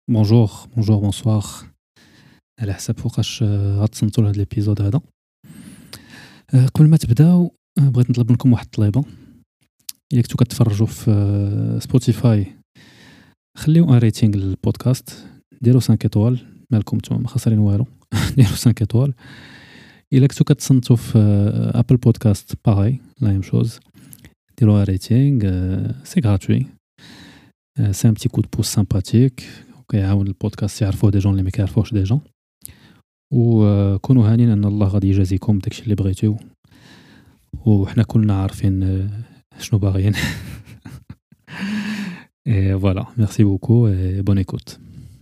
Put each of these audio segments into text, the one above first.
Bonjour, bonjour, bonsoir. على حسب فوقاش غتصنتو لهاد الابيزود هذا. قبل ما تبداو بغيت نطلب منكم واحد الطليبه. الا كنتو كتفرجوا في سبوتيفاي خليو ان ريتينغ للبودكاست، ديروا 5 ايطوال، مالكم نتوما ما خسرين والو. ديروا 5 ايطوال. الا كنتو كتصنتو في ابل بودكاست باغي لا ميم شوز، ديروا ان ريتينغ، سي غراتوي، سي ان بتي كود بوس سامباتيك وكيعاون البودكاست يعرفوه دي جون اللي ما كيعرفوهش ديجا. وكونوا هانين ان الله غادي يجازيكم داكشي اللي بغيتو، وحنا كلنا عارفين شنو باغيين. Et voilà, merci beaucoup et bonne écoute.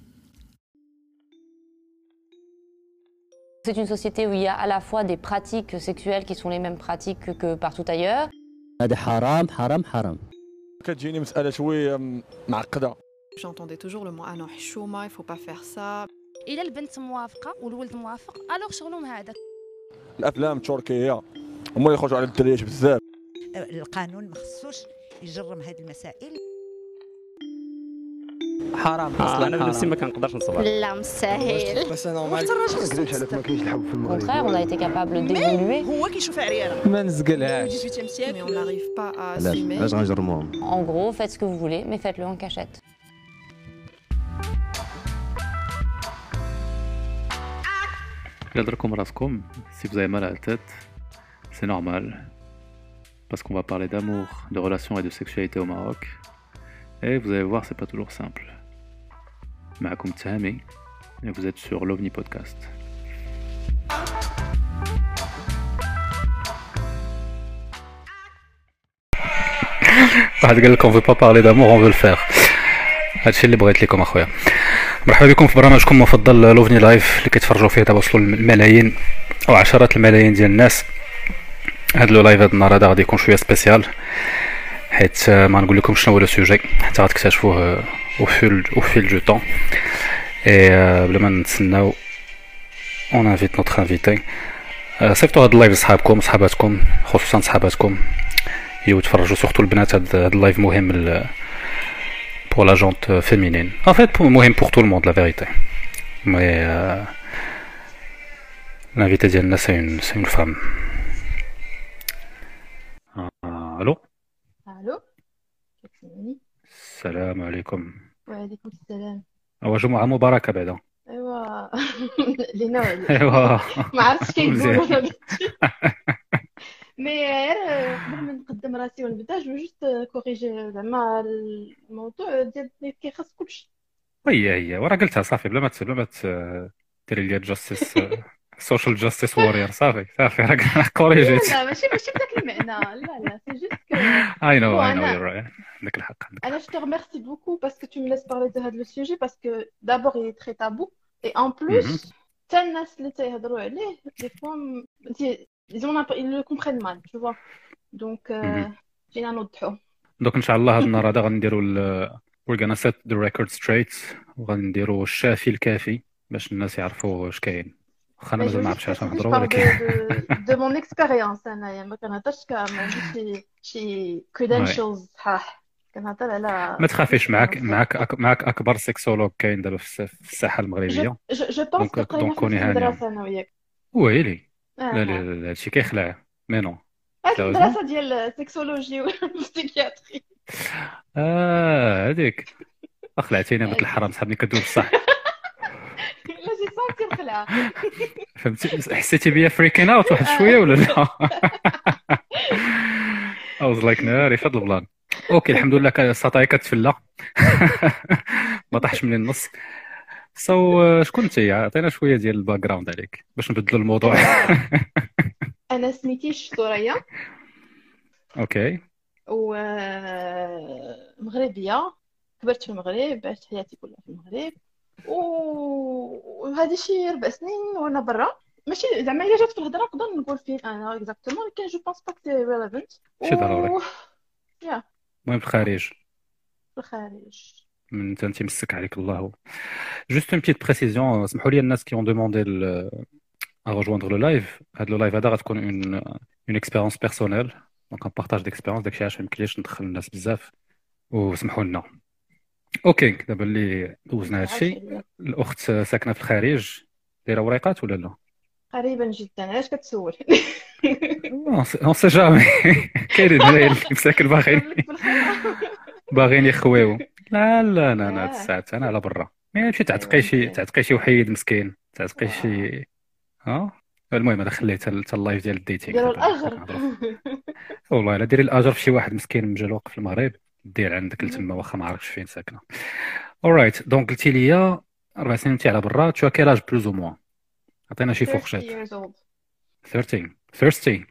C'est une société où il y a à la fois des pratiques sexuelles qui sont les mêmes pratiques que partout ailleurs. هذا حرام حرام حرام. كتجيني مسألة شوية معقدة. J'entendais toujours le mot ah non حشومة, il faut pas faire ça. إلا البنت موافقة والولد موافق ألوغ شغلهم هذاك. الأفلام التركية هما اللي يخرجوا على الدريات بزاف. القانون ما خصوش يجرم هذه المسائل. حرام اصلا انا بنفسي ما كنقدرش نصبر. لا مستحيل. بس انا ما كذبش عليك ما كاينش الحب في Au المغرب. contraire, on a été capable d'évoluer. هو كيشوف عريانة. ما نزقلهاش. 18e siècle mais on n'arrive pas à assumer. علاش غنجرموهم؟ En gros, faites ce que vous voulez, mais faites-le en cachette. Gardez-vous raskom, si vous avez mal à la tête, c'est normal. Parce qu'on va parler d'amour, de relations et de sexualité au Maroc. Et vous allez voir, c'est pas toujours simple. Ma'akoum Tahami, et vous êtes sur l'OVNI Podcast. واحد قال لك on veut pas parler d'amour, on veut le faire. هادشي اللي بغيت لكم اخويا. مرحبا بكم في برنامجكم المفضل لوفني لايف اللي كيتفرجوا فيه دابا وصلوا الملايين او عشرات الملايين ديال الناس. هاد لو لايف هاد النهار هذا غادي يكون شويه سبيسيال، حيت ما نقول لكم شنو هو لو سوجي حتى غتكتشفوه او فيل دو طون. اي بلا ما نتسناو اون انفيت نوتر انفيتي. صيفطوا هاد اللايف لصحابكم صحاباتكم، خصوصا صحاباتكم يتفرجوا، سورتو البنات. هاد اللايف مهم pour la jante féminine. En fait, pour tout le monde, la vérité. Mais l'invité d'Yanna, c'est une femme. Allô? الو السلام عليكم. وعليكم السلام. جمعة مباركة بعدا. ايوا لينا وعليك. ايوا ما عرفتش كيقولوا مزيان. انا مي غير قبل ما نقدم راسي ونبدا جو جوست كوريجي زعما الموضوع ديال كيخص كلشي. هي ورا قلتها صافي بلا ما ديري لي جاستيس سوشيال جاستيس وورير. صافي راه كوريجيت. لا ماشي بداك المعنى، لا سي جوست كو اي نو انا يور رايت. عندك الحق. انا جو te remercie beaucoup parce que tu me laisses parler de هذا le sujet parce que d'abord il est très tabou et en plus حتى الناس اللي تيهضروا عليه des fois ils le comprennent mal, tu vois. Donc جينا نوضحوه. دوك ان شاء الله هاد النهار هذا غنديروا we're gonna set the record straight وغنديروا الشافي الكافي باش الناس يعرفوا واش كاين. واخا انا Mais je مازال ما veux عرفتش juste علاش préciser, je نهضروا، parle ولكن de mon expérience انايا ما كنهضرش ما عنديش شي credentials صحاح، كنهضر على ما تخافيش. معاك experience. معاك اكبر سيكسولوج كاين دابا في الساحه المغربيه. جو بونس دونك قرينا في كوني نفس هانيه. المدرسة انا وياك. ويلي لا لا لا لا هادشي كيخلع مي نو هاد سيريوزمون. المدرسة ديال السكسولوجي والبسيكياتري. هذيك خلعتيني بك الحرام صاحبني كدوب بصح. لا جي سونتي الخلعة. فهمتي حسيتي بيا فريكين اوت واحد شويه ولا لا؟ I was like ناري في هاد البلان. اوكي الحمد لله السطاي كتفلى. ما طاحش من النص. شكون انت؟ عطينا شويه ديال الباك جراوند عليك باش نبدلوا الموضوع. انا سميتيش ثريا اوكي و مغربية، كبرت في المغرب، عشت حياتي كلها في المغرب، وهذه شي 4 سنين وانا برا. ماشي زعما الا جات في الهضره نقدر نقول فين انا اكزاكتومون، ولكن جو بونس با سي ريليفانت. ماشي ضروري. يا المهم في الخارج في الخارج. من انت مسك عليك الله. جوست اون بيتيت بريسيزيون، سمحوا لي الناس qui ont demandé à rejoindre le live. هاد لو لايف هذا غتكون une expérience personnelle، دونك ان بارطاج ديكسبيريونس. داكشي علاش ما يمكنليش ندخل الناس بزاف وسمحوا لنا. اوكي دابا اللي دوزنا هذا عايش الشيء، عليا. الاخت ساكنه في الخارج، دايره وريقات ولا لا؟ قريبا جدا، علاش كتسول؟ اون سي جامي. كاينين هنايا اللي مساكن باغيين نضرب لك بالخير. باغيين يخويو. لا لا لا لا، هاد اه الساعات انا على برا. ما تمشي ايوا مزيان. تعتقي شي وحيد مسكين، تعتقي واه شي. ها. المهم انا خليت اللايف ديال الديتينغ ديروا دابا حنا الاجر. كنهضروا. والله الا ديري الاجر في شي واحد مسكين مجلوق في المغرب، دير عندك لتما واخا ما عرفتش فين ساكنه. اورايت دونك قلتي لي 4 سنين انت على برا، تو كيل اج بلوز او موان؟ عطينا شي 30 فورشيت. years old. 13 30.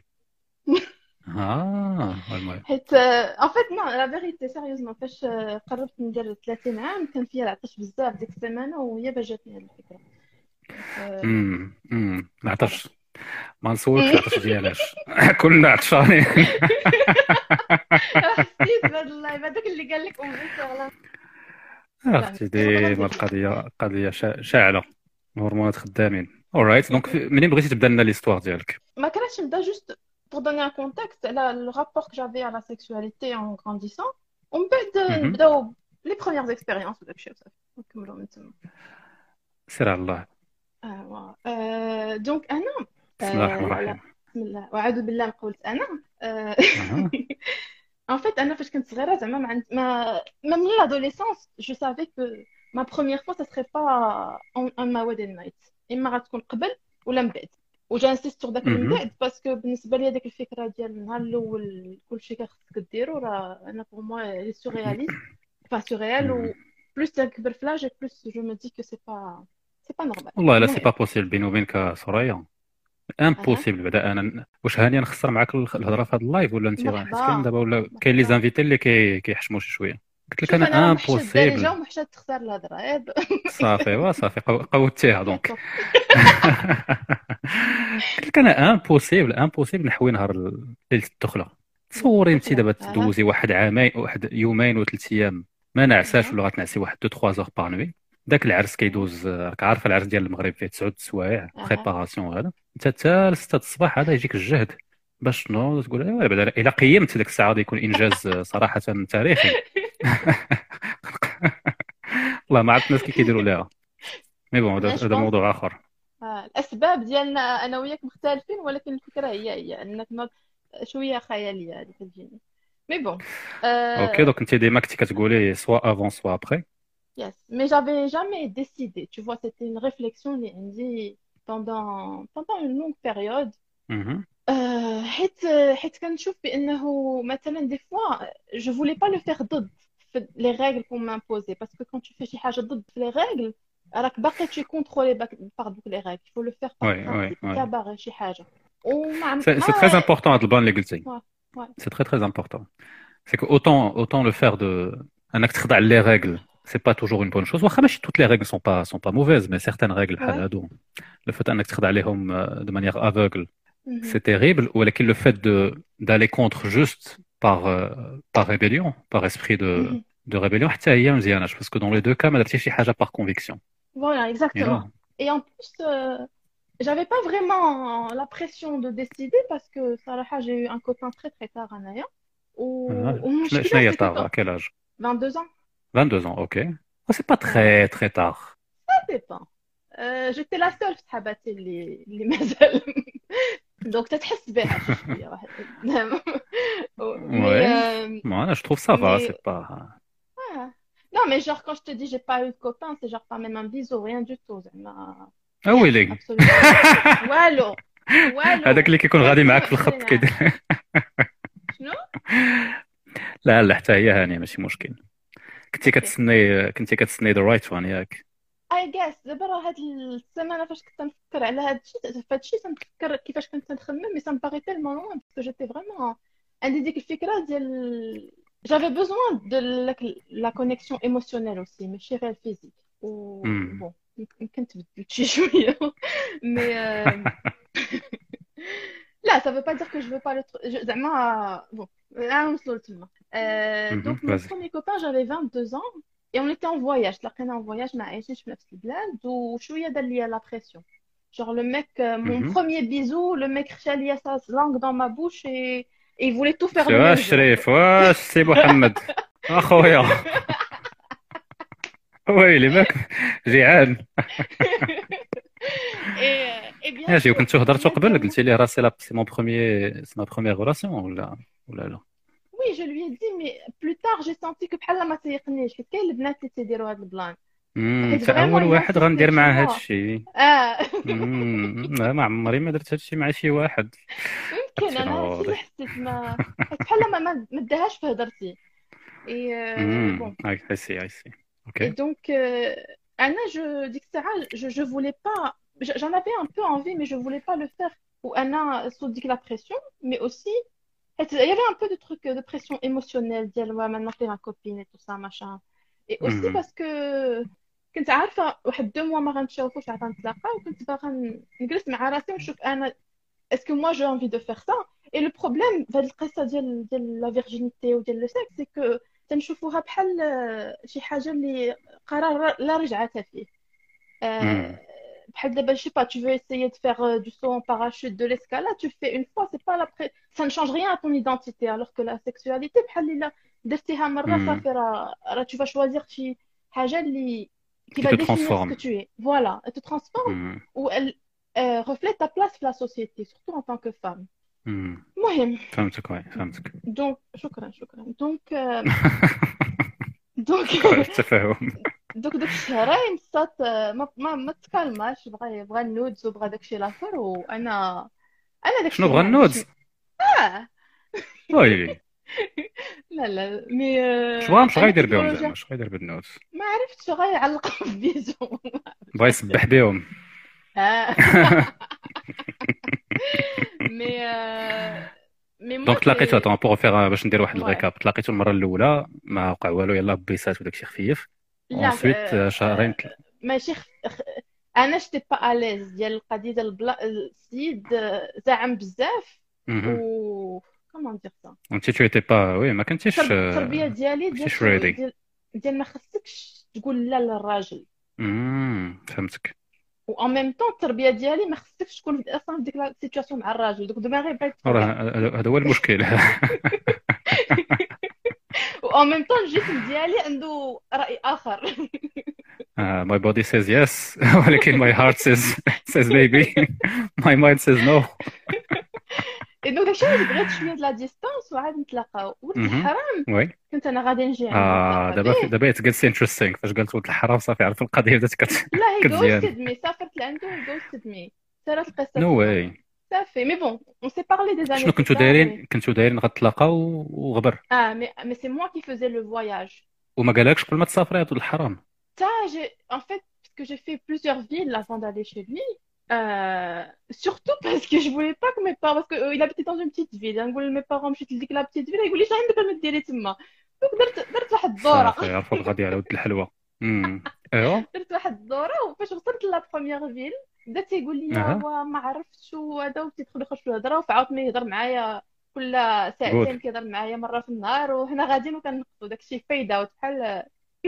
المهم. حيت ان فيت نو لا فيريتي سيريوزمون فاش قربت ندير 30 عام كان فيا العطش بزاف ديك السيمانه وهي باش جاتني هاد الفكره. دونك ما قررت. عطاش. ما نسولكش العطش ديالاش. كلنا عطشانين. حسيت بهاد اللايف هذاك اللي قال لك ام بنت. لا اختي مصيبه غير ديما ديال الجو. القضيه شاعله. الهرمونات خدامين. اورايت دونك منين بغيتي تبدا لنا ليستوار ديالك؟ ما كانش نبدا جوست pour donner un contexte على le rapport que j'avais à la sexualité en grandissant ومن بعد مهم. نبداو les premières expériences وداك الشيء وصافي نكملوا من تما. سير على الله. دونك انا بسم الله الرحمن لا الرحيم. بسم الله واعوذ بالله من قولت انا. أها. En fait, انا فاش كنت صغيره زعما même l'adolescence je savais que ma première fois ça serait pas en ma wedding night اما غتكون قبل ولا من بعد. وجانسيست داك من مهم. بعد باسكو بالنسبه لي ديك الفكره ديال النهار الاول كلشي خصك ديرو راه انا بور موا لي سورياليست با سوريال مهم. و بلوس تكبر في لاج بلوس جو مي دي كو سي با نورمال. والله لا سي با المهم بوسيبل بيني وبينك سوريا. اها امبوسيبل. بعدا انا واش هاني نخسر معاك الهضره في هذا اللايف ولا انت حيت كاين مرحبا دابا ولا كاين لي مرحبا. زانفيتي اللي كيحشموا شي شويه. قلت لك شوف انا راه انا محشد دارجه امبوسيبل. ومحشد تختار الهضره ياك. صافي صافي قوتيها دونك. بالضبط. قلت لك انا امبوسيبل نحوي نهار ليله الدخله. تصوري انت الدخله دابا اها تدوزي واحد عامين واحد يومين وثلاث ايام ما نعساش اها ولا غتنعسي واحد 2 3 زور بار نوي. داك العرس كيدوز، راك عارف العرس ديال المغرب فيه 9 سوايع اها بريباراسيون. هذا انت حتى 6 الصباح هذا يجيك الجهد باش تنوض تقول ايوا بعدا الا قيمت ديك الساعه غادي يكون انجاز صراحه تاريخي. والله ما عرفت الناس كيديروا ليها. مي بون انا جو هذا بونس موضوع اخر. الاسباب ديالنا انا وياك مختلفين ولكن الفكره هي انك شويه خياليه هذه كتجيني مي بون. اوكي دونك انت ديما كنتي كتقولي سوا افون سوا ابخي. Yes, mais j'avais jamais décidé. Tu vois, c'était une réflexion اللي عندي pendant une longue période. حيت كنشوف بأنه مثلا des fois je voulais pas le faire ضد les règles qu'on m'imposait parce que quand tu fais شي حاجة ضد les règles راك باقي tu es contrôlé par دوك les règles. Il faut le faire par principe. انت باغي شي حاجة وما سي تري امبورطون هاد البلان اللي قلتي. ouais. سي تري امبورطون. سي كو autant le faire de انك تخضع لي règles. C'est pas toujours une bonne chose. واخا ماشي toutes les règles sont pas mauvaises, mais certaines règles بحال Ouais. هادو le fait انك تخضع عليهم de manière aveugle Mhm. c'est terrible. ولكن le fait d'aller contre juste par rébellion, par esprit Mhm. de rébellion حتى هي مزيانه parce que dans les deux cas ما درتي شي حاجه par conviction. Voilà, You exactement. know. Et en plus, j'avais pas vraiment la pression de décider parce que صراحة j'ai eu un copain très très tard Anaya شنو والمشكلة هي c'est que tard à quel âge? 22 ans 22 ans, ok. Oh, c'est pas très tard. ça dépend. J'étais la seule في صحاباتي اللي مازال donc تتحس بها شي شوية واحد. Ouais. Moi, je trouve ça va, mais c'est pas. non mais genre quand je te dis j'ai pas eu de copain c'est genre pas même un bisou rien du tout زعما Ah oui, les gars. absolument والو هذاك اللي كيكون غادي معاك في الخط كيدير. شنو لا حتى هي هانيه ماشي مشكل. كنتي كتسني ذا رايت وان ياك. I guess دابا راه هاد السيمانه فاش كنت نفكر على هاد الشيء فهادشي تنفكر كيفاش كنت نخمم مي سا مباري تيلمون لوان باسكو جيتي فريمون عندي ديك الفكره ديال j'avais besoin de la connexion émotionnelle aussi ماشي غير فيزيك و بون يمكن تبدلت شي شويه مي لا ça veut pas dire que je veux pas le زعما bon là نوصلوا لتما. Donc mon premier copain j'avais 22 ans et on était en voyage تلاقينا en voyage ما عايشينش في نفس البلاد وشويه دار ليا la pression genre le mec mon premier bisou le mec خشى ليا sa langue dans ma bouche et il voulait tout faire le même jour. شريف واش سي محمد اخويا ويلي ماك جيعان. Et bien ماشي، sûr, وكنتو هضرتو قبل maintenant, قلتي لي راه سي مون بروميير سي ما بروميير غولاسيون ولا لا؟ oui, je lui ai dit, mais plus tard, j'ai senti que بحال ما تيقنيش حيت كاين البنات اللي تيديروا هذا البلان حيت فاول فريمون il واحد insistait, غندير tu معاه هاد vois. الشيء. اه لا، ما عمري ما درت هاد الشيء مع شي واحد. يمكن هادشي راه انا هادشي اللي واضح. حسيت ما حيت بحال ما داهاش في هضرتي. Et bon. اي سي. Et اوكي. donc, Anna, je dis que Sarah, je voulais pas, j'en avais un peu envie, mais je voulais pas le faire. Ou Anna se dit que la pression, mais aussi, il y avait un peu de trucs de pression émotionnelle, dire ouais, maintenant t'es ma copine et tout ça, machin. Et aussi parce que كنت عارفة واحد 2 mois ما غنتشوفوش عاد غنتلاقاو وكنت باغا نجلس مع راسي ونشوف أنا est-ce que moi j'ai envie de faire ça. Et le problème في هاد القصة ديال la virginité وديال le sexe c'est que تنشوفوها بحال شي حاجة اللي قرار لا رجعة فيه. آه، بحال دابا je sais pas tu veux essayer de faire du saut en parachute de l'escalade tu le fais une fois c'est pas ça ne change rien à ton identité alors que la sexualité بحال إلا درتيها مرة صافي راه tu vas choisir شي حاجة اللي qui Qui va te définir ce que transforme. tu es voilà elle te transforme ou elle reflète ta place dans la société surtout en tant que femme. المهم فهمتك، وي فهمتك. donc شكرا donc donc التفاهم. دوك الشهرين صات ما تكلماش بغى النودز وبغى داكشي الاخر وانا داكشي شنو بغا ما عنديش. النودز؟ وي لا مي مش انا غايدير كنت بهم نقول زعما، اش غايدير بالنودز؟ ما عرفتش غيعلق في بيزو. بغا يسبح بهم. مي مي دونك تلاقيتو moi بور فيغ باش ندير واحد ouais. الريكاب. تلاقيتو المره الاولى ما وقع والو، يلاه بيسات وداكشي خفيف. لا انسويت شهرين ماشي انا شتي با اليز ديال القضيه ديال السيد زعم بزاف و كومون دير سا انت تو ايتي با وي ما كنتيش التربيه ديالي ماشيش ريدي. ديال ما خصكش تقول لا للراجل. فهمتك. و ان ميم طون التربيه ديالي ما خصكش تكون اصلا في ديك لا سيتوياسيون مع الراجل دوك دماغي بغيت هذا هو المشكل. و ان ميم طون الجسم ديالي عنده راي اخر. My body says yes ولكن my heart says maybe. My mind says no. دونك داكشي اللي بغيت شويه د لا ديستانس وعاد نتلاقاو. ولد الحرام وي كنت انا غادي نجي عنده دابا it gets interesting فاش قلت ولد الحرام صافي عرف القضيه بدات لا هي كتزيان. غوستد مي سافرت لعندو غوستد مي صارت القصه نو واي صافي مي بون اون سي بارلي دي زاني. شنو كنتو دايرين غتلاقاو وغبر؟ مي سي موا كي فوزي لو فواياج. وما قالكش قبل ما تسافري يا ولد الحرام؟ Ça, en fait, parce que j'ai fait plusieurs villes avant d'aller chez lui, surtout parce que je voulais pas que mes parents, parce qu'il habitait dans une petite ville, نقول mes parents مشيت لديك la petite ville يقول لي شنو عندك ديري تما. دونك درت واحد الدورة. صافي عرفوا الغادي على ولد الحلوى. ايوا درت واحد الدورة وفاش وصلت لا بروميير فيل بدا تيقول لي وا ما عرفتش وهذا وتيدخل يخرج في الهضرة وعاوتاني يهضر معايا كل ساعتين كيهضر معايا مرة في النهار وحنا غاديين وكنقصوا داكشي فايدة وبحال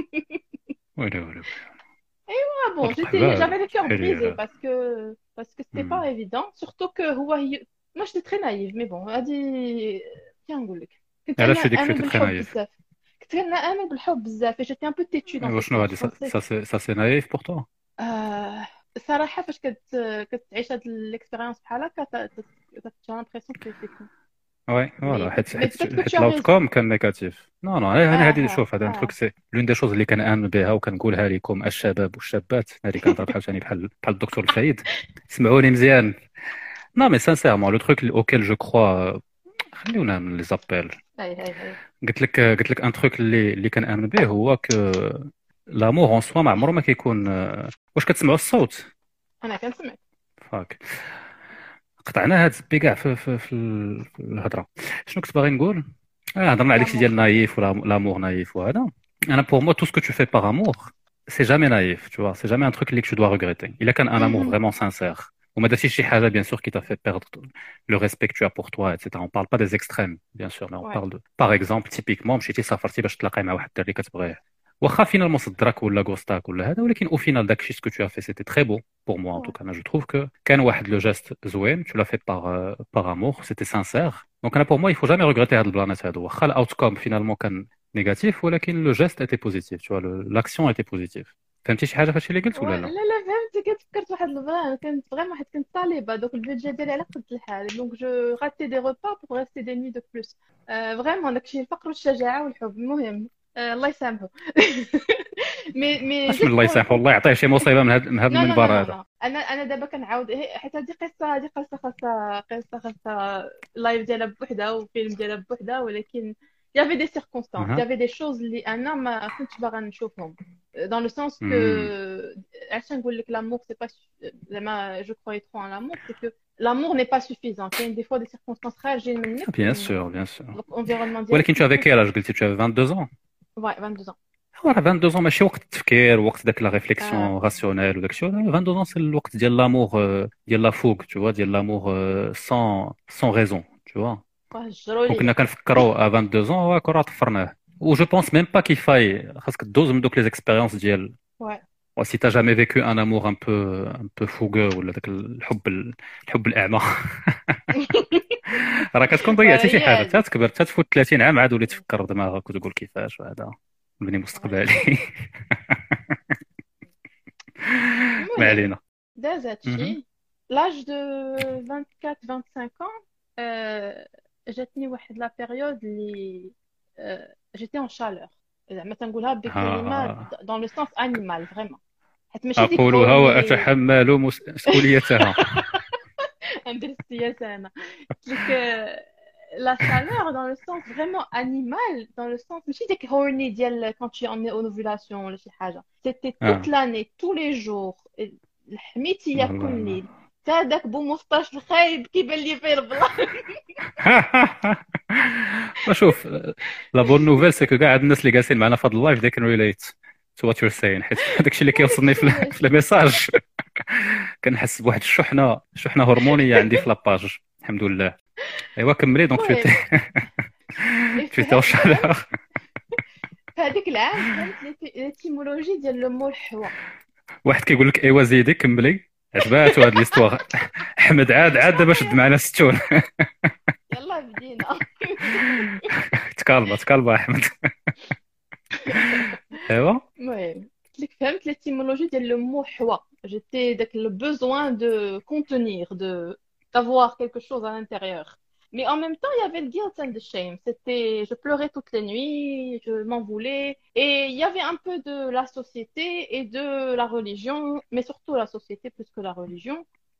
ولا bon, j'avais le cœur brisé parce que c'était pas évident, surtout que moi j'étais très naïve, mais bon, elle dit tiens نقول لك كنت علاش ديك نآمن شويه بالحب نايف؟ بزاف كنت نآمن بالحب بزاف et j'étais un peu têtue dans واش شنو هادي ça c'est naïf pour toi؟ الصراحة فاش كتعيش هاد الاكسبيريونس بحال هكا j'ai l'impression que c'est con. وي فوالا حيت الاوتكوم كان نيجاتيف. نو انا هذه شوف هذا التروك سي لون دي شوز اللي كنآمن بها وكنقولها لكم الشباب والشابات. هذه كنهضر بحال بحال الدكتور الفايد. اسمعوني مزيان. نو مي سانسيرمون لو تروك اوكيل جو كخوا خليونا من لي زابيل. قلت لك ان تروك اللي كنآمن به هو ك لامور اون سوا ما عمره ما كيكون. واش كتسمعوا الصوت؟ انا كنسمع فاك قطعنا هاد الزبي كاع في الهضره. شنو كنت باغي نقول؟ هضرنا على داكشي ديال نايف ولا لامور نايف وهذا. انا بور مو تو سكو تو في باغ امور سي جامي نايف تو سي جامي ان تروك اللي تو دوا ريغريتي الا كان ان امور فريمون سانسير وما درتيش شي حاجه بيان سور كي تا في بيردre لو ريسبيك تو بور توا ايتترا. اون بارل با دي اكستريم بيان سور مي اون بارل دو باغ اكزومبل تيبيكمون مشيتي سافرتي باش تلاقاي مع واحد الدري كتبغيه واخا فينالمون صدرك ولا غوستاك ولا هذا ولكن او فينال داكشي سكو تو في سيتي تري بو pour moi en tout cas. Je trouve que كان واحد لو جيست زوين tu l'as fait par amour c'était sincère. Donc pour moi il faut jamais regretter هاد البلانات هادو واخا الاوتكم فينالمون كان négatif ولكن le geste était positif tu vois l'action était positive فهمتي شي حاجه فهادشي اللي قلت ولا لا لا لا فهمت. كنت فكرت واحد البلان، كنت فريمون حيت كنت طالبه، دوك البيدجي ديالي على قد الحال، دونك جو راتي دي ريبا بوغ ريستي دي نوي دو بلوس. فريمون داكشي الفقر والشجاعه والحب، المهم الله يسامحه. مي اش من جوست الله بور يسامحه والله يعطيه شي مصيبه من هذا نو نو نو المنبر نو هذا نو انا دابا كنعاود حيت هذه قصه، خاصها اللايف ديالها بوحدها وفيلم ديالها بوحدها، ولكن يافي دي سيركونستانس، اها يافي دي شوز اللي انا ما كنتش باغا نشوفهم، dans le sens que أمم. علاش نقول لك l'amour c'est pas زعما je croyais trop en l'amour c'est que l'amour n'est pas suffisant. كاين دي فوا دي سيركونستانس خارجين منك، Bien sûr l'environnement ديالك ولكن tu avais كيكون. quel âge قلتي tu avais 22 ans Ouais, 22 ans. راه 22 ماشي وقت التفكير وقت داك لا آه. ريفليكسيون راسيونيل وداك الشيء 22 سي الوقت ديال لامور ديال لا فوق tu vois ديال لامور sans raison tu vois هجروا كون لي. كنا كنفكروا ا 22 راه طفرناه و جو بونس ميم با كي فاي خاصك دوز من دوك لي زيكسبيريونس ديال Ouais. si t'as jamais vécu un amour un peu fougueux ولا داك الحب الأعمى راه كتكون ضيعتي شي حاجة وهي حتى تكبر حتى تفوت 30 عام عاد وليت تفكر دماغك وتقول كيفاش وهذا نبني مستقبلي ما المهم علينا داز مهم. هادشي. لاج دو 24 25 ans جاتني واحد لا بيريود اللي جيتي اون شالور، زعما تنقولها بكلمه دون لو سونس انيمال فريمون، حيت ماشي ديك أقولها هورني. وأتحمل مسؤوليتها ندير السياسه انا قلت لك لا chaleur dans le sens vraiment animal, dans le sens ماشي ديك هورني ديال quand tu en es en ovulation ولا شي حاجه. c'était toute l'année tous les jours، حميتي كل ليل، تا داك بو مفطاش الخايب كيبان لي فيه البلاصه. شوف لا بون نوفيل سي كو كاع الناس اللي جالسين معنا في هذا اللايف they can relate to what you're saying حيت داكشي اللي كيوصلني في الميساج كنحس بواحد الشحنه هرمونيه عندي في لاباج الحمد لله. ايوا كملي دونك tu étais en chaleur في هذيك العام فهمت ليتيمولوجي ديال لو مول حوا. واحد كيقول لك ايوا زيدي كملي عجباتو هاد ليستواغ احمد عاد دابا شد معنا 60 يلا بدينا. تكالبا احمد ايوا المهم قلت لك فهمت ليتيمولوجي ديال لو مو حوا. j'étais داك le besoin de contenir, de d'avoir quelque chose à l'intérieur. Mais en même temps, il y avait le guilt and the shame. Je pleurais toutes les nuits, je m'en voulais. Et il y avait un peu de la société et de la religion, mais surtout la société plus que la religion.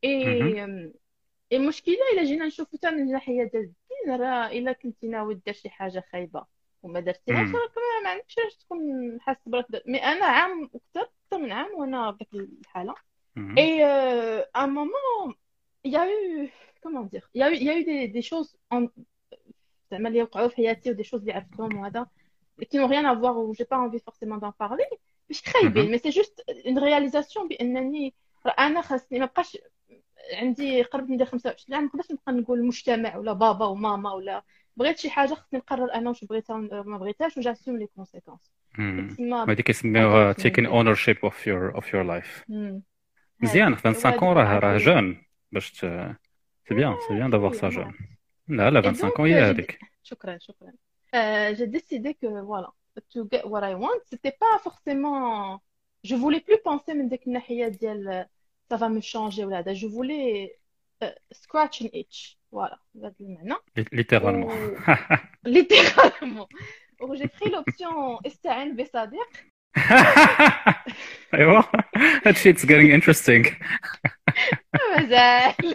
المشكلة إلا جينا نشوفو حتى من الناحية ديال الدين، راه إلا كنتي ناوي دير شي حاجة خايبة وما درتيهاش راك ما عندكش علاش تكون حاسس برك. مي أنا عام أكثر من عام وأنا في ديك الحالة. Et à un moment, il y a eu, comment dire, il y a eu des choses زعما اللي وقعوا في حياتي ودي choses اللي عرفتهم وهذا qui n'ont rien à voir ou j'ai pas envie forcément d'en parler. مش خايبين، mais c'est juste une réalisation بأنني أنا خاصني ما بقاش عندي قربت ندير 25 عام، ما نقدرش نبقى نقول المجتمع ولا بابا وماما ولا بغيت شي حاجة خاصني نقرر أنا واش بغيتها ما بغيتهاش وجاسوم لي كونسيكونس. هادي كيسميوها taking ownership of your life. مزيان 25 راه جون باش سي بيان دافوار سا جون. لا 25 هي هذيك. شكرا. J'ai décidé que voilà, to get what I want, c'était pas forcément, je voulais plus penser من ديك الناحية ديال ça va me changer ولا هذا. je voulais scratch an itch, voilà بهذا المعنى littéralement. littéralement. Donc j'ai pris l'option استعن بصديق. ايوا هادشي it's getting interesting. مازال.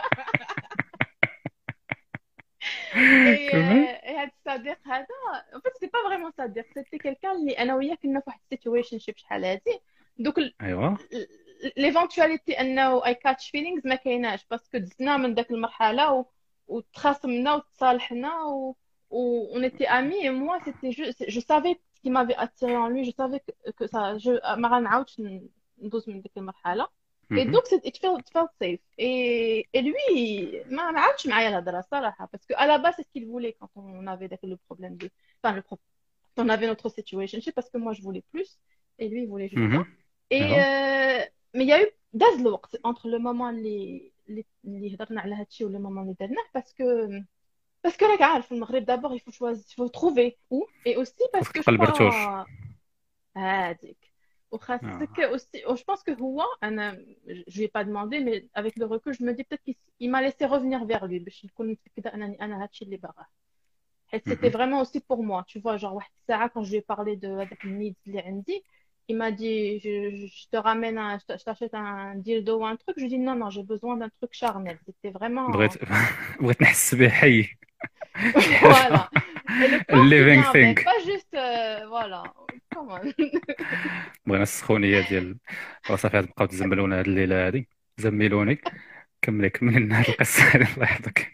هاد الصديق هذا en fait c'est pas vraiment صديق, c'était quelqu'un اللي انا وياه كنا في واحد situationship شحال هادي. دوك ايوا ليفونتواليتي انه I catch feelings ما كايناش باسكو دزنا من داك المرحله وتخاصمنا وتصالحنا on était amis et moi c'était juste je savais ce qui m'avait attiré en lui, je savais que ça ما غنعاودش ندوز من ديك المرحله. Et donc it felt safe. Et lui ما عاودش معايا الهضره صراحه parce que à la base c'est ce qu'il voulait quand on avait le problème de enfin quand on avait notre situation, je sais parce que moi je voulais plus et lui il voulait juste ça. Et mais il y a eu داز الوقت entre le moment اللي هضرنا على هادشي و le moment اللي درناه parce que parce que là في المغرب d'abord il faut trouver où et aussi parce خاصك que je تلقى البرتوش. crois هذيك وخاصك aussi je pense que هو انا je lui ai pas demandé mais avec le recul je me dis peut-être qu'il m'a laissé revenir vers lui باش نكون متأكدة انني انا هادشي اللي باغاه حيت c'était vraiment aussi pour moi tu vois genre واحد الساعة quand je lui ai parlé de هذاك النيد اللي عندي il m'a dit je te ramène je t'achète un dildo ou un truc je lui dis non non j'ai besoin d'un truc charnel c'était vraiment بغيت نحس به حي شي voilà حاجه et le corps qui living vient thing. avec pas juste voilà come on بغينا السخونيه ديال صافي غادي نبقاو تزملونا هاد الليله هادي زملوني كملي لنا هاد القصه هادي الله يحفظك.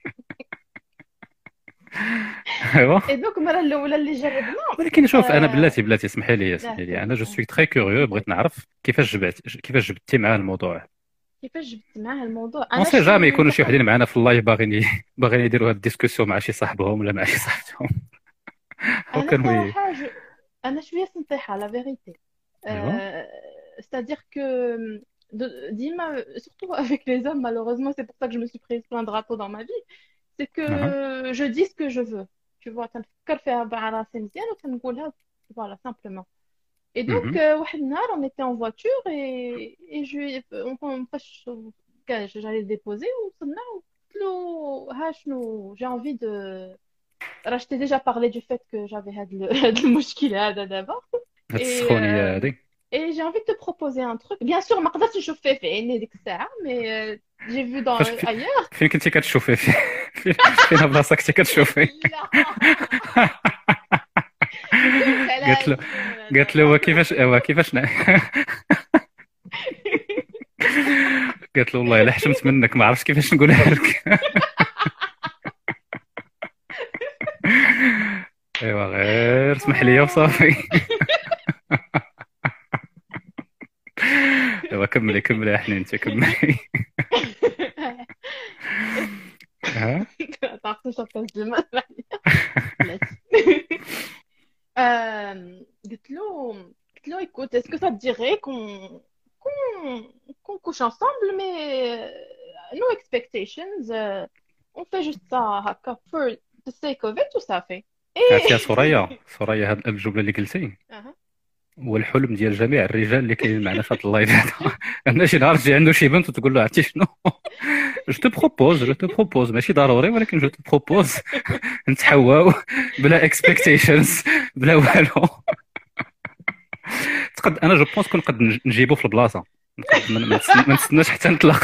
ايوا et donc المرة الأولى اللي جربنا ولكن شوف انا آه، بلاتي اسمحي لي انا جو سوي تري كوريو بغيت نعرف كيفاش جبتي معاه الموضوع. كيفاش جبت معاه الموضوع اون انا سي جامي يكونوا شي نعتقد وحدين معنا في اللايف باغيين يديروا هاد الديسكسيون مع شي صاحبهم ولا مع شي صاحبتهم. هاو انا كان وي. صراحة انا شوية سنطيحة لا فيريتي ايوا c'est-à-dire que Dima surtout avec les hommes malheureusement c'est pour ça que je me suis prise plein de drapeaux dans ma vie c'est que اها je dis ce que je veux tu vois تنفكر فيها مع راسي مزيان وتنقولها voilà simplement et donc مهم. واحد النهار on était en voiture et on فاش j'allais le déposer وصلنا وقلت له ها شنو j'ai envie de je t'ai déjà parlé du fait que j'avais هاد المشكل هذا دابا هاد et السخونيه هادي et j'ai envie de te proposer un truc bien sûr ما قدرتش نشوف فيه في عيني ديك الساعة mais j'ai vu dans فاش ailleurs فين كنتي كتشوفي فين بلاصه كنتي كتشوفي؟ لا قالت له قالت له كيفاش قالت له والله الا حشمت منك ما عرفتش كيفاش نقولها لك. ايوا غير اسمح لي وصافي. ايوا كملي يا حنينتي كملي. ها تعرفت شو الترجمة قلت له écoute est-ce que ça te dirait qu'on couche ensemble mais no expectations on fait juste ça هكا for the sake of it وصافي عرفتي يا سوريا هاد الجمله اللي قلتي أها. هو الحلم ديال جميع الرجال اللي كاينين معنا في هذا اللايف هذا ان شي نهار تجي عنده شي بنت وتقول له عرفتي شنو جو تو بروبوز ماشي ضروري ولكن جو تو بروبوز نتحواو بلا اكسبكتيشنز بلا والو. انا جو بونس كنقد نجيبو في البلاصه ما نستناش حتى نطلق.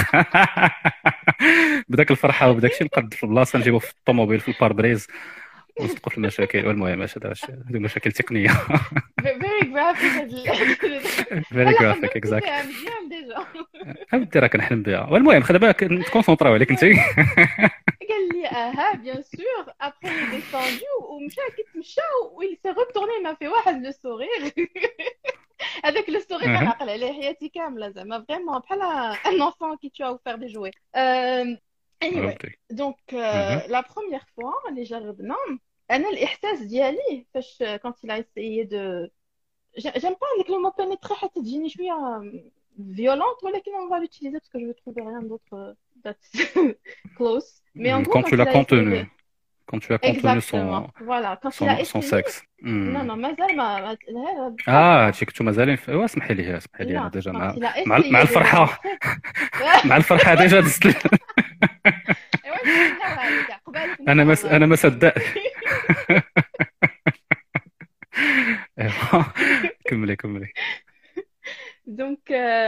بداك الفرحه وبداك الشيء نقد في البلاصه نجيبو في الطوموبيل في الباربريز ونصدقوا في المشاكل. والمهم هذه مشاكل تقنيه. very graphic فيري جرافيك اكزاكت. اودي راه كنحلم بها. والمهم خلي بالك نتكونسونطراو عليك انت. قال لي اه bien sûr après il est descendu ومشى كيتمشى وil s'est retourné il m'a fait واحد لو sourire avec le sourire انا عقل عليه حياتي كامله زعما فريمون بحال un enfant qui tu as offert des jouets anyway donc la première fois اللي جربنا انا الاحساس ديالي فاش quand il a essayé de j'aime pas avec le mot pénétrer حتى تجيني شويه violente ولكن on va l'utiliser parce que je veux trouver rien d'autre that's close mais en gros quand tu l'as contenu quand tu as contenu voilà quand il a essayé son sexe non مازال ما شي كنتو مازالين اسمحي لي انا ديجا مع الفرحه مع الفرحه ديجا دزت. انا ما صدق. كملي. Donc,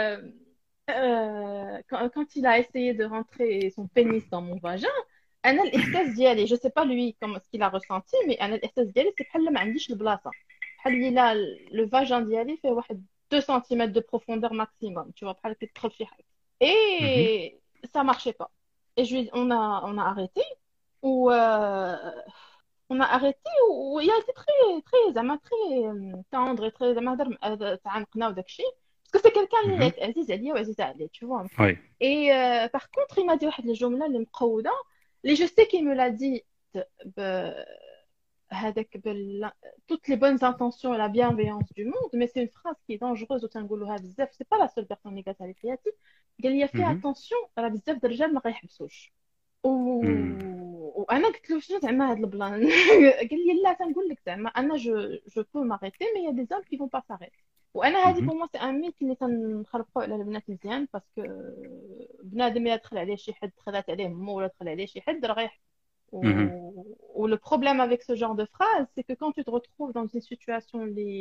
quand il a essayé de rentrer son pénis dans mon vagin, أنا الإحساس ديالي je sais pas lui comment ce qu'il a ressenti mais أنا الإحساس ديالي c'est بحال ما عنديش البلاصة بحال اللي لا le vagin ديالي فيه واحد 2 cm de profondeur maximum tu vois بحال كتدخل في حاجة et ça marchait pas et on a arrêté ou on a arrêté ou il a été très زعما très tendre et très زعما هضر تعانقنا وداك الشيء parce que c'est quelqu'un اللي عزيز عليا وعزيز عليه tu vois et par contre il m'a dit واحد الجملة اللي مقودة اللي je sais qu'il me l'a dit avec toutes les bonnes intentions et la bienveillance du monde mais c'est une phrase qui est dangereuse وتنقولوها بزاف c'est pas la seule personne اللي قالتها لي في حياتي قال لي fais attention راه بزاف د الرجال ما غيحبسوش وانا قلت له شنو زعما هذا البلان قال لي لا تنقول لك زعما انا جو بو ماريتي مي يا دي زوم كي فون با ساريتي. وانا هذه بو مو سي ان ميت اللي تنخربقوا على البنات مزيان باسكو بنادم الا دخل عليه شي حد دخلت عليه مو ولا دخل عليه شي حد راه غيح. Ou le problème avec ce genre de phrase, c'est que quand tu te retrouves dans une situation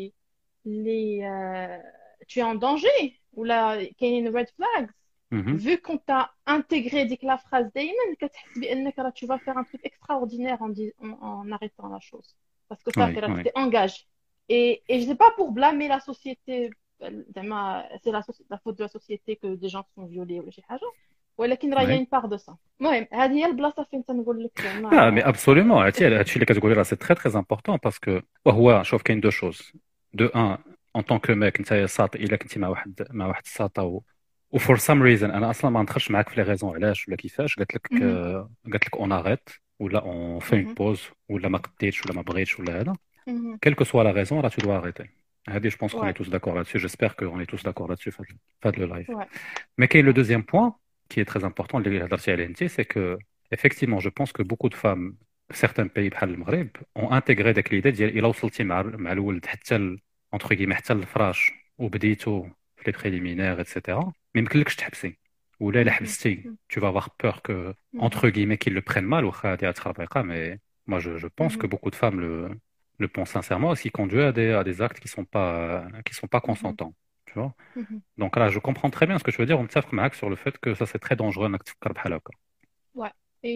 tu es en danger, ou là, qu'il y a une red flags, vu qu'on t'a intégré dès que la phrase d'Ayman, que tu vas faire un truc extraordinaire en arrêtant la chose. Parce que ça, tu t'es engagé. Et je ne sais pas pour blâmer la société, c'est la faute de la société que des gens sont violés ou شي حاجة. ولكن راه une part de ça. المهم هذه هي البلاصه فين تنقول لك زعما مي ابسوليومون هادشي اللي كتقولي راه سي تري تري امبورطون باسكو وهو شوف كاين دو شوز دو ان ان طون كو ميك انت ساط الا كنتي مع واحد الساطه و فور سام ريزون انا اصلا ما ندخلش معاك في لي ريزون علاش ولا كيفاش قالت لك اون اريت ولا اون في اون بوز ولا ما قديتش ولا ما بغيتش ولا هذا كيلكو سوا لا ريزون راه تو دوا اريتي هادي جو بونس كون اي توس داكور لاتسي جيسبر كو اون اي توس داكور لاتسي في هاد لو لايف مي كاين لو دوزيام بوين qui est très important, c'est que effectivement, je pense que beaucoup de femmes, certains pays بحال المغرب, ont intégré داك l'idée ديال الا وصلتي مع الولد حتى entre guillemets حتى الفراش وبديتو في لي بريليمينير etc. ما يمكنلكش تحبسي ولا الا حبستي tu vas avoir peur que entre guillemets qu'ils le prennent mal واخا هادي تخربيقه mais moi je pense que beaucoup de femmes le pensent sincèrement et ce qui conduit à des actes qui sont pas consentants. Tu vois. Donc là, je comprends très bien ce que tu veux dire. On me tafque Max sur le fait que ça c'est très dangereux. Ouais.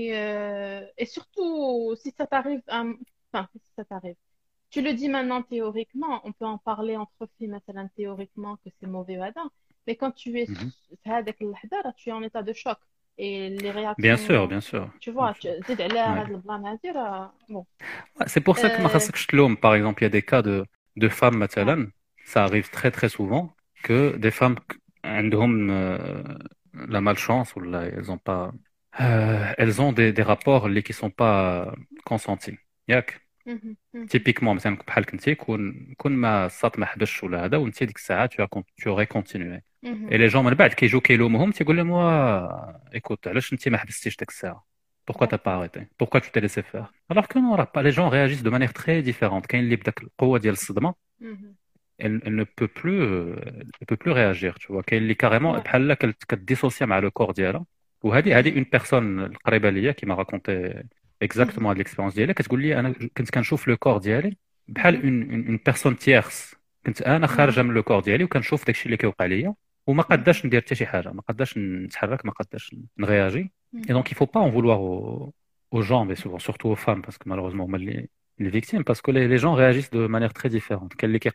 Et surtout si ça t'arrive, enfin si ça t'arrive, tu le dis maintenant théoriquement, on peut en parler entre filles, مثلا théoriquement que c'est mauvais ou pas. Mais quand tu es tu es en état de choc et les réactions. Bien sûr. Tu vois, tu dis bon. C'est pour ça que ma خاصكش تلوم. Par exemple, il y a des cas de femmes مثلا, ça arrive très très souvent. Que des femmes عندهم la malchance ou là elles ont des rapports qui sont pas consentis ياك typiquement مثلا بحال كنتي كون ما صات ما حبسش ولا هذا وانت ديك الساعه tu aurais continué et les gens من بعد كيجيو كيلومهم تيقول لهم écoute علاش انت ما حبستيش ديك الساعه pourquoi t'as pas arrêté pourquoi tu t'es laissé faire alors que non les gens réagissent de manière très différente كاين اللي بداك القوه ديال الصدمه elle ne peut plus réagir, tu vois. Qu'elle est carrément, qu'elle dissocie avec le corps d'elle. Ou une personne, القريبة ليا, qui m'a raconté exactement l'expérience d'elle. Qu'est-ce que je dis, quand je chauffe le corps d'elle, بحال une personne tierce. كنت أنا خارجة من le corps d'elle, وكنشوف داكشي اللي كيوقع ليا, وما قداش ندير حتى شي حاجة, ما قداش نتحرك, ما قداش نرياجي. Et donc il faut pas en vouloir aux gens, mais souvent surtout aux femmes, parce que malheureusement les victimes parce que les gens réagissent de manière très différente.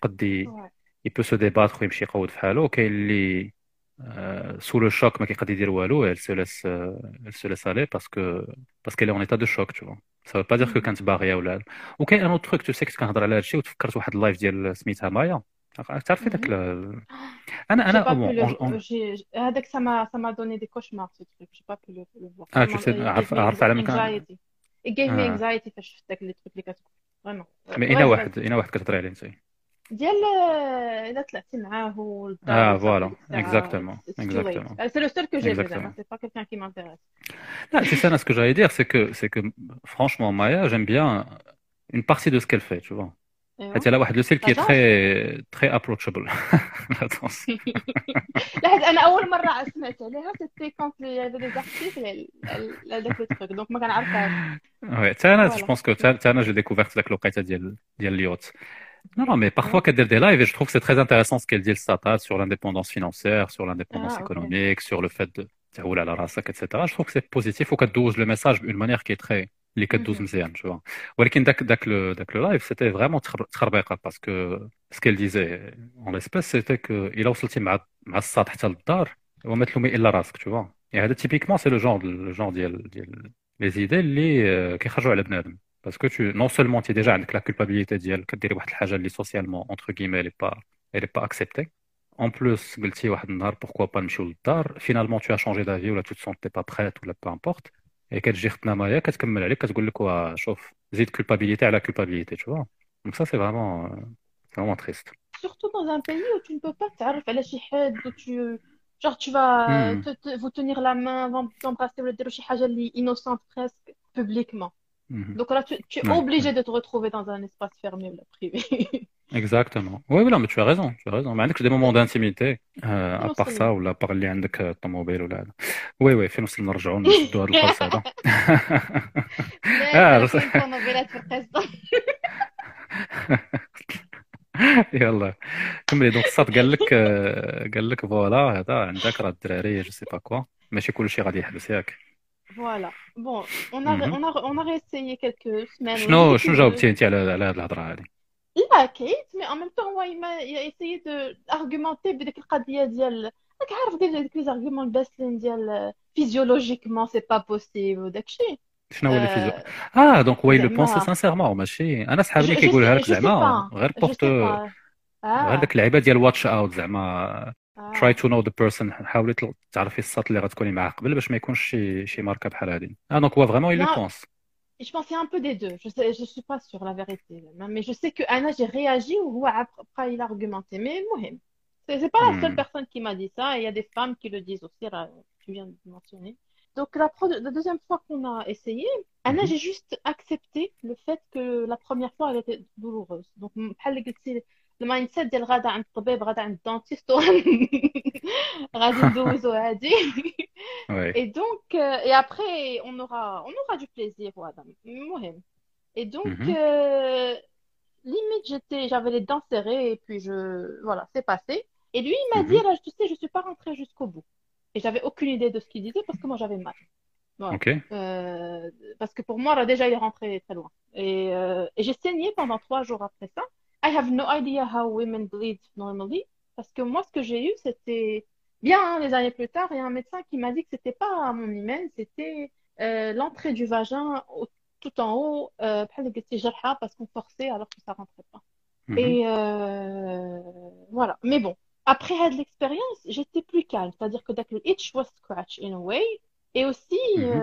Il peut se débattre ويمشي يقود في حاله وكاين اللي sous le choc ما كيقدر يدير والو elle se laisse aller parce qu'elle est en état de choc, tu vois. Ça veut pas dire que كانت باغيه ولا وكاين un autre truc tu sais que كنهضر على هادشي وتفكرت واحد اللايف ديال سميتها مايا تعرفي داك انا هذاك ça m'a donné des cauchemars ce truc j'ai pas pu le voir tu sais عارف على مكان it gave me anxiety فاش شفت داك لي تروك اللي كتقول فريمون مي اين واحد كتهضري عليه انت ديال الا طلعتي معاه والدار voilà exactement c'est le seul que j'ai vu c'est pas quelqu'un qui m'intéresse non c'est ça ce que j'allais dire c'est que franchement Maya j'aime bien une partie de ce qu'elle fait tu vois حتى لا واحد لو سيل كي très approachable attention لا انا اول مره سمعت عليها سيتي كونت لي هذا لي زارتيكل هذاك لو تروك دونك ما كنعرفهاش وي حتى انا جو بونس كو حتى انا جي ديكوفرت داك الوقيته ديال اليوت non mais parfois qu'elle dit des lives et je trouve que c'est très intéressant ce qu'elle dit le Sata sur l'indépendance financière sur l'indépendance économique sur le fait de تهول على راسك etc. je trouve que c'est positif وكدوز le message d'une manière qui est très اللي كدوز مزيان tu vois ولكن داك لو لايف c'était vraiment تخربيقه parce que ce qu'elle disait en l'espèce c'était que الا وصلتي مع الساط حتى للدار وما تلومي الا راسك tu vois et هذا typiquement c'est le genre ديال les idées اللي كيخرجوا على بنادم parce que non seulement tu es déjà avec la culpabilité ديال كديري واحد الحاجه اللي socialement entre guillemets elle est pas acceptée en plus قلتي واحد النهار pourquoi pas نمشيو للدار finalement tu as changé d'avis ou là tu te sens pas prête ou là peu importe et كتجي ختنا مايا كتكمل عليك كتقول لك شوف زيد culpabilité على culpabilité tu vois donc ça c'est vraiment triste surtout dans un pays où tu ne peux pas تعرف على شي حد où tu vas vous tenir la main t'embrasser ولا ديروا شي حاجه اللي innocente presque publiquement. Mhm. Donc là, tu es Ouais, obligé ouais. de te retrouver dans un espace fermé ou privé. Exactement. Oui, oui, non, mais tu as raison. Tu as raison. Mais عندكش des moments d'intimité à part ça نوصل ولا par اللي عندك الطوموبيل ولا هذا. وي وي فين وصل نرجعوا نشدوا هذا القرص هذا. لا راه بس- كاين طوموبيلات في القصه. يلا كملي. دونك الصاد قال لك فوالا هذا عندك راه الدراري جو سي با كوا ماشي كلشي غادي يحبس ياك. Voilà. Bon, مهم. on a réessayé quelques semaines. Oui, شنو j'étais شنو curieuse. جاوبتي انت على هذه الهضره هذه؟ لا كيت mais en même temps il a essayé d'argumenter بديك القضيه ديال راك عارف ديك لي زارغومون الباسلين ديال physiologiquement c'est pas possible وداكشي. شنو هو اللي فيزو؟ دونك وي لو بونسي زعما سانسيرمون ماشي انا je صحابي je كيقولها sais لك je sais زعما pas غير je بورت sais pas غير ah داك اللعيبه ديال واتش اوت زعما try ah to know the person. حاولي تعرفي الساط اللي غتكوني معاه قبل باش ما يكونش شي ماركه بحال هذه. دونك هو فريمون il le non pense. je pense c'est un peu des deux je suis pas sûre la vérité mais je sais que Anna j'ai réagi ou après il a argumenté mais المهم c'est pas la seule Hmm. personne qui m'a dit ça et il y a des femmes qui le disent aussi là, tu viens de mentionner donc la deuxième fois qu'on a essayé Anna Mhm. j'ai juste accepté le fait que la première fois elle était douloureuse donc بحال اللي قلتي المايند سيت ديال غادا عند الطبيب غادا عند الدونتيست غادي ندوزو هادي Oui. et donc et après on aura du plaisir voilà المهم et donc Mhm. limite j'avais les dents serrées et puis voilà c'est passé et lui il m'a dit Mhm. là tu sais je suis pas rentrée jusqu'au bout et j'avais aucune idée de ce qu'il disait parce que moi j'avais mal voilà Ok. parce que pour moi là déjà il est rentré très loin et j'ai saigné pendant 3 jours après ça I have no idea how women bleed normally parce que moi ce que j'ai eu c'était bien des années plus tard il y a un médecin qui m'a dit que c'était pas mon hymen c'était l'entrée du vagin tout en haut بحال اللي قلتي جرحة parce qu'on forçait alors que ça rentrait pas Mhm. et voilà mais bon après cette expérience j'étais plus calme c'est-à-dire que dès que le itch was scratch in a way et aussi Mhm.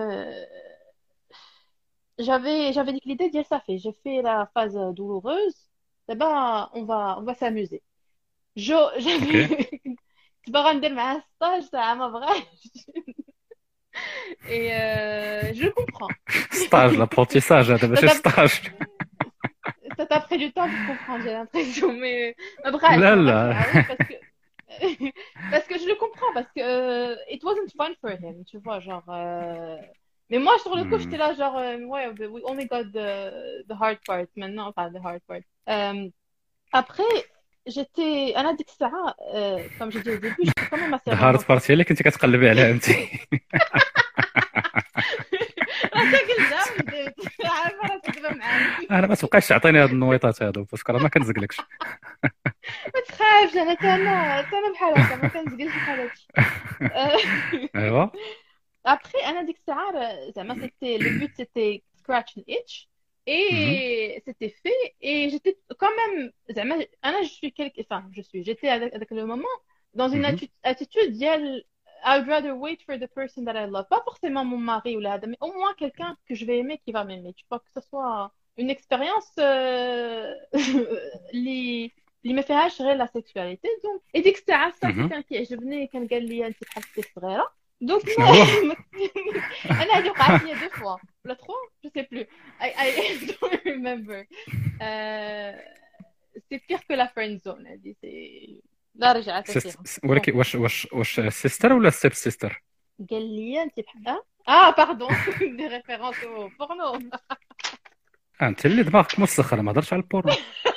j'avais dit que l'idée d'y ça fait j'ai fait la phase douloureuse d'abord on va s'amuser j'avais Ok. كنت باغا ندير معاه ستاج ساعة ما بغاش et je le comprends ستاج l'apprentissage هذا ça ماشي t'a ستاج. ça t'a pris du temps pour comprendre j'ai l'impression mais bref لا ما لا. بغاش نعاود parce que je le comprends parce que it wasn't fun for him tu vois genre mais moi sur le coup Hmm. j'étais là genre ouais we only got the hard part maintenant enfin the hard part après j'étais انا ديك الساعة comme j'ai dit au début j'étais quand même assez The hard part romantique هي اللي كنتي كتقلبي عليها انت. راسك قدام عارفة راسك دابا معايا انا ما تبقاش تعطيني هاد النويطات هادو باسكو راه ما كنزقلكش. ما تخافش انا بحال هكا ما كنزقلش بحال هادشي ايوا. après انا ديك الساعه زعما c'était le but c'était scratch and itch Mhm. et c'était fait et j'étais quand même زعما انا j'étais avec le moment dans une Mhm. attitude ديال I'd rather wait for the person that I love pas forcément mon mari ou là mais au moins quelqu'un que je vais aimer qui va m'aimer tu vois que ce soit une expérience اللي ما فيهاش غير لا سيكسواليتي دونك et ديك الساعه الصافي Mhm. كان كيعجبني كان قال لي انت بحال اختي الصغيره دونك شنو هو؟ انا هذه وقعت لي 2 fois ولا 3 je sais plus I don't remember c'est pire que la friend zone هذه c'est لا رجعت فيها ولكن واش سيستر ولا ستيب سيستر؟ قال لي انت بحال باردون دي ريفيرونس au porno انت اللي دماغك مسخر ما هضرتش على البورنو.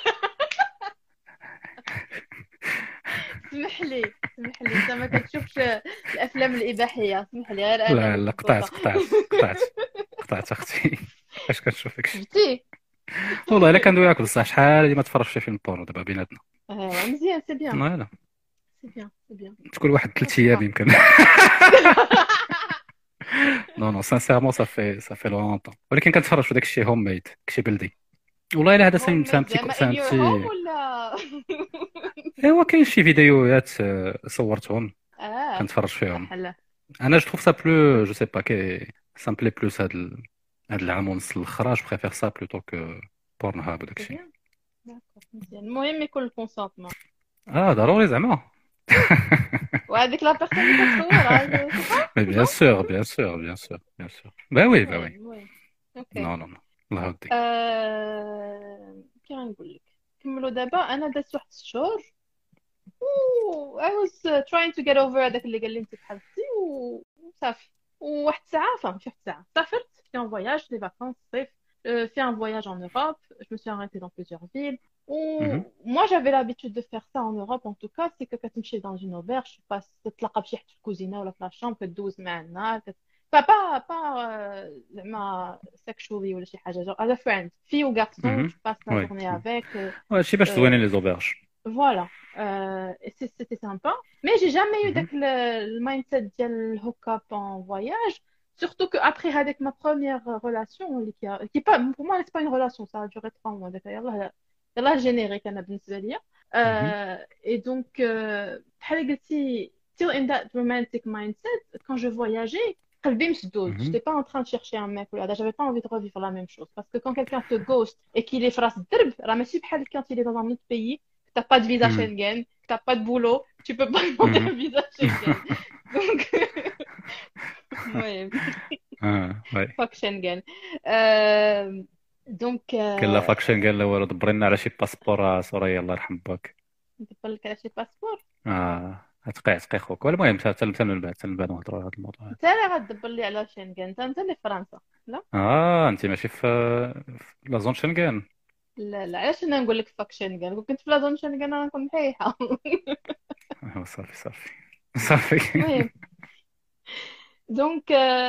اسمح لي انت ما كتشوفش الافلام الاباحيه اسمح لي غير انا لا اللي لا قطعت اختي. اش كتشوف داكشي؟ شفتي والله الا كندوي معاك بصح شحال هادي ما تفرجش في فيلم بورنو دابا بيناتنا. مزيان سي بيان لا سي بيان تقول واحد 3 ايام يمكن. نو سانسيرمون صافي لونطون ولكن كنتفرج في داكشي هوم ميد داكشي بلدي. والله الا هذا فهمتي زعما in your home ولا ايوا كاين شي فيديوهات صورتهم اه كنتفرج فيهم. بحال انا جو تروف سا بلو جو سي با سا مبلي بلوس هاد العام ونص الاخر جو بريفير سا بلوتو كو بورن هاب وداكشي. مزيان المهم يكون الكونسونتمون ضروري زعما. وهذيك لا بيرسون اللي كتصور بيان سور. با وي. المهم اوكي. نو نو نو الله يهديك. كي غنقول لك كملوا دابا انا دازت واحد 6 شهور و I was trying to get over هذاك اللي قال لي انت بحالتي وصافي. وواحد الساعه فهم شي واحد الساعه سافرت في ان فواياج دي فاكونس صيف في un voyage en Europe. Je me suis arrêtée dans plusieurs villes. Ou مهم. moi, j'avais l'habitude de faire ça en Europe, en tout cas, c'est que quand tu es dans une auberge, tu passes تتلاقى بشي حد في الكوزينة ولا في لا شامبر كدوز معنا زعما sexually ولا شي حاجة genre as a friend fille ou garçon مهم. tu passes la وي journée avec هادشي باش euh, زوينين لي زوبرج. voilà. Et c'était sympa mais j'ai jamais eu مهم. le mindset ديال le hook-up en voyage. Surtout qu'après, avec ma première relation, qui est pas, pour moi, c'est pas une relation, ça a duré 3 mois. D'ailleurs, là, le générique, أنا بالنسبة ليا. مهم. Et donc, بحال قلتي, still in that romantic mindset, quand je voyageais, قلبي مسدود. مهم. J'étais pas en train de chercher un mec ou là, j'avais pas envie de revivre la même chose. Parce que quand quelqu'un te ghost et qu'il est في راس الدرب, راه ماشي بحال quand il est dans un autre pays, que t'as pas de visa مهم. Schengen, que t'as pas de boulot, tu peux pas demander مهم. un visa Schengen. Donc, ouais. وي فاك شنغن. دونك كاين لا فاكشن قال له والو دبر لنا على شي باسبور سوريا الله يرحم باك. ندبر لك على شي باسبور. تقي خوك. المهم حتى من بعد نهضروا على هذا الموضوع. انت اللي غتدبر لي على شنغن. انت اللي في فرنسا. لا انت ماشي في لا زون شنغن. لا لا علاش انا نقول لك فاك شنغن. كنت في لازون شنغن انا نكون محيحه. صافي صافي. المهم donc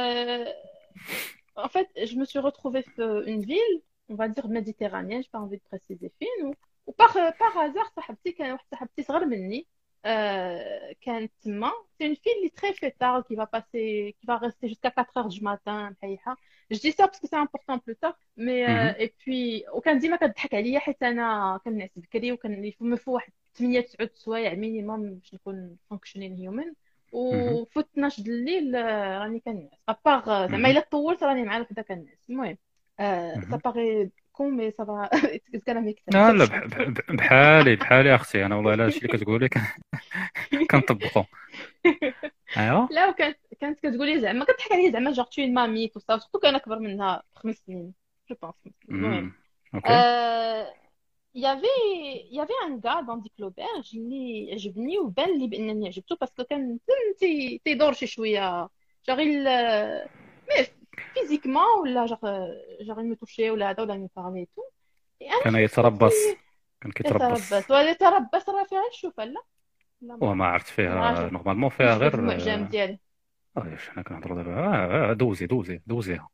en fait je me suis retrouvée dans une ville on va dire méditerranéenne. J'ai pas envie de préciser fine ou par hasard صاحبتي كان واحد صاحبتي صغر مني كانت تما. c'est une fille très fêtarde qui va rester jusqu'à 4 heures du matin محيحة. je dis ça parce que c'est important plus tard mais مهم. et puis وكان ديما كتضحك عليا حيت انا كنعس بكري وكان مفو واحد 8 9 سوايع مينيموم باش نكون functioning human. مهم. وفوت 12 د الليل راني كنعس ابار زعما مهم. الا طولت راني مع وحده كنعس. المهم سا مهم. باغي كون مي سا فا اتس كان ميك لا سنس. بحالي اختي انا والله الا هادشي اللي كتقولي كنطبقو. ايوا لا كانت كتقولي زعما كتضحك عليا زعما جور تو مامي تو سا سورتو كان اكبر منها ب5 سنين جو بونس. المهم اوكي. il y avait un gars dans ديك l'auberge اللي عجبني وبان لي بانني عجبته باسكو كان تيدور شي شويه جاغي مي فيزيكمون ولا جاغي مي توشي ولا هذا ولا مي بارلي تو. انا كان شفت يتربص صوتي كان كيتربص. يتربص راه فيها الشوفه. لا لا وما عرفت فيها معجب نورمالمون فيها نشوف غير المعجم ديالي. واش حنا كنهضروا دابا دوزيها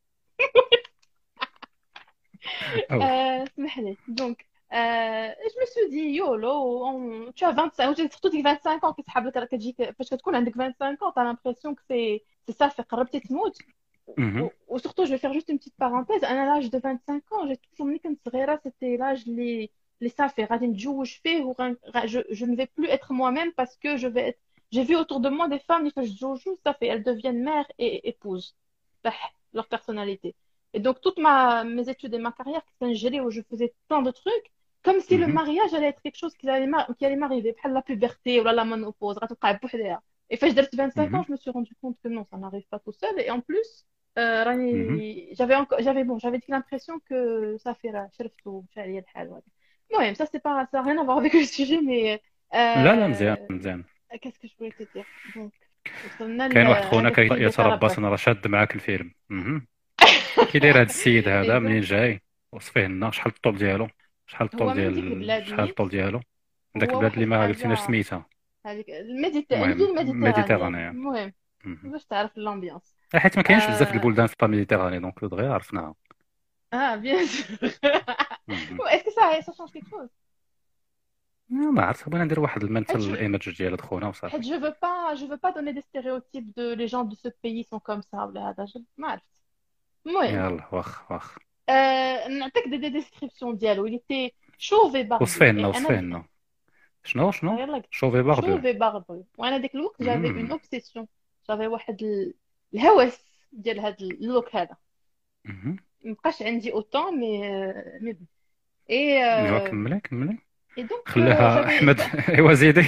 اسمح لي دونك je me suis dit YOLO tu as 25 surtout ديك 25 ans كتسحب لك راه كتجيك فاش كتكون عندك 25 ans t'as l'impression que c'est ça fait قربتي تموت. مهم. و surtout je vais faire juste une petite parenthèse انا l'âge de 25 ans j'ai toujours ملي كنت صغيره c'était l'âge اللي صافي غادي نتزوج فيه je ne vais plus être moi-même parce que je vais être j'ai vu autour de moi des femmes اللي فاش تزوجوا صافي elles deviennent mères et épouses leur personnalité. Et donc, toutes mes études et ma carrière, c'était un gelé où je faisais plein de trucs, comme si le مهم. mariage allait être quelque chose qui allait m'arriver, بحال la puberté ou la ménopause, غتوقع بوحدها. Et فاش درت 25 ans, مهم. je me suis rendu compte que non, ça n'arrive pas tout seul. Et en plus, مهم. j'avais dit l'impression que ça fait la شرفت ومشى عليا الحال وهذا. المهم, ça n'a rien à voir avec le sujet, mais لا مزيان. qu'est-ce que je voulais te dire? Donc, وصلنا كاين واحد خونا هذاك اللي يتربص كيتربص. انا راه شاد معاك الفيلم. كي داير هذا السيد هذا Et منين donc, جاي وصفيه لنا شحال الطول ديالو هو من ديك البلاد شحال الطول نيت. ديالو داك هو البلاد اللي واحد ما قلتيناش حاجة سميتها. هذيك المهم الفيل ميديتيرانية. ميديتيرانيا. المهم باش تعرف الامبيونس. حيت ما كاينش بزاف آه البلدان في الميديتيراني دونك دغيا عرفناها. bien sûr. مهم. Est-ce que ça change quelque chose? ما عرفت بغينا ندير واحد حيت المنتال ايمج ديال خونا حيت وصافي. je veux pas donner des stéréotypes de les gens de ce pays sont comme ça ولا هذا ما عرفت. المهم يلا واخ نعطيك دي descriptions ديالو. il était chauve et barbu وصفيه et لنا انا شنو يلا قلت شوفي باردو. chauve et barbu وانا ديك الوقت j'avais une مهم. obsession. j'avais واحد الهوس ديال هذا اللوك هذا. مهم. مبقاش عندي autant mais bon. et ايوا كملي et donc خليها j'avais احمد. ايوا زيدي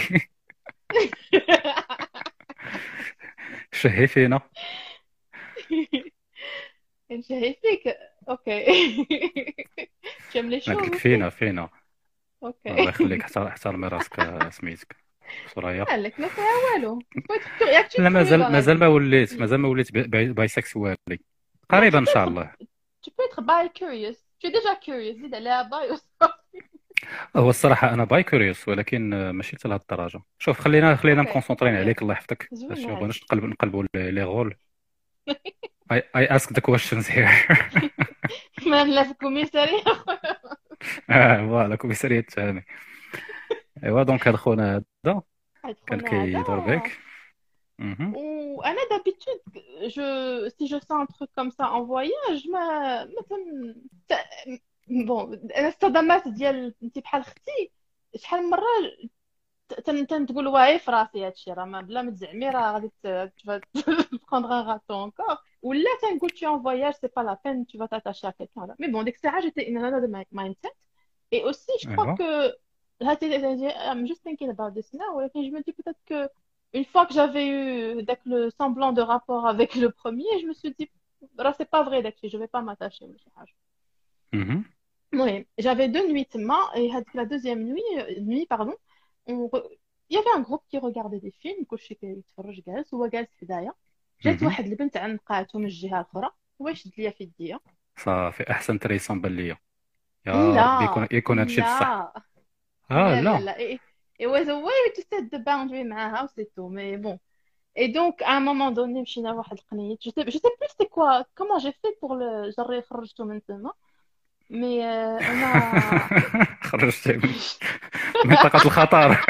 شهي فينا. نشهي فيك. اوكي. tu aimes les قلت chauves لك aussi. فينا الله اوكي. يخليك، احترمي راسك سميتك سوريا. قالك ما فيها والو. ياك tu es لا curieux dans la مازال vie. مازال ما وليت بايسكسوالي، Non, قريبا ان شاء الله. tu peux être bi curious. Tu es déjà curious. زيد عليها باي وصافي. هو الصراحه انا باي كوريوس، ولكن ماشي حتى لهاد الدرجه. شوف خلينا اوكي مكونسونطرين اوكي عليك، الله يحفظك، باش زوينة ما هادي. بغيناش نقلبوا لي رول. I ask the questions here. ما لا في كوميسارية. فوالا كوميسارية التهاني. ايوا دونك هاد خونا هذا هاد كان خونا كيدور هذا. بك. مهم. وانا d'habitude si je sens un truc comme ça en voyage ما مثلا بون انا الصدمات ديال انت بحال اختي شحال من مره تنقول واعي في راسي هادشي راه بلا ما تزعمي راه غادي prendre un râteau encore ولا تنقول tu es en voyage c'est pas la peine tu vas t'attacher à quelqu'un là mais bon dيك الساعه j'étais in another mindset et aussi je crois ايوا. que I'm just thinking about this now ولكن je me dis peut-être que une fois que j'avais eu le semblant de rapport avec le premier je me suis dit راه c'est pas vrai داكشي je vais pas m'attacher ولا شي حاجه. مهم. Oui, j'avais 2 nuits تما et la deuxième nuit pardon il y avait un groupe qui regardait des films كلشي كيتفرج جالس هو جالس حدايا جات مهم. واحد البنت عنقاتو من الجهه الاخرى هو يشد ليا في يديا. صافي احسن تريسون بان ليا، يا ربي يكون هادشي بصح. لا لا لا. لا it was a way to set the boundary معاها و c'est tout mais bon et donc à un moment donné مشينا لواحد القنيت je sais plus c'était quoi comment j'ai fait pour le جري خرجته من تما mais انا خرجت من منطقة الخطر.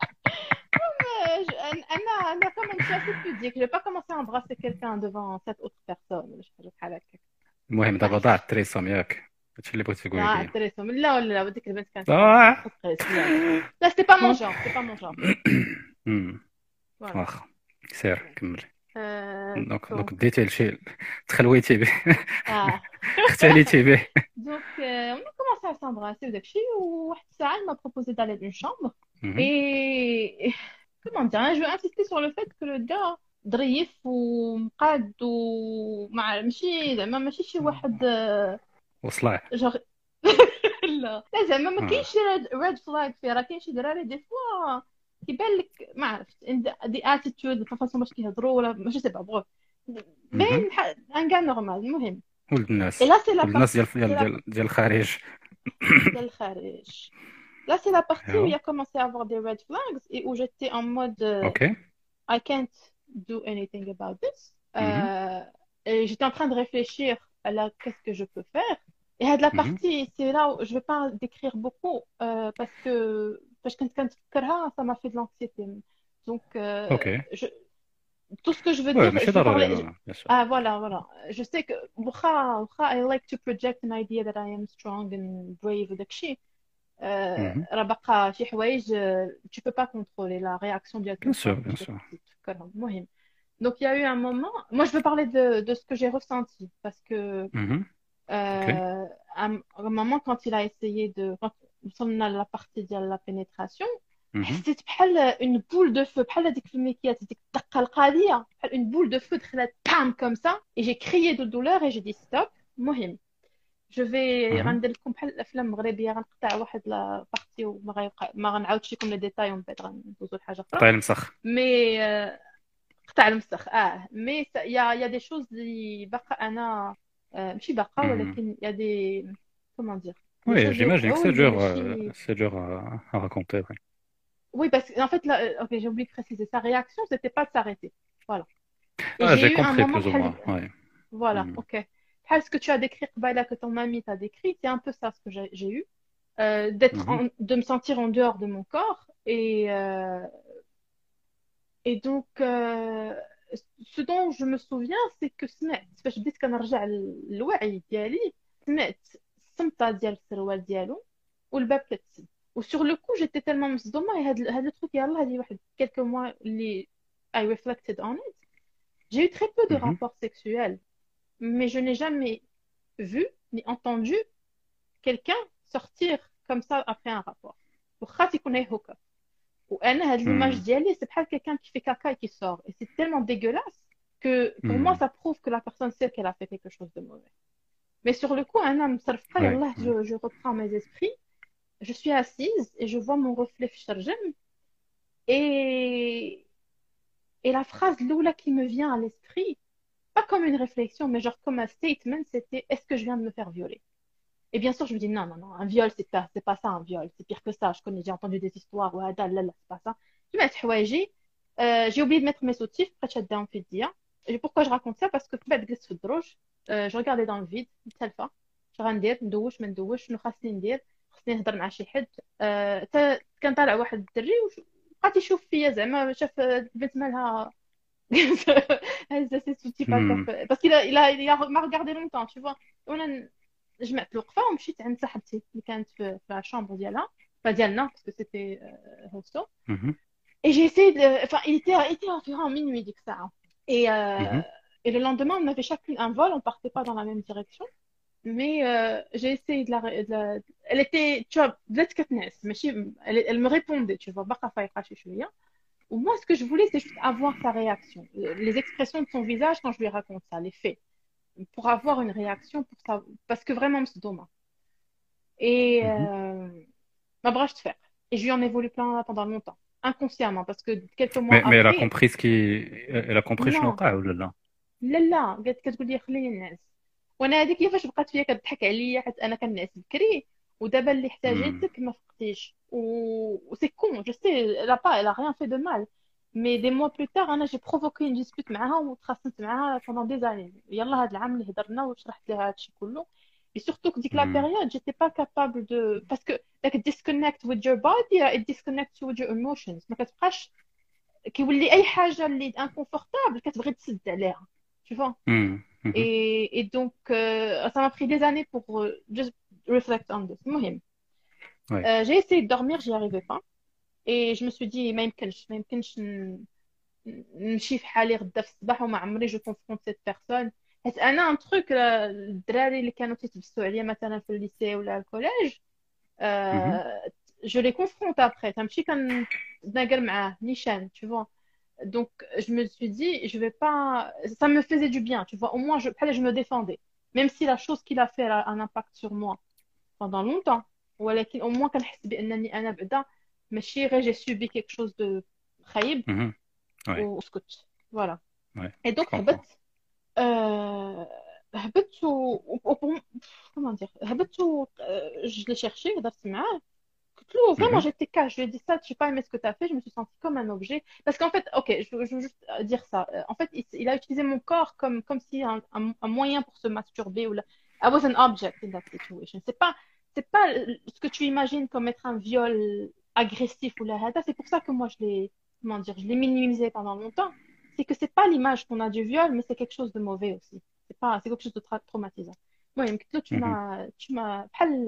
انا comme je suis assez pudique je vais pas commencer à embrasser quelqu'un devant cette autre personne ولا شي حاجه بحال هكا. المهم دابا ضاع التريسون ياك، هادشي اللي بغيت تقولي لي. التريسوم لا ولا وديك البنت كانت ضاع. لا c'était pas mon genre c'est pas mon genre voilà. واخا سير كملي. دونك donc ديتي لشي تخلويتي به، ah اختليتي به. donc on a commencé à s'embrasser وداكشي وواحد الساعه elle m'a proposé d'aller d'une chambre مهم. et comment dire je veux insister sur le fait que le gars ظريف ومقاد ومع ماشي شي واحد وصلاه. جوغ لا لا زعما ما كاينش شي ريد فلاغ فيه راه كاين شي دراري دي فوا كيبان لك ما عرفت دي اتيتود فاصون باش كيهضروا ولا ماشي سي با بغو باين ان كاع نورمال. المهم ولد الناس، et là c'est la ولد الناس partie ديال الخارج. ديال الخارج. Là c'est la partie où il ايوا. a commencé à avoir des red flags et où j'étais en mode اوكي. I can't do anything about this. مهم. Et j'étais en train de réfléchir à qu'est-ce que je peux faire. Et de la مهم. partie, c'est là où je vais pas décrire beaucoup parce que quand ça m'a fait de l'anxiété. Donc اوكي. tout ce que je veux وي dire, ماشي je vais ضروري parler. بيان سور. Ah voilà. Je sais que واخا I like to project an idea that I am strong and brave وداك الشيء. مهم. راه باقا شي حوايج tu peux pas contrôler la réaction ديال بيان سور quelqu'un بيان باش سور. تفكرهم. المهم donc il y a eu un moment moi je veux parler de ce que j'ai ressenti parce que مهم. اوكي. à un moment quand il a essayé quand nous sommes à la partie de la pénétration مهم. حسيت بحال une boule de feu بحال هذيك في الميكيات ديك الدقه القاضيه بحال une boule de feu دخلت بام comme ça et j'ai crié de douleur et j'ai dit stop. المهم جو في مهم. غندير لكم بحال الافلام المغربيه غنقطع واحد لا بارتي ما غنعاودش لكم لي ديتاي ومن بعد غندوزو لحاجه اخرى قطع المسخ. مي قطع المسخ مي يا دي شوز اللي باقا انا ماشي باقا مهم. ولكن يا دي كومون دير وي جيماجين وقعوا que ماشي c'est dur à raconter. Oui. oui parce que en fait là ok j'ai oublié de préciser sa réaction c'était pas de s'arrêter voilà et Ah, j'ai j'ai eu un compris moment plus ou moins. Oui. voilà Mhm. ok ce que tu as décrit Qbaila, que ton ami t'a décrit c'est un peu ça ce que j'ai eu d'être Mhm. de me sentir en dehors de mon corps et donc ce dont je me souviens c'est que سمعت فاش بديت كنرجع للوعي ديالي سمعت الصمتة ديال السروال ديالو والباب كتسد وسور لو كو جيتي تellement مصدومة هاد التروك يلاه هادي واحد quelques mois اللي I reflected on it j'ai eu très peu de Mhm. rapports sexuels mais je n'ai jamais vu ni entendu quelqu'un sortir comme ça après un rapport واخا تيكون هكا وانا هاد l'image Mhm. ديالي c'est بحال quelqu'un qui fait caca et qui sort et c'est tellement dégueulasse que pour moi Mhm. ça prouve que la personne sait qu'elle a fait quelque chose de mauvais Mais sur le coup, un homme, Ouais. je reprends mes esprits. Je suis assise et je vois mon reflet في الشرجم. Et, et la phrase Loula qui me vient à l'esprit, pas comme une réflexion, mais genre comme un statement, c'était est-ce que je viens de me faire violer? Et bien sûr, je me dis non, non, non, un viol, c'est pas ça un viol, c'est pire que ça. J'ai entendu des histoires, ouais, là, là, c'est pas ça. Je vais mettre حوايجي. J'ai oublié de mettre mes soutifs, après شداهم في الدية. Et pourquoi je raconte ça? Parce que بعد جلست في الدروج, je regardais dans le vide, متسلفة. شنو غندير؟ ندوش ما ندوش، شنو خاصني ندير؟ خاصني نهضر مع شي حد. كان طالع واحد الدري وبقى تيشوف فيا زعما شاف البنت مالها هزه سي سوتي Hmm. باسكو ما regardé longtemps tu vois. وانا جمعت الوقفه ومشيت عند صاحبتي اللي كانت في الشامبر ديالها ديالنا باسكو سيتي هوستو. Mhm. Et j'ai essayé de... Enfin, il était environ minuit, ديك الساعة. Mhm. Et le lendemain, on avait chacune un vol, on partait pas dans la même direction. Mais j'ai essayé Elle était, tu vois, بدات كتنعس ماشي elle me répondait, tu vois, باقا فايقة شي شوية. Ou moi, ce que je voulais, c'est juste avoir sa réaction. Les expressions de son visage quand je lui raconte ça, les faits. Pour avoir une réaction, parce que vraiment, c'est dommage. Et Mhm. ma brach de fer. Et je lui en ai voulu plein pendant longtemps, inconsciemment, parce que quelques mois Mais elle a après, compris elle a compris شنو non, وقع ولا لا؟ لا لا قالت كتقول لي خليني نعس. وانا هذيك كيفاش بقات فيا كتضحك عليا حيت انا كنعس بكري ودابا اللي Hmm. احتاجتك ما فقتيش سي كون جو سي elle a rien fait de mal. Mais des mois plus tard انا j'ai provoqué une dispute معاها وتخاصمت معاها pendant des années. يلا هذا العام اللي هضرنا وشرحت لها هادشي كله. Et surtout que ديك la Hmm. période j'étais pas capable de parce que like disconnect with your body it disconnects you with your emotions. ما كتبقاش كيولي اي حاجه اللي انكونفورتابل كتبغي تسد عليها tu vois. Hmm. Mhm. Et donc, ça m'a pris des années pour just reflect on this. المهم. Ouais. J'ai essayé de dormir, j'y arrivais pas. Et je me suis dit, ما يمكنش نمشي في حالي غدا في الصباح وما عمري جو كونفرونت سيت بيرسون. حيت انا ان تروك الدراري اللي كانوا تيتبسوا عليا مثلا في الليسي ولا الكوليج Mhm. جو لي كونفرونت ابخي تمشي كنتناقر معاه نيشان tu vois. Donc, je me suis dit, je vais pas. Ça me faisait du bien, tu vois. Au moins, je me défendais. Même si la chose qu'il a fait a un impact sur moi pendant longtemps. ولكن au moins كنحس بأنني أنا بعدا ماشي غير j'ai subi quelque chose de خايب Mhm. Ouais. وسكت. Voilà. Ouais. Et Je donc, comprends. هبط comment dire هبط je l'ai cherché هضرت معاه. Vraiment, Mhm. j'étais cash. Je lui ai dit ça, je n'ai pas aimé ce que tu as fait. Je me suis sentie comme un objet. Parce qu'en fait, ok, je veux juste dire ça. En fait, il a utilisé mon corps comme si un moyen pour se masturber. I was an object in that situation. C'est pas ce que tu imagines comme être un viol agressif ou la hada. C'est pour ça que moi, comment dire, je l'ai minimisé pendant longtemps. C'est que c'est pas l'image qu'on a du viol, mais c'est quelque chose de mauvais aussi. C'est quelque chose de traumatisant. Moi, Mhm. tu m'as,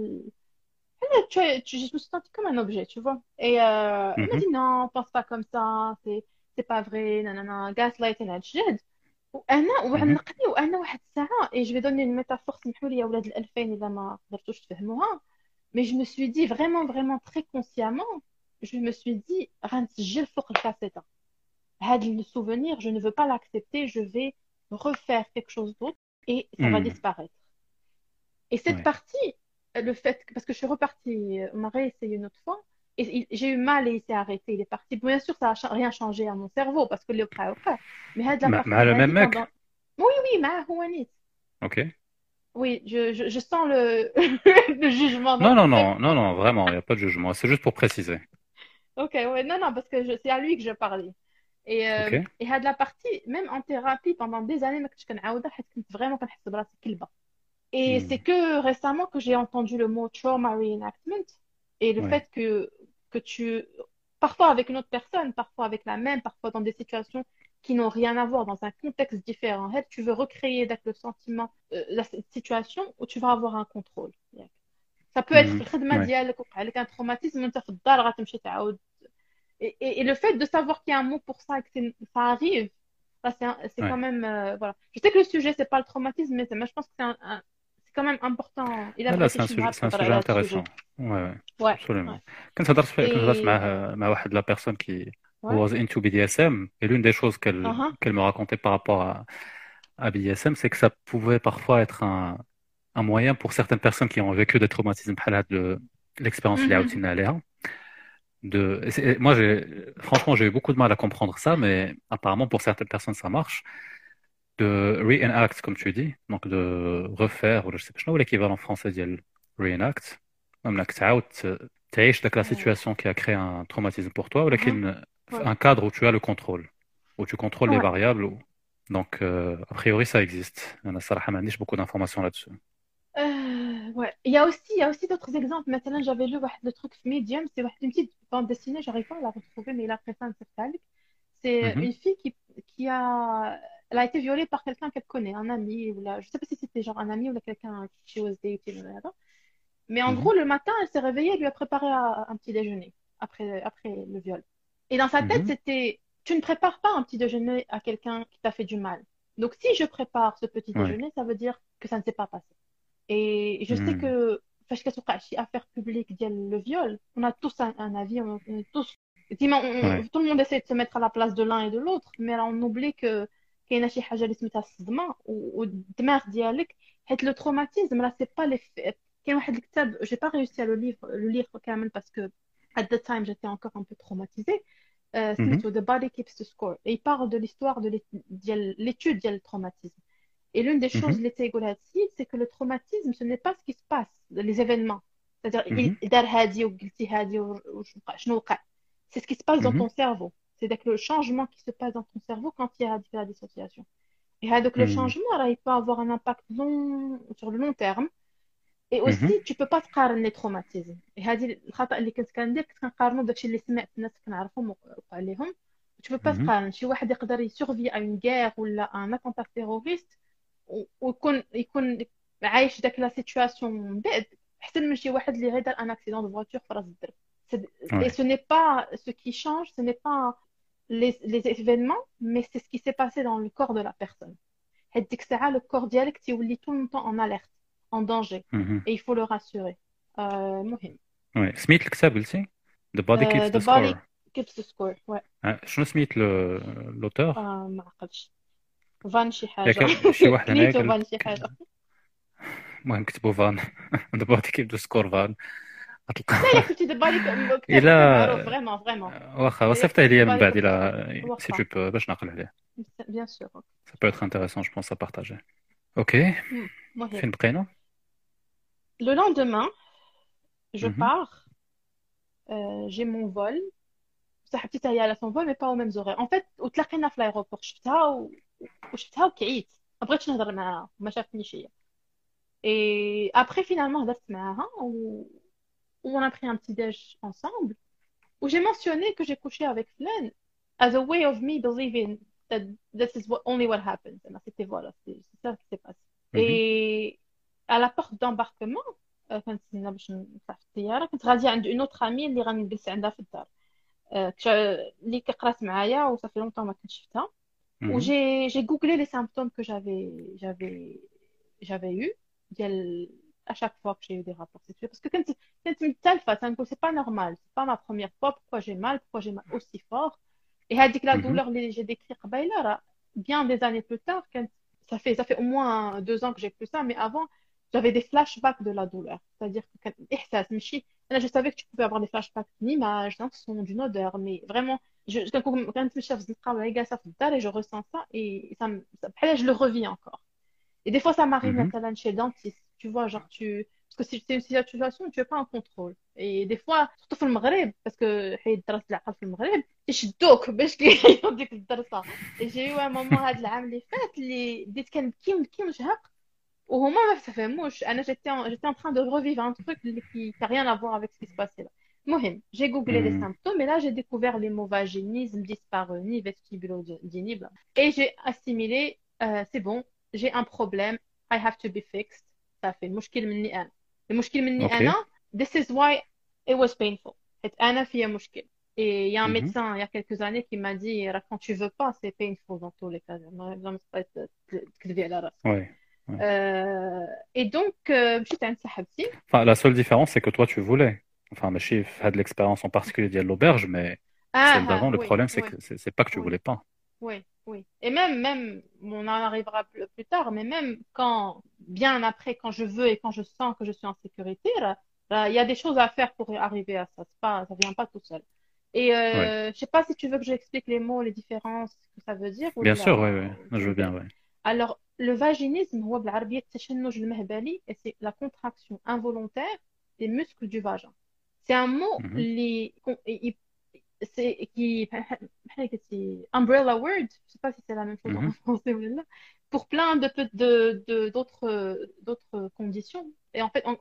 je me suis sentie comme un objet, tu vois. Et il m'a Mhm. dit non, pense pas comme ça, c'est pas vrai, nanana, gaslighting, الجد. Mhm. وعنقني وانا واحد الساعه et je vais donner une métaphore سمحوا لي يا ولاد الألفين اذا ما قدرتوش تفهموها. Mais je me suis dit vraiment vraiment très consciemment, je me suis dit غنسجل فوق الكاسيطه هذا le souvenir, je ne veux pas l'accepter, je vais refaire quelque chose d'autre et ça va Hmm. disparaître. Et cette Ouais. partie, parce que je suis repartie, on a réessayé une autre fois, et j'ai eu mal et il s'est arrêté, il est parti. Bien sûr, ça n'a rien changé à mon cerveau, parce que le après. Mais de la مع partie, le même هذه mec? pendant. Oui, oui, ma Houanis. Ok. Oui, je sens le, le jugement dans Non, non, tes non, non, non, vraiment, il n'y a pas de jugement. C'est juste pour préciser. Ok, ouais, non, non, parce que c'est à lui que je parlais. Ok. Et de la partie, même en thérapie, pendant des années, ما كنتش كنعاودها حيت كنت vraiment كنحس براسي كلبة. Et c'est Hmm. que récemment que j'ai entendu le mot trauma reenactment et le Ouais. fait que tu, parfois avec une autre personne, parfois avec la même, parfois dans des situations qui n'ont rien à voir, dans un contexte différent, en fait, tu veux recréer le sentiment, la situation où tu vas avoir un contrôle. Ça peut être Hmm. في الخدمة Ouais. ديالك وقع لك un traumatisme وانت في الدار غتمشي تعاود. Et le fait de savoir qu'il y a un mot pour ça et que ça arrive, ça, c'est quand Ouais. même. Voilà. Je sais que le sujet, c'est pas le traumatisme, mais je pense que c'est quand même important. Il a لا لا بغيتي شي نهار c'est un تهضر sujet على هذا السوجي. intéressant. Ouais, ouais, Ouais, ouais. absolument. كنت هضرت Et. مع واحد la personne qui who Ouais. was into BDSM et l'une des choses Uh-huh. qu'elle me racontait par rapport à BDSM, c'est que ça pouvait parfois être un moyen pour certaines personnes qui ont vécu des traumatismes بحال هاد l'expérience اللي Mhm. عاودتينا عليها moi franchement j'ai eu beaucoup de mal à comprendre ça mais apparemment pour certaines personnes ça marche de reenact comme tu dis donc de refaire ou je sais pas شنو هو l'équivalent français ديال reenact انك تعاود تعيش داك la situation qui a créé un traumatisme pour toi Mhm. ولكن Ouais. un cadre où tu as le contrôle où tu contrôles les Ouais. variables donc a priori ça existe انا الصراحه ما عنديش beaucoup d'informations là-dessus. Ouais. Il y a aussi d'autres exemples. Maintenant, j'avais lu le truc Medium, c'est une petite bande dessinée, j'arrive pas à la retrouver, mais il a fait ça un certain. C'est Mhm, une fille qui a, elle a été violée par quelqu'un qu'elle connaît, un ami, ou là, je sais pas si c'était genre un ami ou là, quelqu'un qui she was dating, whatever. Mais en mhm, gros, le matin, elle s'est réveillée, elle lui a préparé un petit déjeuner après le viol. Et dans sa tête, mhm, c'était, tu ne prépares pas un petit déjeuner à quelqu'un qui t'a fait du mal. Donc, si je prépare ce petit ouais, déjeuner, ça veut dire que ça ne s'est pas passé. Et je sais mhm, que فاش كتوقع شي affaire publique ديال le viol, on a tous un avis, on est tous ديما ouais, tout le monde essaie de se mettre à la place de l'un et de l'autre, mais là on oublie que كاينه شي حاجه اللي سميتها الصدمه والدماغ ديالك حيت لو تروماتيزم راه سي با لي كاين واحد الكتاب j'ai pas réussi à le lire كامل parce que at the time j'étais encore un peu traumatisée mhm, سميتو The Body Keeps the Score et il parle de l'histoire ديال l'étude ديال le traumatisme. Et l'une des choses, mhm, c'est que le traumatisme, ce n'est pas ce qui se passe, les événements. C'est-à-dire, mhm, دار هادي وقلتي هادي شنو وقع. C'est ce qui se passe dans mhm, ton cerveau. C'est-à-dire que le changement qui se passe dans ton cerveau quand il y a la dissociation. Et donc, le mhm, changement, là, il peut avoir un impact sur le long terme. Et aussi, mhm, tu peux pas تقارن les traumatismes. Et هذه الخطأ اللي كنت كندير كنت كنقارنو بداكشي اللي سمعت الناس كنعرفهم وقع لهم. Tu peux pas mhm, تقارن شي واحد يقدر يسورفي à une guerre ولا un attentat terroriste ويكون عايش داك لا سيتوياسيون من بعد احسن من شي واحد اللي غير دار ان اكسيدون دو فواتور في راس الدرب. Et ouais, ce n'est pas ce qui change, ce n'est pas les événements, mais c'est ce qui s'est passé dans le corps de la personne. حيت ديك الساعة le corps ديالك تيولي tout le temps en alerte, en danger. mhm, Et il faut le rassurer. مهم. ouais. سميت الكتاب قلتي The Body Keeps The the body Score. keeps the score. Ouais. شنو سميت l'auteur ما عقلتش. فان شي حاجة. ياك شي واحد هنايا كنيتو قال فان شي حاجة. المهم كتبوا فان The Body Keeps the Score فان غتلقى لا لا كنتي دبالي كتاب معروف الا فريمون فريمون. واخا Et وصيفطيه ليا من دبالي بعد كيف الا si واخا. tu peux باش نعقل عليه. Bien sûr. Ça peut être intéressant je pense à partager. Ok, مهم. فين بقينا؟ Le lendemain, je Mhm, pars, j'ai mon vol. صاحبتي حتى هي على son vol mais pas aux mêmes horaires. En fait, وتلاقينا في l'aéroport شفتها وشفتها وكعيت. ما بغيتش نهضر معاها ما شافتنيش هي. Et après finalement هضرت معاها on a pris un petit déj ensemble où j'ai mentionné que j'ai couché avec Flan as a way of me believing that this is only what happens. C'était voilà, c'est ça qui s'est passé. mhm, Et à la porte d'embarquement كانت تسنى باش نطلع في الطياره كنت غاديه عند اون اوتر امي اللي غنجلس عندها في الدار اللي كقرات معايا وصافي لونطون ما كنتش شفتها mhm, وجي جوجلي لي سيمبتوم que j'avais eu ديال à chaque fois que j'ai eu des rapports sexuels parce que كنت متالفه تنقول c'est pas normal c'est pas ma première fois pourquoi j'ai mal aussi fort et هذيك la mhm, douleur اللي j'ai décrit قبيله راه bien des années plus tard كانت ça fait au moins 2 ans que j'ai plus ça mais avant j'avais des flashbacks de la douleur. C'est-à-dire que إحساس ماشي أنا je savais que tu pouvais avoir des flashbacks d'une image, d'un son, d'une odeur, mais vraiment quand je suis جالسة في الدار et je ressens ça et بحال je le revis encore. Et des fois ça m'arrive mhm, مثلا chez le dentiste, tu vois genre parce que si c'est une situation où tu n'as pas un contrôle. Et des fois surtout في المغرب parce que حيت درت العقل في المغرب يشدوك باش كيعيطوا ديك الدرسة. Et j'ai eu un moment هذا العام اللي فات اللي بديت كنبكي ونشهق وهما ما فهموش انا j'étais en train de revivre un truc qui n'a rien à voir avec ce qui se passait là. مهم j'ai googlé les mhm. symptômes et là j'ai découvert les mots vaginisme, dyspareunie, vestibulodynie et j'ai assimilé c'est bon j'ai un problème I have to be fixed. صافي المشكل مني انا المشكل مني Ok. انا this is why it was painful حيت انا فيا مشكل. Et il y a un Mhm, médecin il y a quelques années qui m'a dit quand tu veux pas c'est painful dans tous les cas ما تكذبي على راسك. ouais, ouais. Et donc, مشيت عند صاحبتي. Enfin, la seule différence, c'est que toi, tu voulais. Enfin, ماشي في هاد l'expérience en particulier ديال l'auberge, mais celle d'avant, le Oui, problème, c'est oui, que c'est pas que tu oui, voulais pas. oui, oui. Et même, on en arrivera plus tard, mais même quand bien après, quand je veux et quand je sens que je suis en sécurité, là, il y a des choses à faire pour arriver à ça. Ça vient pas tout seul. Et Oui. je sais pas si tu veux que j'explique les mots, les différences, ce que ça veut dire ou Bien sûr, oui, là. oui. Je veux bien, oui. Alors, le vaginisme, هو بالعربية التشنج المهبلي, et c'est la contraction involontaire des muscles du vagin. C'est un mot Mhm. qui umbrella word, je sais pas si c'est la même chose en Mhm. français ou là, pour plein d'autres conditions. Et en fait,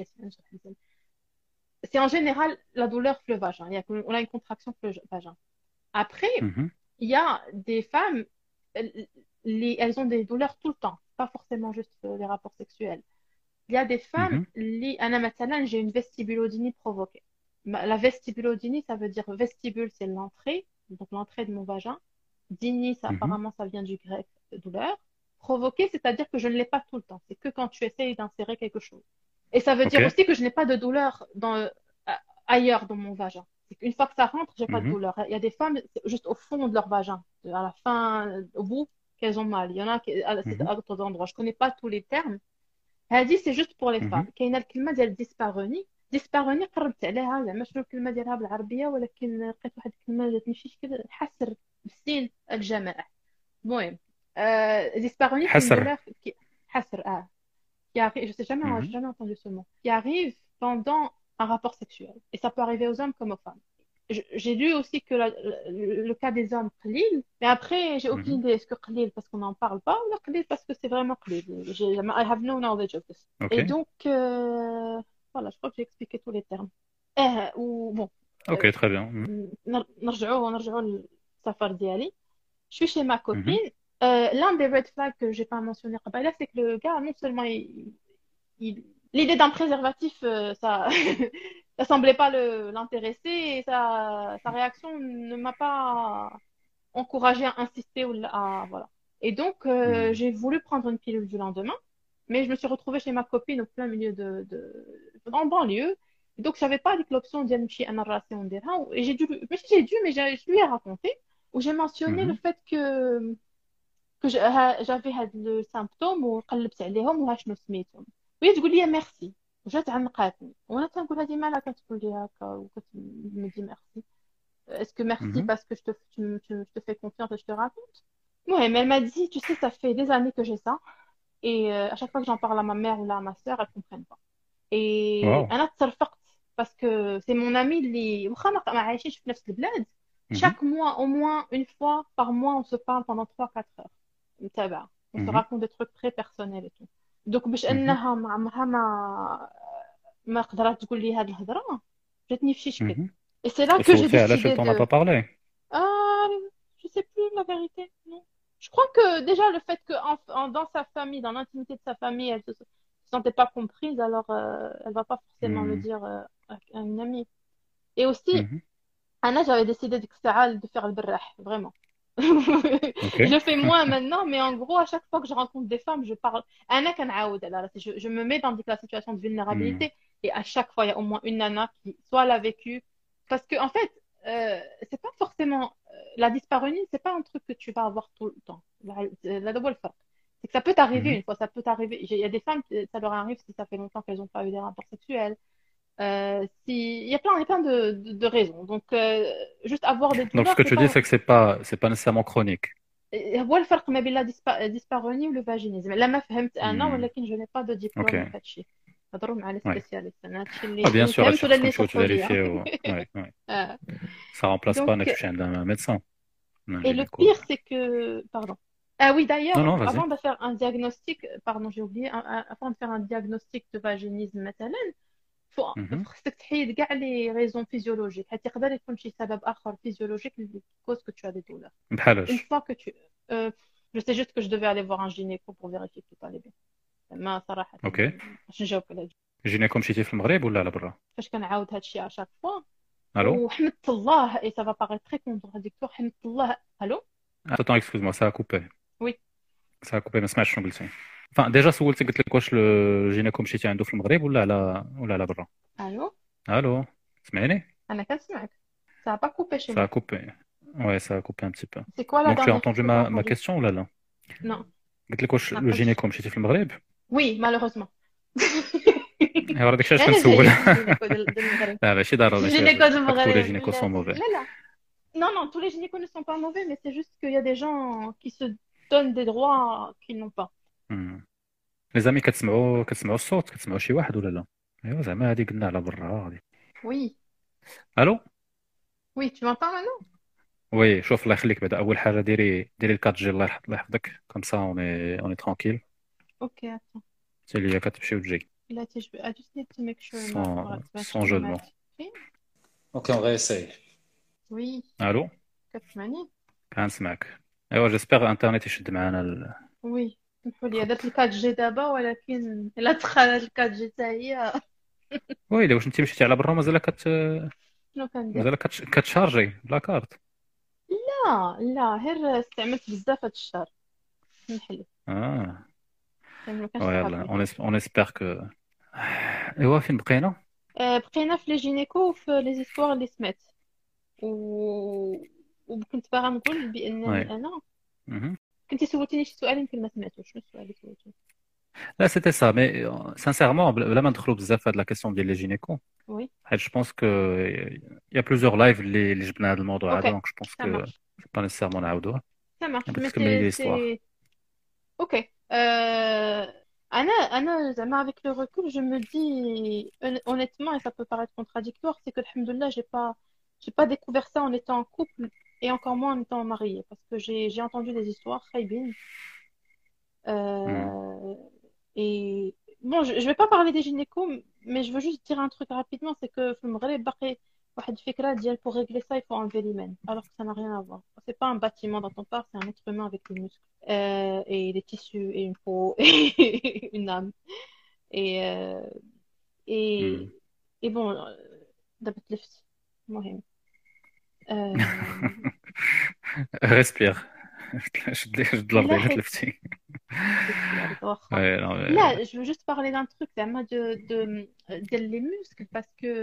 c'est en général la douleur le vagin. On a une contraction le vagin. Après, Mhm. il y a des femmes, elles, elles ont des douleurs tout le temps, pas forcément juste les rapports sexuels. Il y a des femmes, Mhm. أنا مثلا, j'ai une vestibulodynie provoquée. La vestibulodynie, ça veut dire vestibule, c'est l'entrée, donc l'entrée de mon vagin. Dynie, Mhm. apparemment, ça vient du grec douleur. Provoquée, c'est-à-dire que je ne l'ai pas tout le temps. C'est que quand tu essayes d'insérer quelque chose. Et ça veut Ok. dire aussi que je n'ai pas de douleur ailleurs dans mon vagin. C'est qu'une fois que ça rentre, j'ai pas de Mhm. douleur. Il y a des femmes, c'est juste au fond de leur vagin, à la fin, au bout, qu'elles ont mal. Il y en a c'est Mhm. à d'autres endroits. Je connais pas tous les termes. هذه سي جوست بور لي فام. Mhm. كاينه الكلمه ديال ديسباروني. ديسباروني قربت عليها زعما شنو الكلمه ديالها بالعربيه ولكن لقيت واحد الكلمه جاتني شي شكل حسر بالسين الجماعه. المهم ديسباروني سي une حسر. douleur qui حسر qui arrive, je sais jamais, j'ai Mhm. jamais entendu ce mot, qui arrive pendant un rapport sexuel et ça peut arriver aux hommes comme aux femmes. J'ai lu aussi que le cas des hommes قليل, mais après j'ai aucune Mhm. idée est-ce que قليل parce qu'on n'en parle pas ou قليل parce que c'est vraiment قليل. I have no knowledge of this. Ok. Et donc voilà, je crois que j'ai expliqué tous les termes. Ou bon, Ok, très bien. Mhm. نرجعوا للسفر ديالي. Je suis chez ma Mhm. copine. L'un des red flags que j'ai pas mentionné là, c'est que le gars, non seulement l'idée d'un préservatif, ça, ça semblait pas l'intéresser et sa réaction ne m'a pas encouragée à insister voilà. Et donc, Mhm. j'ai voulu prendre une pilule du lendemain, mais je me suis retrouvée chez ma copine au plein milieu en banlieue. Et donc, j'avais pas l'option d'y aller à narration et mais je lui ai raconté où j'ai mentionné le Mhm. fait que j'avais had le symptôme وقلبت عليهم وشنو سميتهم وهي تقول لي ميرسي وجات عنقاتني وانا تنقول هذه مالها كتقول لي هكا وكتمدي ميرسي est-ce que merci Mhm. parce que je te fais confiance et je te raconte. Ouais, mais elle m'a dit, tu sais, ça fait des années que j'ai ça et à chaque fois que j'en parle à ma mère ou là à ma sœur, elles comprennent pas. Et Wow. انا تصرفقت parce que c'est mon ami اللي واخا ما عايشينش في نفس البلاد. Mhm. Chaque mois, au moins une fois par mois, on se parle pendant 3-4 heures. متابعة. On se Mhm. raconte des trucs très personnels et tout. Donc باش Mhm. انها عمرها ما قدرت تقول لي هاد الهضرة جاتني في شي شكل. Mhm. Et c'est là que j'ai وسولتي علاش elle décidé t'en a de pas parlé. ah je sais plus la vérité, non. Je crois que déjà le fait que dans sa famille, dans l'intimité de sa famille, elle se sentait pas comprise, alors elle va pas forcément le Mhm. dire à une amie. Et aussi, Mhm. Anna, j'avais décidé de faire le berrah, vraiment. Ok. Je le fais moins maintenant, mais en gros, à chaque fois que je rencontre des femmes, je parle. Anna كنعاود على راسي. Je me mets dans la situation de Mhm. vulnérabilité et à chaque fois, il y a au moins une nana qui soit l'a vécu. Parce que, en fait, c'est pas forcément. La dyspareunie, c'est pas un truc que tu vas avoir tout le temps. La double فرق. C'est que ça peut t'arriver Mhm. une fois, ça peut t'arriver. Il y a des femmes, ça leur arrive si ça fait longtemps qu'elles n'ont pas eu des rapports sexuels. Il y a plein de raisons. Donc, juste avoir des Donc ce douleurs, que c'est tu dis, pas. c'est que c'est pas nécessairement chronique. هو الفرق ما بين الديسباروني والفاجينيزم لا ما فهمت انا Hmm. ولكن جو ني با دو Ok. ديبلوم في هادشي هضروا مع لي Ouais. سبيسياليست انا هادشي Ah, bien اللي sûr, فهمت ولا هادشي اللي خصهم شرحوا لي تفيريفيي Ouais, ouais. آه. Ça remplace pas Donc انك تمشي عند un médecin, un et le gynéco. pire c'est que pardon ah oui Non, d'ailleurs non, vas-y. avant de faire un diagnostic pardon j'ai oublié avant de faire un diagnostic de vaginisme مثلا Mhm. خصك تحيد كاع لي ريزون فيزيولوجيك حيت يقدر يكون شي سبب اخر فيزيولوجيك اللي cause que tu as des douleurs. Une بحالاش. fois que tu je sais juste que je devais aller voir un gynéco pour vérifier que tout allait bien. ما صراحة Ok. باش نجاوبك على هادشي. جينيكو مشيتي في المغرب ولا على برا؟ فاش كنعاود هادشي على شاك فوا Allô? وحمدت الله اي سافا باغي تري كونتراديكتور حمدت الله. الو Attends, excuse-moi, ça a coupé. وي Ça a coupé, ما سمعتش شنو قلتي. Enfin, déjà سولتك قلت لك واش الجينيكو مشيتي عنده في المغرب ولا على برا؟ الو Allô? سمعني؟ انا كنسمعك. Ça a pas coupé chez Ça a moi. coupé. Ouais, ça a coupé un petit peu. C'est quoi la Donc tu as dernière chose entendu que t'as ma entendu? question ou là? Non, قلت لك واش ما عقلتش. الجينيكو مشيتي في المغرب؟ وي مالوغوزمون. ايوا داك الشيء علاش انا كنسول. جايه الجينيكو ديال المغرب. لا ماشي ضروري الجينيكو ديال pas que tous les المغرب gynécos sont mauvais. لا لا. Non, non, tous les gynécos ne sont pas mauvais, mais c'est juste qu'il y a des gens qui se donnent des droits qu'ils n'ont pas. لي زامي كتسمعوا الصوت كتسمعوا شي واحد ولا لا؟ ايوا زعما هادي قلنا على برا هادي. Oui, الو oui, tu m'entends maintenant? وي شوف الله يخليك بعدا اول حاجه ديري الكات جي الله يحفظك كوم سا اوني ترونكيل Ok, attends. حتى ليا كتمشي وتجي Là, I just need to make sure sans jeu de mots. Ok, on va essayer. Oui, الو كتسمعني؟ كنسمعك. ايوا جيسبر انترنت يشد معنا وي سمحوا لي درت الكات جي دابا ولكن الا دخلت الكات جي حتى هي ويلي واش انت مشيتي على برا شنو كندير؟ مازال كتشارجي بلا كارت؟ لا لا غير استعملت بزاف هاد الشهر سمح لي اه ما كانش يلا اون اسبير كو. ايوا فين بقينا؟ بقينا في لي جينيكو وفي لي زيستوار اللي سمعت وكنت باغا نقول بانني انا كنتي سولتيني شي سؤال يمكن ما سمعتوش. شنو السؤال اللي سولتيني؟ لا سيتي سا مي سانسيرمون بلا ما ندخلوا بزاف في هاد لا كيسيون ديال لي جينيكو وي حيت جو بونس كو يا بليزيور لايف اللي جبنا هذا الموضوع هذا دونك جو بونس كو سي با نيسيرمون نعاودوه. Ça marche, بغيت mais تكملي لي ليستوار. Ok. Anna, Zama, avec le recul, je me dis honnêtement, et ça peut paraître contradictoire, c'est que, alhamdoulilah, j'ai pas découvert ça en étant en couple et encore moins en étant mariée, parce que j'ai entendu des histoires khaybines. Et bon, je vais pas parler des gynécos, mais je veux juste dire un truc rapidement, c'est que في المغرب باقي واحد الفكرة ديال pour régler ça, il faut enlever l'hymen, alors que ça n'a rien à voir. C'est pas un bâtiment dont on parle, c'est un être humain avec des muscles et des tissus et une peau et une âme. Et bon, دابا تلفت المهم. ريسبير شد لافضي تلفتي. Là, je veux juste parler d'un truc, les muscles, parce que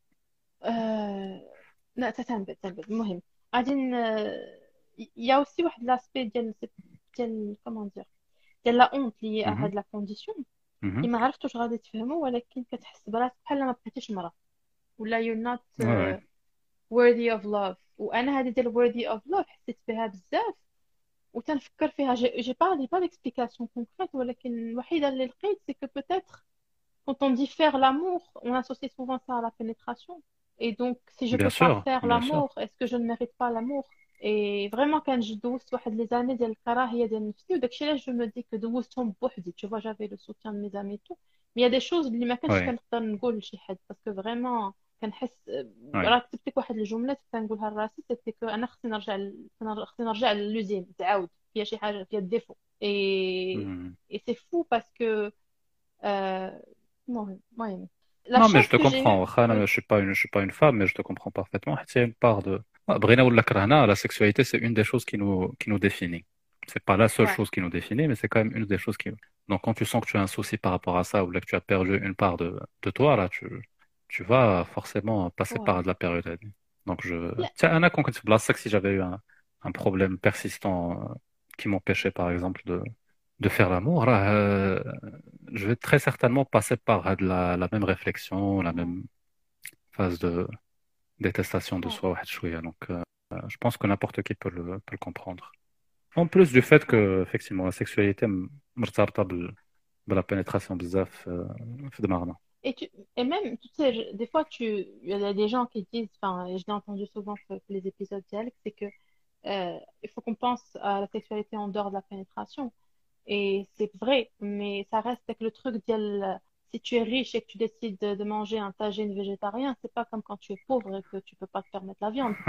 لا تنبت المهم غادي il y a aussi واحد l'aspect ديال comment dire ديال la honte liée à هاد la condition اللي ما عرفتش واش غادي تفهموا، ولكن كتحس براسك بحال ما بقيتيش مرا ولا you're not worthy of love. وانا هذه ديال worthy of love حسيت بها بزاف وتنفكر فيها. j'ai pas d'explication concrète، ولكن الوحيده اللي لقيت c'est que peut-être quand on dit faire l'amour on associe souvent ça à la pénétration. Et donc, si je peux pas faire l'amour, est-ce que je ne mérite pas l'amour? Et vraiment, quand je دوزت واحد les années ديال الكراهية ديال نفسي وداكشي علاش je me dis que دوزتهم بوحدي. Tu vois, j'avais le soutien de mes amis et tout. Mais il y a des choses اللي ما كنتش كنقدر نقول لشي حد parce que vraiment كنحس راه كتبت لك واحد الجملة كنقولها لراسي c'était que أنا خصني نرجع للوزين تعاود فيها شي حاجة فيها الديفو. Et c'est fou parce que المهم Non, mais je te comprends. Je suis pas une femme, mais je te comprends parfaitement. C'est une part de. Brina ou la la sexualité, c'est une des choses qui nous définit. C'est pas la seule chose qui nous définit, mais c'est quand même une des choses qui. Donc, quand tu sens que tu as un souci par rapport à ça, ou là que tu as perdu une part de toi, là, tu vas forcément passer par de la période. Donc, tiens, Anna, quand tu blagues, si j'avais eu un problème persistant qui m'empêchait, par exemple, de faire l'amour, là, je vais très certainement passer par la même réflexion, la même phase de détestation de soi. Donc, je pense que n'importe qui peut le comprendre. En plus du fait que, effectivement, la sexualité مرتبطة بلا pénétration بزاف في دماغنا. Et même, tu sais, des fois, il y a des gens qui disent, enfin, je l'ai entendu souvent sur les épisodes d'Alex, c'est que il faut qu'on pense à la sexualité en dehors de la pénétration. Et c'est vrai, mais ça reste avec le truc si tu es riche et que tu décides de manger un tagine végétarien, c'est pas comme quand tu es pauvre et que tu peux pas te permettre la viande.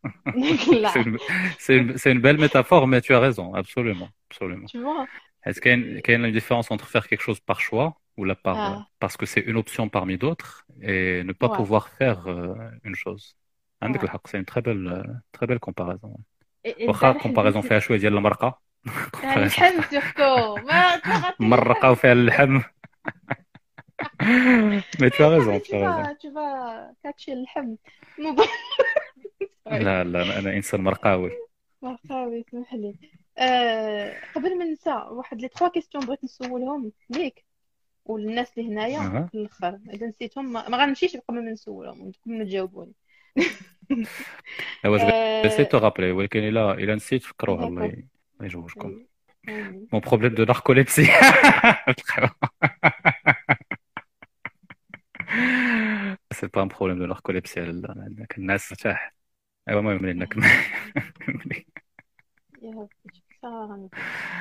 C'est une belle métaphore, mais tu as raison, absolument. Tu vois? Est-ce qu'il y a une différence entre faire quelque chose par choix ou parce que c'est une option parmi d'autres et ne pas pouvoir faire une chose? C'est une très belle comparaison. Comparaison fait à choisir la marque. اللحم سيرتو مرقة وفيها اللحم. Mais tu as raison, tu as raison. Tu vas catcher اللحم. لا أنا إنسان مرقاوي. سمح لي. قبل ما ننسى واحد لي 3 كيسيون بغيت نسولهم ليك. والناس اللي هنايا اها في الاخر اذا نسيتهم ما غنمشيش قبل ما نسولهم ودكم تجاوبوني. ايوا جو سي آه... تو رابلي، ولكن الا نسيت فكروها الله d'accord. الله يجوجكم. Oui. Oui. Mon problème de narcolepsie. C'est pas un problème de narcolepsie. عندك الناس تاح. ايوا المهم منين يا ربي صراحة غنمشي.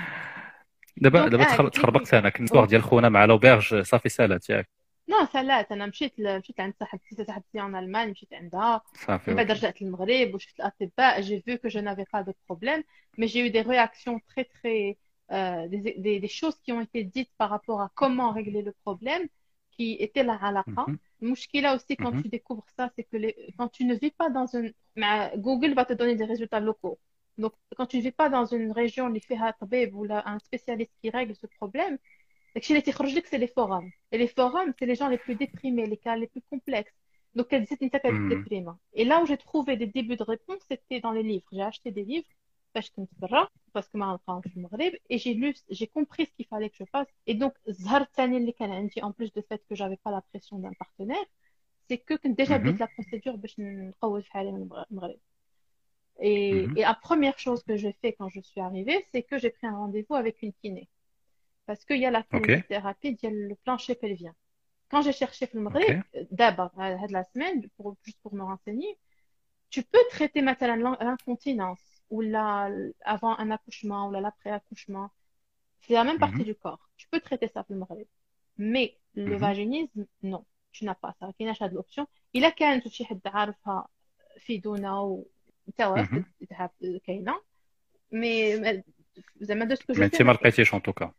دابا دونك قلت لك تخربقت انا كنت واحد ديال خونا مع لوبيرج صافي سالات ياك نو سالات. انا مشيت عند صاحبتي en Allemagne، مشيت عندها صافي من بعد اوكي. رجعت للمغرب وشفت الاطباء. j'ai vu que je n'avais pas de problème mais j'ai eu des réactions très très des choses qui ont été dites par rapport à comment régler le problème qui était la علاقة. مهم. المشكلة aussi quand مهم. tu découvres ça c'est que quand tu ne vis pas dans une Google va te donner des résultats locaux. Donc quand tu ne vis pas dans une région اللي فيها طبيب ou un spécialiste qui règle ce problème. داكشي اللي تيخرج لك سي لي فورums. Et les forums, c'est les gens les plus déprimés, les cas les plus complexes. Donc, elle disait une tête مهم. déprimée. Et là où j'ai trouvé des débuts de réponse, c'était dans les livres. J'ai acheté des livres parce que ما نلقاهمش في المغرب. Et j'ai compris ce qu'il fallait que je fasse. Et donc, الزهر الثاني اللي كان عندي, en plus du fait que j'avais pas la pression d'un partenaire, c'est que كنت déjà مهم. بديت la procédure باش نقوي في حالي من المغرب. Et مهم. la première chose que j'ai fait quand je suis arrivée, c'est que j'ai pris un rendez-vous avec une kiné. Parce qu'il y a la اوكي kinésithérapie, il y a le plancher pelvien. Quand j'ai cherché في المغرب, اوكي d'abord, la semaine, juste pour me renseigner, tu peux traiter maintenant l'incontinence ou avant un accouchement ou l'après-accouchement. C'est la même partie مهم. du corps. Tu peux traiter ça في المغرب. Mais le مهم. vaginisme, non. Tu n'as pas ça. ما كايناش هاد l'option. إلا كانت شي حد عارفها فيدونا وتوا مهم. كاينة. Mais زعما de ce que je مي sais انت ما ما كاينش. لقيتيش ان توكا.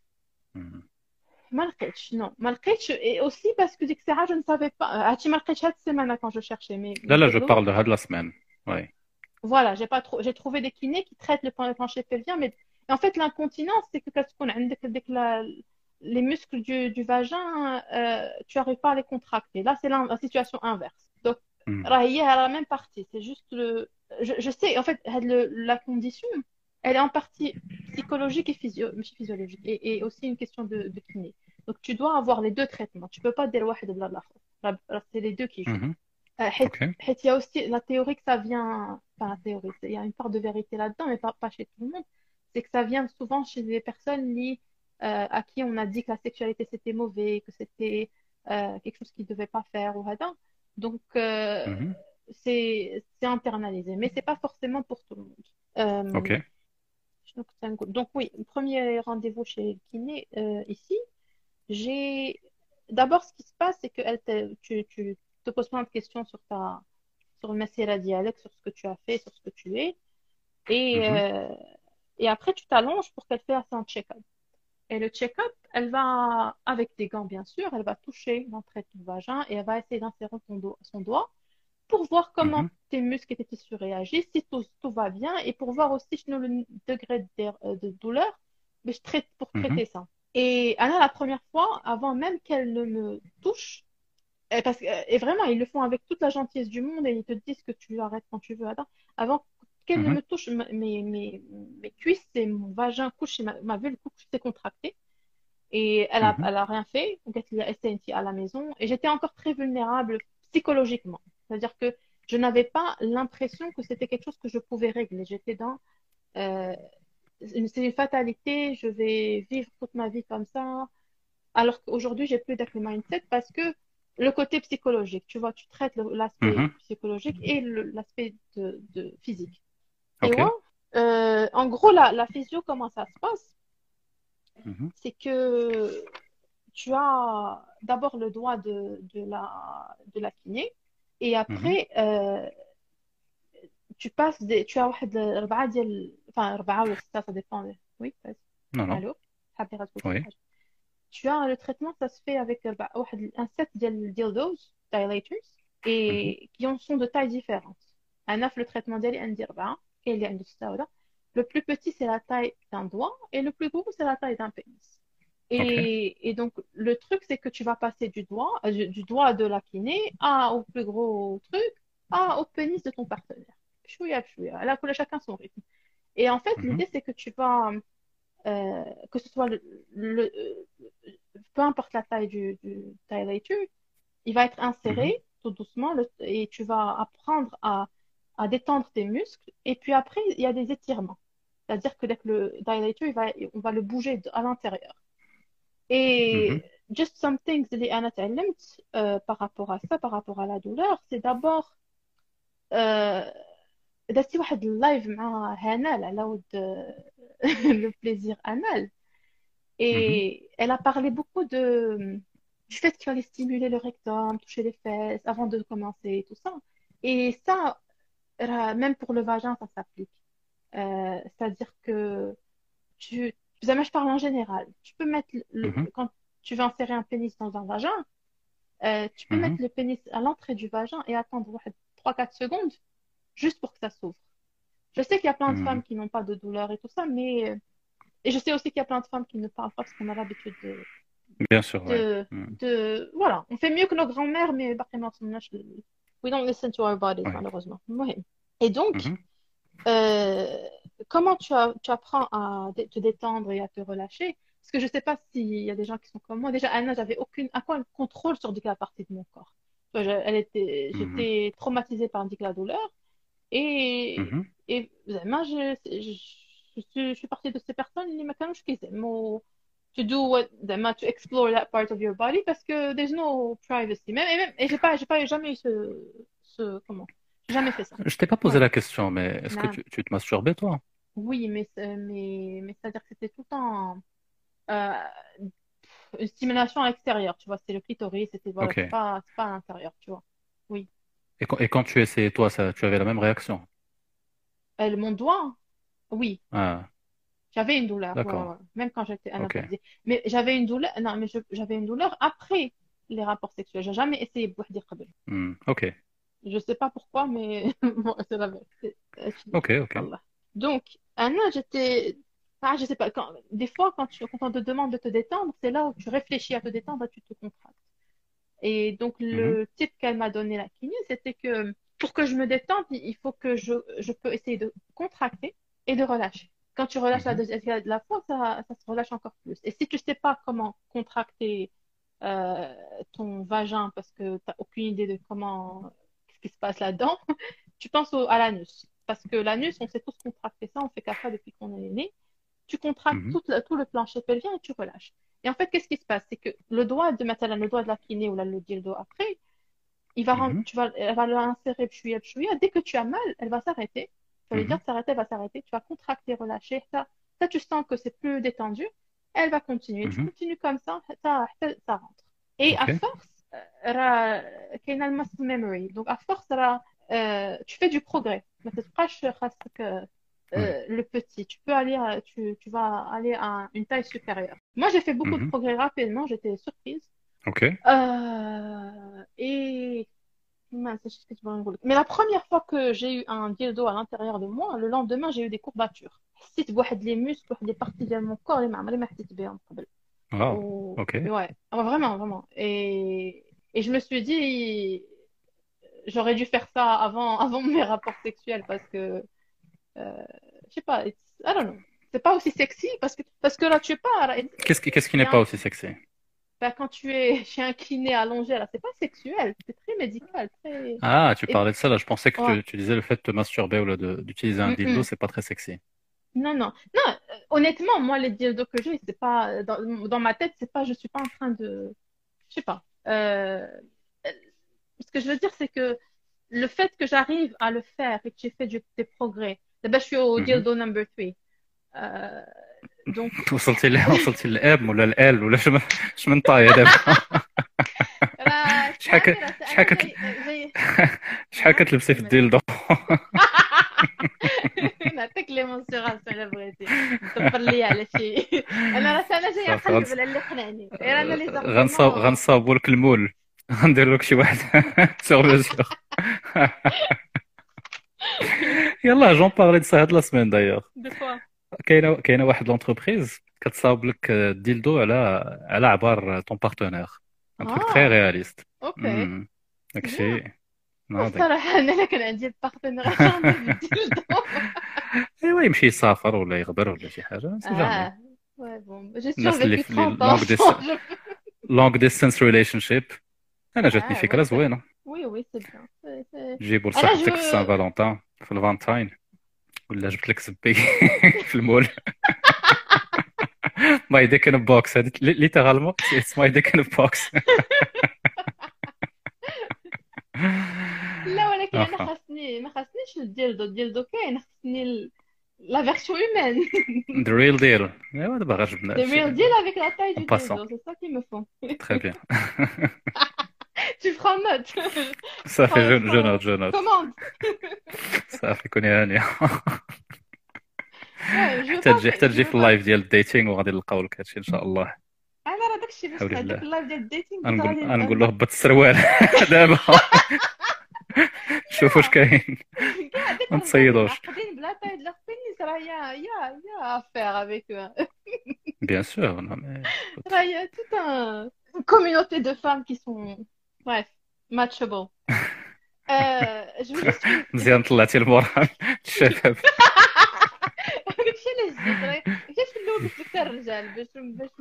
ما لقيتش non ما لقيتش. Et aussi parce que ديك الساعة je ne savais pas. هادشي ما لقيتش هاد السيمانة quand je cherchais لا mes لا جو diagnostics. بارل دو هاد لا سمان. وي Voilà, j'ai trouvé des kinés qui traitent le plancher pelvien, mais en fait l'incontinence c'est que quand on a les muscles du vagin, tu n'arrives pas à les contracter. Là c'est la situation inverse. Donc là, il y a la même partie. C'est juste je sais en fait la condition, elle est en partie psychologique et physiologique et aussi une question de kiné. Donc tu dois avoir les deux traitements. Tu peux pas dire واحد بلا الآخر. C'est les deux qui jouent. مهم. حيت اوكي il y a aussi la théorie que ça vient, enfin la théorie, il y a une part de vérité là-dedans, mais pas chez tout le monde. C'est que ça vient souvent chez des personnes à qui on a dit que la sexualité c'était mauvais, que c'était quelque chose qu'ils ne devaient pas faire ou rien. Donc مهم. c'est internalisé, mais c'est pas forcément pour tout le monde. Euh, اوكي donc oui, premier rendez-vous chez le kiné ici, j'ai d'abord ce qui se passe, c'est que tu te poses plein de questions sur le مسيرة ديالك, sur ce que tu as fait, sur ce que tu es, et مهم. et après tu t'allonges pour qu'elle fasse un check-up. Et le check-up, elle va avec des gants bien sûr, elle va toucher l'entrée de ton vagin et elle va essayer d'insérer son doigt pour voir comment مهم. tes muscles et tes tissus réagissent, si tout va bien, et pour voir aussi le degré de douleur, mais pour مهم. traiter ça. Et Anna, la première fois, avant même qu'elle ne me touche, et vraiment, ils le font avec toute la gentillesse du monde et ils te disent que tu arrêtes quand tu veux. Attends, avant qu'elle ne مهم. me touche, mes cuisses et mon vagin couche, ma vulve couche s'est contractée. Et مهم. elle a rien fait. Donc, elle a SNT à la maison. Et j'étais encore très vulnérable psychologiquement. C'est-à-dire que je n'avais pas l'impression que c'était quelque chose que je pouvais régler. J'étais dans euh, c'est une fatalité, je vais vivre toute ma vie comme ça. Alors qu'aujourd'hui, j'ai plus d'être le mindset parce que le côté psychologique, tu vois, tu traites l'aspect مهم. psychologique et l'aspect de physique. Et اوكي ouais, en gros, la physio, comment ça se passe? مهم. C'est que tu as d'abord le doigt de la kiné et مهم. après, tu as واحد أربعة ديال enfin أربعة ولا ستة ça dépend. Oui, vas-y. نو نو Allô? حابة تقول شي وي حاجة. Tu as le traitement, ça se fait avec un set de dildos, dilators, مهم. et qui en sont de tailles différentes. Un le traitement d'elle est un le plus petit, c'est la taille d'un doigt, et le plus gros, c'est la taille d'un pénis. اوكي Et donc, le truc, c'est que tu vas passer du doigt de la kiné au plus gros truc, au pénis de ton partenaire. Chouïa, chouïa. Là, chacun son rythme. Et en fait, مهم. l'idée, c'est que tu vas que ce soit peu importe la taille du dilator, il va être inséré Mhm. tout doucement et tu vas apprendre à détendre tes muscles. Et puis après, il y a des étirements. C'est-à-dire que dès que le dilator, on va le bouger à l'intérieur. Mhm. Et just some things اللي أنا تعلمت par rapport à ça, par rapport à la douleur, c'est d'abord درتي واحد اللايف مع هنال على ود le plaisir anal. Mhm. Et elle a parlé beaucoup du fait qu'il fallait stimuler le rectum, toucher les fesses avant de commencer et tout ça. Et ça, même pour le vagin, ça s'applique. C'est-à-dire que tu, زعما je parle en général. Tu peux mettre Mhm. quand tu veux insérer un pénis dans un vagin, tu peux Mhm. mettre le pénis à l'entrée du vagin et attendre 3-4 secondes juste pour que ça s'ouvre. Je sais qu'il y a plein de femmes Mhm. qui n'ont pas de douleur et tout ça, mais et je sais aussi qu'il y a plein de femmes qui ne parlent pas parce qu'on a l'habitude Bien sûr, ouais. Mhm. voilà, on fait mieux que nos grands-mères, mais باقي ما وصلناش we don't listen to our bodies Ouais. malheureusement. المهم. Et donc, Mhm. euh, comment tu apprends à te détendre et à te relâcher? Parce que je sais pas s'il y a des gens qui sont comme moi. Déjà, Anna, j'avais aucun contrôle sur la partie de mon corps. Tu vois, Mhm. j'étais traumatisée par la douleur et, Mhm. et vraiment, je suis partie de ces personnes اللي ما كانوش كيزعموا to do what زعما to explore that part of your body parce que there's no privacy. Et j'ai pas jamais eu comment? J'ai jamais fait ça. Je t'ai pas posé Ouais. la question, mais est-ce que Non. tu te masturbais, toi? Oui, mais c'est-à-dire que c'était tout le temps euh, une stimulation à l'extérieur, tu vois, c'est le clitoris, c'était voilà, Ok. c'est pas à l'intérieur, tu vois. Oui. Et quand tu essayais, toi, ça, tu avais la même réaction? Mon doigt, oui, Ah, j'avais une douleur, ouais, d'accord. ouais. Même quand j'étais Ok. anabaptisée. Mais j'avais une douleur, non, mais j'avais une douleur après les rapports sexuels. J'ai jamais essayé بوحدي قبل. Ok. Je sais pas pourquoi, mais bon, c'est la vérité. Ok, ok. Wallah. Donc, Anna, je sais pas, des fois, quand on te demande de te détendre, c'est là où tu réfléchis à te détendre et tu te contractes. Et donc, Mhm. le type qu'elle m'a donné la kiné, c'était que pour que je me détende, il faut que je peux essayer de contracter et de relâcher. Quand tu relâches Mhm. la fois, ça se relâche encore plus. Et si tu sais pas comment contracter ton vagin parce que tu n'as aucune idée de qu'est-ce qui se passe là-dedans, tu penses à l'anus. Parce que l'anus, on sait tous contracter ça, on fait qu'à ça depuis qu'on est né. Tu contractes Mhm. tout le plancher pelvien et tu relâches. Et en fait, qu'est-ce qui se passe? C'est que مثلا le doigt de la kiné ou là, le dildo après, Mhm. elle va l'insérer pchouïa, pchouïa. Dès que tu as mal, elle va s'arrêter. Tu vas lui dire Mhm. de s'arrêter, elle va s'arrêter. Tu vas contracter, relâcher. Ça, tu sens que c'est plus détendu. Elle va continuer. Tu Mhm. continues comme ça rentre. Et à Ok. force, كاينة muscle memory. Donc à force, tu fais du progrès. ما تبقاش خاصك Ouais. le petit. Tu vas aller à une taille supérieure. Moi, j'ai fait beaucoup de Mhm. progrès rapidement. J'étais surprise. Ok. Et mince, je sais ce que tu vas me dire. Mais la première fois que j'ai eu un dildo à l'intérieur de moi, le lendemain, j'ai eu des courbatures. حسيت بواحد les muscles, واحد les parties de mon corps اللي ما عمري ما حسيت بهم قبل. Wow. Ok. Ouais, vraiment, vraiment. Et je me suis dit, j'aurais dû faire ça avant mes rapports sexuels parce que, euh, je sais pas, I don't know. C'est pas aussi sexy parce que là, tu es pas, là, Qu'est-ce qui il y n'est a pas aussi sexy? bah, quand tu es chez un kiné allongé, là, c'est pas sexuel, c'est très médical, très. Ah, tu Et, parlais de ça là. Je pensais que ouais. tu disais le fait de te masturber ou là, d'utiliser un Mm, dildo, mm. c'est pas très sexy. Non, non, non. Honnêtement, moi, les dildos que j'ai, c'est pas dans ma tête, c'est pas, je suis pas en train de, je sais pas. Ce que je veux dire, c'est que le fait que j'arrive à le faire et que j'ai fait des progrès. D'abord, je suis au Mhm. dildo number 3. Donc, وصلتي للام ولا ال ولا شو من طاية دابا؟ راه شحال اسمعني، ك... شحال انا كت... جاي شحال نعم كتلبسي في كمل. الديلدو؟ نعطيك لي مونسيغاسيون الا بغيتي دبر لي على شي. انا جايه صافي نقلب على اللي يقنعني غير انا لي زارغيومون. غنصاوبوا لك المول. غندير لك شي واحد سور ميزور. يلا جون بارلي دو سا هاد لا سيمين دايوغ. دو كوا؟ كاينه واحد لونتربريز كتصاوب لك الديلدو على عبار طون بارتنير. ان تروك تري اه رياليست. اوكي سي داكشي بيان. ناضي. الصراحه انا لا كان عندي البارتنير جامي بالديلدو. ايوا يمشي يسافر ولا يغبر ولا شي حاجه سي جامي. اه ouais bon j'ai الناس اللي survécu في لي 30 ans لونغ sans ديس je... long distance relationship. انا جاتني Ah, فكره ouais, زوينه. oui, oui, c'est bien. جيبوا انا لصاحبتك في سان فالنتين في الفالنتين، ولا جبت لك زبي في المول. ماي ديك ان بوكس هذه ليترالمون اتس ماي ديك ان بوكس. لا ولكن انا افا خاصني ما خاصنيش الديلدو كاين خاصني لا version humaine. ذا ريل ديل. ايوا دابا غير جبنا The هادشي real deal avec la taille en du passant. dildo, c'est ça qu'il me faut. Très bien. Tu prends note. صافي جو نوت. Commande. صافي كوني هانية. Ouais, je veux حتى pas, تجي je في veux pas. اللايف ديال الديتينغ وغادي نلقاو لك هادشي ان شاء الله. انا راه داكشي باش حول هذاك الله. اللايف ديال الديتينغ كنت غنقول غادي غنقول له هبط السروال دابا. شوف واش كاين. كاع ديك ما الرجال نتصيدوش. معقدين بلا تاي د البينيس راه يا افير افيك بيان سور. راه يا tout un communauté de femmes qui sont bref matchable. Je veux juste مزيان طلعتي المورال الشباب. داكشي علاش جيت راه علاش في الاول قلت لك حتى الرجال باش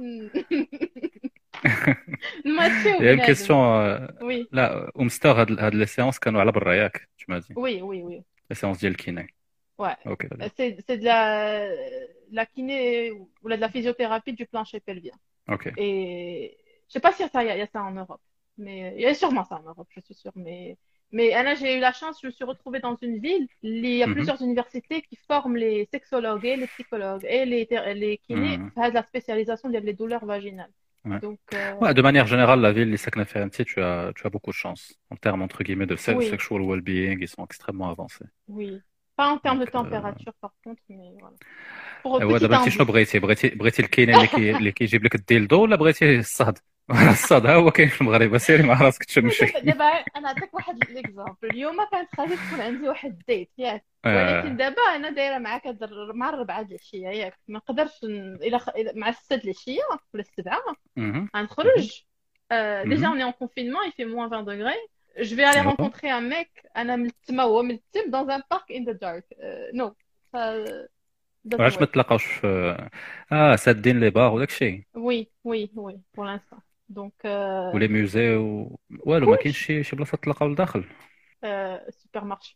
نماتشيو يا بنادم. كيستيون. وي لا ومستر هاد لي سيونس كانوا على برا ياك تمادي وي وي وي لي سيونس ديال الكيني. ouais اوكي. c'est de la kiné ou de la physiothérapie du plancher pelvien. اوكي. Et je sais pas si il y a ça en Europe, mais il y a sûrement ça en Europe, je suis sûre. Mais Anna, j'ai eu la chance, je me suis retrouvée dans une ville, il y a plusieurs universités qui forment les sexologues et les psychologues et les kinés à la spécialisation des douleurs vaginales. Ouais. Donc, Ouais, de manière générale, la ville, les Sakna Ferranti, tu as beaucoup de chance. En termes, entre guillemets, de Oui. sexual well-being, ils sont extrêmement avancés. oui. Pas en termes Donc, de température, par contre, mais voilà. Pour ouais, petite d'abord, tu شنو بغيتي الكاين اللي كيجيب لك الديلدو ولا بغيتي الصهد؟ الصهد ها هو كاين في المغرب، سيري مع راسك تشمشي. دابا انا نعطيك واحد ليكزامبل. اليوم كانت خاصها تكون عندي واحد الديت ياك، ولكن دابا انا دايره معاك مع 4 د العشيه ياك، ما نقدرش مع 6 د العشيه ولا 7 غنخرج. Déjà on est en confinement, il fait moins 20 degrés. Je vais aller rencontrer un mec انا ملتمه وهو ملتم dans un park in the dark. Non ça علاش ما تلاقاوش في سادين لي بار وداك الشيء؟ oui pour l'instant. Donc ولي موزي والو ما كاينش شي بلاصه تلاقاو لداخل. سوبر مارشي.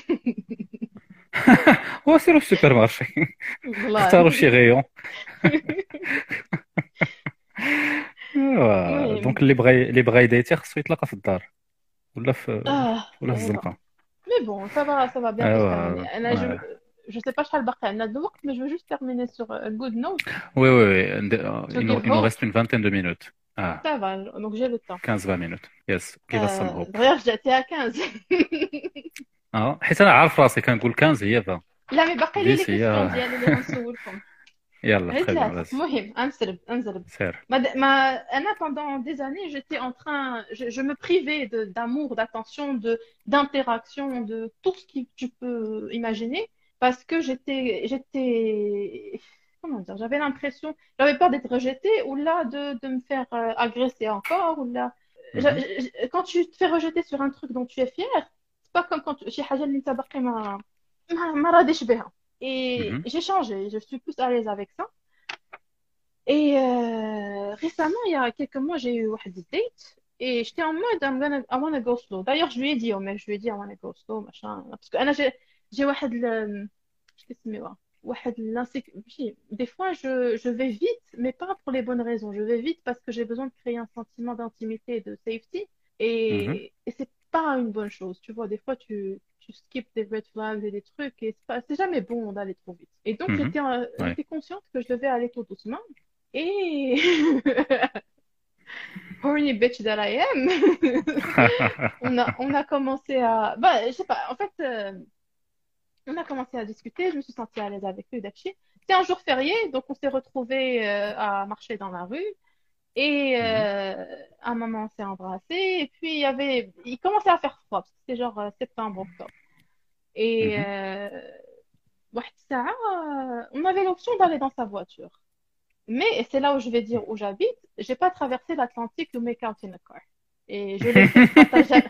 هو سيروا في السوبر مارشي اختاروا شي غيون. دونك اللي بغى يديتي خصو يتلاقى في الدار ولا في الزنقه. Mais bon, ça va bien se terminer. أنا je sais pas شحال باقي عندنا د الوقت, mais je veux juste terminer sur a good note. Oui. Il nous reste une vingtaine de minutes. Ça va, donc j'ai le temps. 15-20 minutes. Yes. كيف الصنهوب. D'ailleurs, جاتي à 15. حيت انا عارف راسي كنقول 15 هي فا. لا مي باقي لي كيسيون ديالي اللي غنسولكم. يلا très bien. المهم انزرب. سير. أنا pendant des années, j'étais en train, je me privais d'amour, d'attention, d'interaction, de tout ce que tu peux imaginer, parce que j'étais, comment dire, j'avais l'impression, j'avais peur d'être rejetée, ou là de me faire agresser encore, ou là, quand tu te fais rejeter sur un truc dont tu es fier, c'est pas comme quand شي حاجة اللي انت باقي ما راضيش بها. Et j'ai changé, je suis plus à l'aise avec ça. Et récemment, il y a quelques mois, j'ai eu une date et j'étais en mode I wanna go slow. D'ailleurs, je lui ai dit au mec, je lui ai dit I wanna go slow, machin. Parce que j'ai des fois, je vais vite, mais pas pour les bonnes raisons. Je vais vite parce que j'ai besoin de créer un sentiment d'intimité et de safety. Et c'est pas une bonne chose. Tu vois, des fois, tu skips des red flags et des trucs et c'est jamais bon d'aller trop vite. Et donc, j'étais consciente que je devais aller tout doucement. Et horny bitch that I am, on a commencé à... Bah, je sais pas, en fait, on a commencé à discuter, je me suis sentie à l'aise avec lui, Dachi. C'était un jour férié, donc on s'est retrouvés à marcher dans la rue. Et à un moment, on s'est embrassé. Et puis, il commençait à faire froid, parce que c'était genre septembre, octobre. Et on avait l'option d'aller dans sa voiture. Mais c'est là où je vais dire où j'habite. J'ai pas traversé l'Atlantique to make out in a car. Et je l'ai fait partager.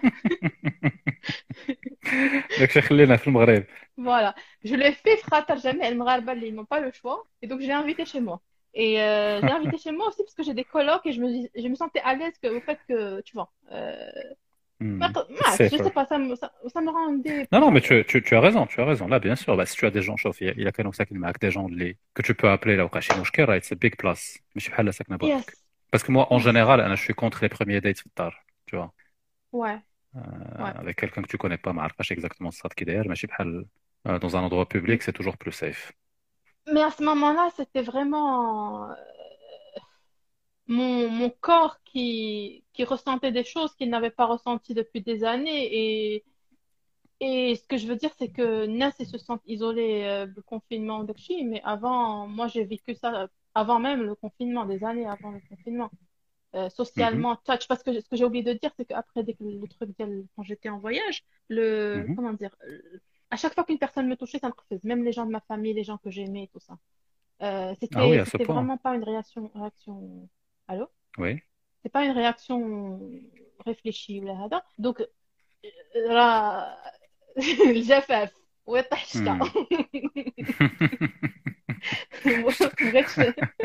Voilà. Je l'ai fait frater jamais. Ils n'ont pas le choix. Et donc, j'ai invité chez moi. Et j'ai invité chez moi aussi parce que j'ai des colocs et je me sentais à l'aise au fait que, tu vois, je sais safer. pas, ça me rendait Non, plus non, à mais l'aise. tu as raison, tu as raison. Là, bien sûr, bah, si tu as des gens, chauffe, il y a كانوا ساكن معاك des gens que tu peux appeler là وقع شي مشكل, right, c'est big plus. مش بحال لا ساكنة Yes, بوحدك. Parce que moi, en yes, général, je suis contre les premiers dates في الدار, tu vois. ouais, ouais. Avec quelqu'un que tu connais pas, ما عرفاش exactement الصاد كي داير, ماشي بحال dans un endroit public, c'est toujours plus safe. Mais à ce moment-là, c'était vraiment mon corps qui ressentait des choses qu'il n'avait pas ressenties depuis des années. Et ce que je veux dire, c'est que Nas, ils se sentent isolés du confinement de Chi, mais avant, moi, j'ai vécu ça avant même le confinement, des années avant le confinement. Mhm, Socialement, touch, parce que ce que j'ai oublié de dire, c'est qu'après dès que le truc, quand j'étais en voyage, mhm. comment dire, à chaque fois qu'une personne me touchait, ça me faisait, même les gens de ma famille, les gens que j'aimais, tout ça. Ah oui, à ce C'était point. vraiment pas une réaction, allô? Oui. C'est pas une réaction réfléchie ou là, هذا. Donc, راه الجفاف والطحشة Hmm. مبغيتش.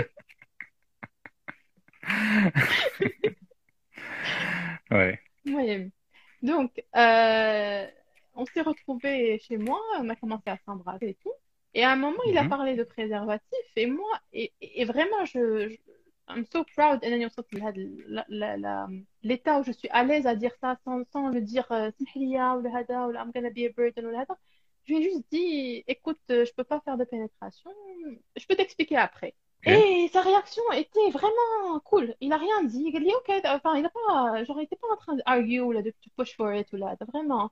Ouais. المهم donc on s'est retrouvés chez moi, on a commencé à s'embrasser et tout, et à un moment il a Mhm, parlé de préservatif et moi et vraiment I'm so proud انني وصلت لهذا l'état où je suis à l'aise à dire ça sans le dire سمح لي ولا هذا ولا I'm gonna be a burden ولا هذا. Je lui ai juste dit écoute, je peux pas faire de pénétration, je peux t'expliquer après. ok. Et sa réaction était vraiment cool. Il a rien dit. Il a dit, ok, enfin, il a pas, genre, il était pas en train d'argue ou là, de push for it ou là, vraiment.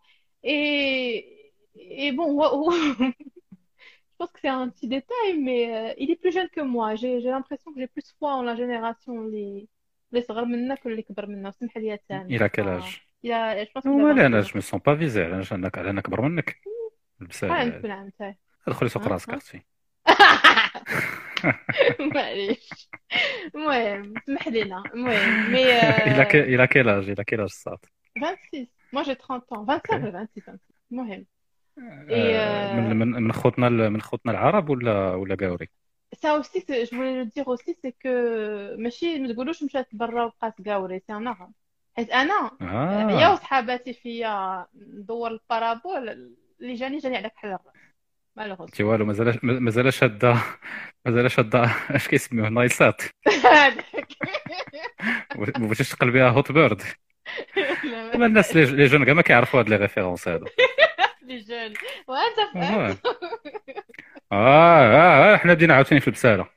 Et bon, je pense que c'est un petit détail, mais il est plus jeune que moi. J'ai l'impression que j'ai plus foi en la génération les صغار منا que les كبر منا. سمح لي يا سامي. Il a quel Enfin, âge? je pense qu'il a ولا 22 انا ans. جو me sens pas visé, انا اكبر منك. بس شحال عندك العام تاعي؟ ادخلي سوق ها راسك ها. اختي. معليش. المهم سمح لينا المهم مي il a quel âge الصاد؟ 26. Moi, j'ai 30 ans. 25 اوكي. ولا 26 26. المهم. Et من خوتنا العرب ولا قاوري؟ ça aussi, je voulais le dire aussi, c'est que ماشي ما تقولوش مشات برا وبقات قاوري سي ان اغا. حيت انا يا اه وصحاباتي فيا ندور البارابول اللي جاني على كحل الراس انت مالوغوسمون. والو مازال شاده مازال شاده اش كيسميوه نايسات. هذاك. ما بغيتيش تقلبيها هوت بيرد. لا ما دابا الناس بقاش. لي جون كاع ما كيعرفوا هاد لي ريفيرونس هادو. لي جون وانت فهمت. والله حنا بدينا عاوتاني في البساله.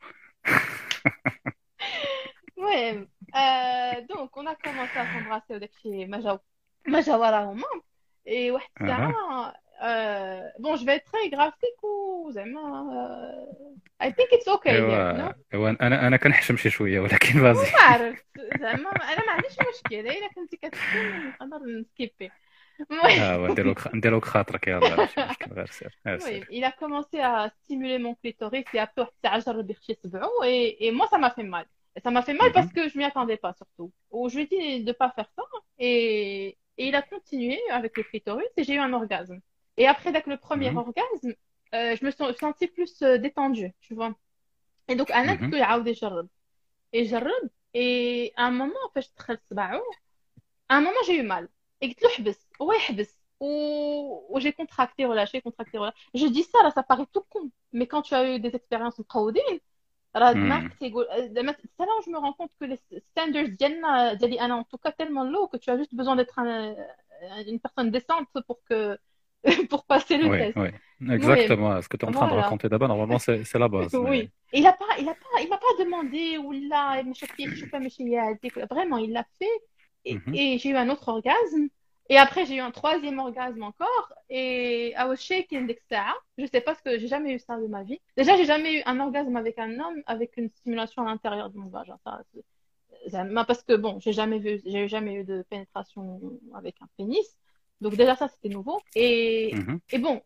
المهم دونك on a commencé à s'embrasser وداك الشيء ما جا وراهما. Et واحد الساعة اها bon je vais être très graphique و زعما I think it's okay here no. ايوا انا كنحشم شي شويه ولكن ما فازي. عرفت زعما انا ما عنديش مشكل الا كنتي كتحكم نقدر نسكيبي. المهم نديروك خاطرك يلاه ماشي مشكل غير سير المهم سير. il a commencé à stimuler mon clitoris et après واحد الساعة جرب يخشي صبعو et moi ça m'a fait mal. Et ça m'a fait mal parce Mhm, que je m'y attendais pas surtout. Ou je lui ai dit de pas faire ça et il a continué avec le clitoris et j'ai eu un orgasme. Et après dès que le premier mhm, orgasme je me suis sentie plus détendue tu vois. Et donc انا قلت mhm, له يعاود يجرب et جرب et à un moment فاش دخل صباعو à un moment j'ai eu mal et قلت له حبس هو يحبس ou j'ai contracté relâché contracté relâché. Je dis ça là ça paraît tout con mais quand tu as eu des expériences مقودين راه mhm. دماغك تيقول زعما c'est là où je me rends compte que les standards ديالي انا en tout cas tellement low que tu as juste besoin d'être une personne décente pour que pour passer le Oui, test. oui, المهم exactement. Ce que tu es en train de voilà. raconter d'abord, normalement, c'est la base. Oui. Mais... Il m'a pas demandé ou là, مش كيف شوف ماشي هي هذيك. Vraiment, il l'a fait Mhm, et j'ai eu un autre orgasme. Et après, j'ai eu un troisième orgasme encore. Et I was shaking ديك الساعة. Je sais pas ce que j'ai jamais eu ça de ma vie. Déjà, j'ai jamais eu un orgasme avec un homme avec une stimulation à l'intérieur de mon vagin. Parce que bon, j'ai jamais eu de pénétration avec un pénis. Donc déjà ça c'était nouveau. mhm, Et bon,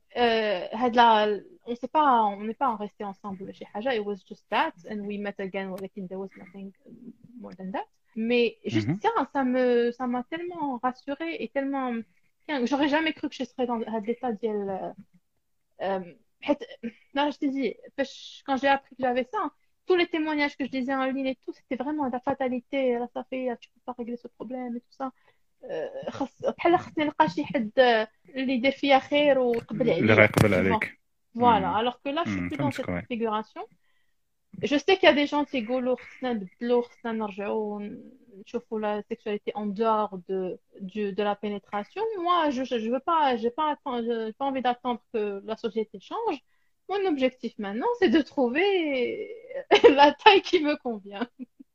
on n'est pas resté ensemble chez Haja. It was just that, and we met again. ولكن there was nothing more than that. Mais juste mhm. ça, ça m'a tellement rassurée et tellement, j'aurais jamais cru que je serais dans l'état ديال حيت là je t'ai dit quand j'ai appris que j'avais ça tous les témoignages que je lisais en ligne et tout, c'était vraiment la fatalité. Là, ça fait, tu peux pas régler ce problème et tout ça. بحال خصني نلقى شي حد اللي يدير فيا خير ويقبل اللي عليا. غيقبل Tu vois. عليك. Voilà. Alors que là, je suis plus dans فهمتك cette وي. configuration. Je sais qu'il y a des gens qui يقولوا خصنا نبدلوا خصنا نرجعوا نشوفوا la sexualité en dehors de la pénétration. Moi, je veux pas, j'ai pas envie d'attendre que la société change. Mon objectif maintenant, c'est de trouver la taille qui me convient.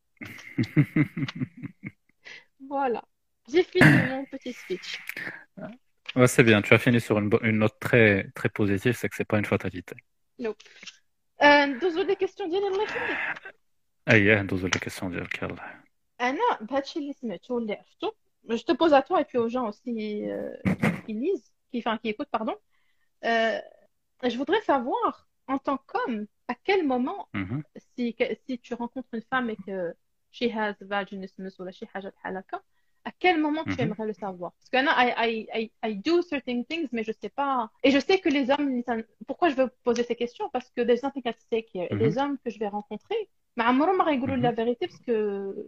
Voilà. J'ai fini mon petit speech. Ouais, c'est bien, tu as fini sur une note très, très positive, c'est que c'est pas une fatalité. Nope. ندوزو لي كيستيون ديالي الله يخليك. اييه ندوزو للكيسيون ديالك يلاه. انا بهادشي اللي سمعته واللي عرفتو je te pose à toi et puis aux gens aussi qui lisent qui écoutent pardon. Je voudrais savoir en tant qu'homme à quel moment Mhm. si tu rencontres une femme et que she has vaginismus ou شي حاجه بحال هكا à quel moment tu Mhm. aimerais le savoir parce que I do certain things mais je sais pas et je sais que les hommes pourquoi je veux poser ces questions parce que there's nothing at stake here et Mhm. les hommes que je vais rencontrer ما عمرهم ما غيقولوا Mhm. la vérité parce que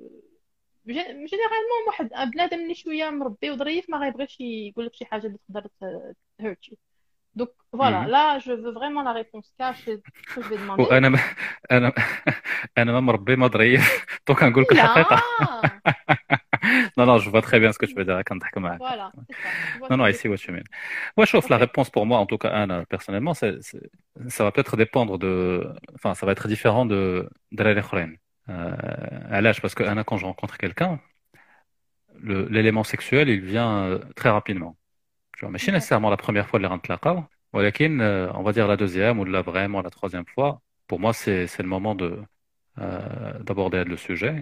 généralement واحد بنادم اللي شويه مربي وظريف ما غيبغيش يقول لك شي حاجه اللي تقدر hurt you. Donc voilà, Mhm. là je veux vraiment la réponse cash et ce que je vais demander. وانا انا انا ما مربي ما ظريف تو كنقول لك الحقيقه. Là, Non, non, je vois très bien ce que tu veux dire. كنضحك معاك. voilà, c'est ça. Tu vois Non, ce non, que I je see veux what you mean. Ouais, chauffe, la Ok. réponse pour moi, en tout cas, Anna, personnellement, ça va peut-être dépendre de... Enfin, ça va être différent de l'Alekhrein. علاش parce que Anna, quand je rencontre quelqu'un, l'élément sexuel, il vient très rapidement. Tu vois, mais pas D'accord. nécessairement la première fois de les rencontrer, ولكن, on va dire la deuxième ou là vraiment la troisième fois, pour moi, c'est le moment d'aborder le sujet.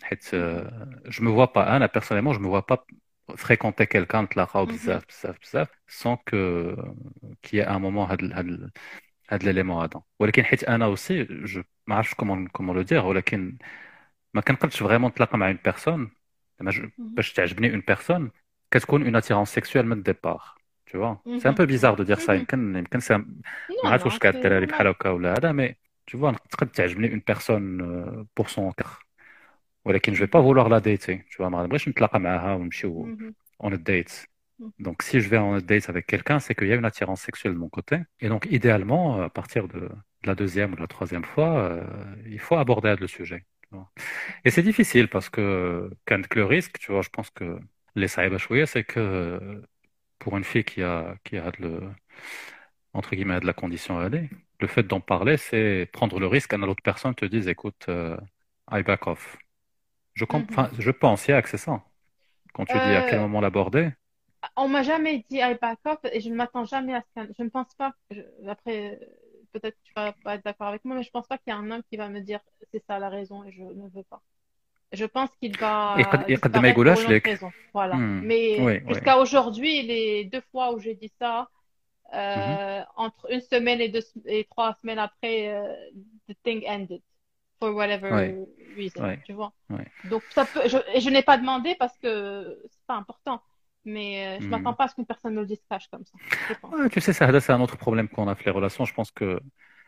Je me vois pas, Anna, personnellement, je me vois pas fréquenter quelqu'un de la Mhm. sans que qu'il y ait un moment هاد l'élément هذا. ولكن حيت أنا aussi, je ما عرفتش comment le dire, ولكن ما كنقدرش vraiment نتلاقى مع une personne زعما Mhm. باش تعجبني une personne كتكون une attirance sexuelle من départ. Tu vois, c'est un Mhm. peu bizarre de dire ça. Mhm. يمكن ما Non, عرفتش non, واش كاع c'est الدراري بحال normal. هكا ولا هذا mais tu vois تقد تعجبني une personne pour son cœur. ولكن je vais pas Mhm. vouloir la dater. Tu vois, ما نبغيش نتلاقى معاها ونمشيو Mhm. on a date. Mhm. Donc, si je vais en date avec quelqu'un, c'est qu'il y a une attirance sexuelle de mon côté. Et donc, idéalement, à partir de la deuxième ou de la troisième fois, il faut aborder le sujet. Tu vois. Et c'est difficile parce que, quand le risque, tu vois, je pense que les saïba chouïa, c'est que pour une fille qui a entre guillemets, de la condition AD, le fait d'en parler, c'est prendre le risque qu'une autre personne te dise, écoute, I back off. Mhm. Je pense, c'est ça. Quand tu dis à quel Euh, moment l'aborder. on m'a jamais dit I back off et je ne m'attends jamais à ce qu'un... Je ne pense pas, après, peut-être que tu vas pas être d'accord avec moi, mais je pense pas qu'il y a un homme qui va me dire c'est ça la raison et je ne veux pas. Je pense qu'il va يقد ما disparaître pour يقولهاش une autre لك. raison. Voilà. Mais وي وي. jusqu'à aujourd'hui, les 2 fois où j'ai dit ça, مهم. entre une semaine et 3 semaines après, the thing ended for whatever وي reason, وي tu vois. وي. Donc ça peut, et je n'ai pas demandé parce que c'est pas important, mais je m'attends مم. pas à ce qu'une personne me le dise cash comme ça, je pense. Ouais, tu sais, ça, c'est un autre problème qu'on a avec les relations. Je pense que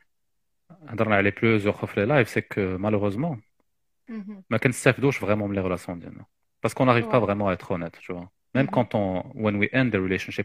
dans les plusieurs fois les lives, c'est que malheureusement, Mhm. ما كنستافدوش vraiment من les relations ديالنا. Parce qu'on n'arrive pas Ouais. vraiment à être honnête, tu vois. Même Mhm. quand when we end the relationship,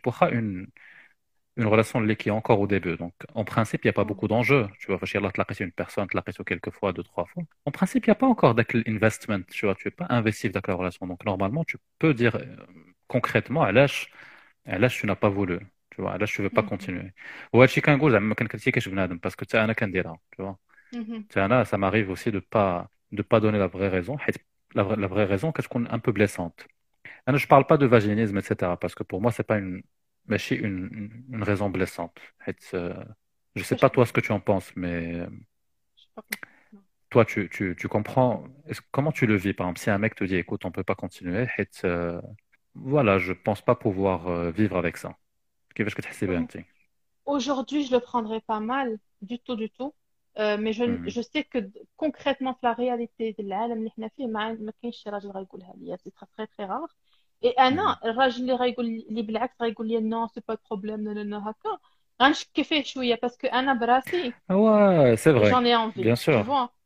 une relation qui est encore au début. Donc, en principe, il n'y a pas Ouais. beaucoup d'enjeux. Tu vois, فاش يلاه تلاقيتي une personne, تلاقيتو quelques fois, 2, 3 fois. En principe, il n'y a pas encore d'investment, tu vois. Tu n'es pas investif dans la relation. Donc, normalement, tu peux dire concrètement, علاش tu n'as pas voulu. Tu vois, علاش tu veux pas Mhm. continuer. وهادشي كنقول زعما ما كنكريتيكيش بنادم parce que حتى انا كنديرها, tu vois. Mhm. حتى انا ça m'arrive aussi de pas donner la vraie raison. حيت la vraie raison كتكون un peu blessante. Je ne parle pas de vaginisme, etc. Parce que pour moi, c'est pas ماشي une raison blessante. Je sais Ça, je pas toi ce comprends. que tu en penses, mais Je sais pas comment. Non. toi, tu comprends. Comment tu le vis? Par exemple, si un mec te dit, écoute, on peut pas continuer, voilà, je pense pas pouvoir vivre avec ça. كيفاش كتحسي بها Euh, انت؟ Aujourd'hui, je le prendrais pas mal, du tout, du tout. Mais Mhm. je sais que concrètement, في la réalité العالم اللي احنا فيه ما كاينش شي راجل غيقولها ليا سي très très très rare. Et Mhm. انا الراجل اللي غيقول لي بالعكس غيقول لي non c'est pas de problème non non non هكا غنشكي فيه شويه parce que انا براسي Ah ouais, c'est vrai, j'en ai envie bien tu sûr. vois.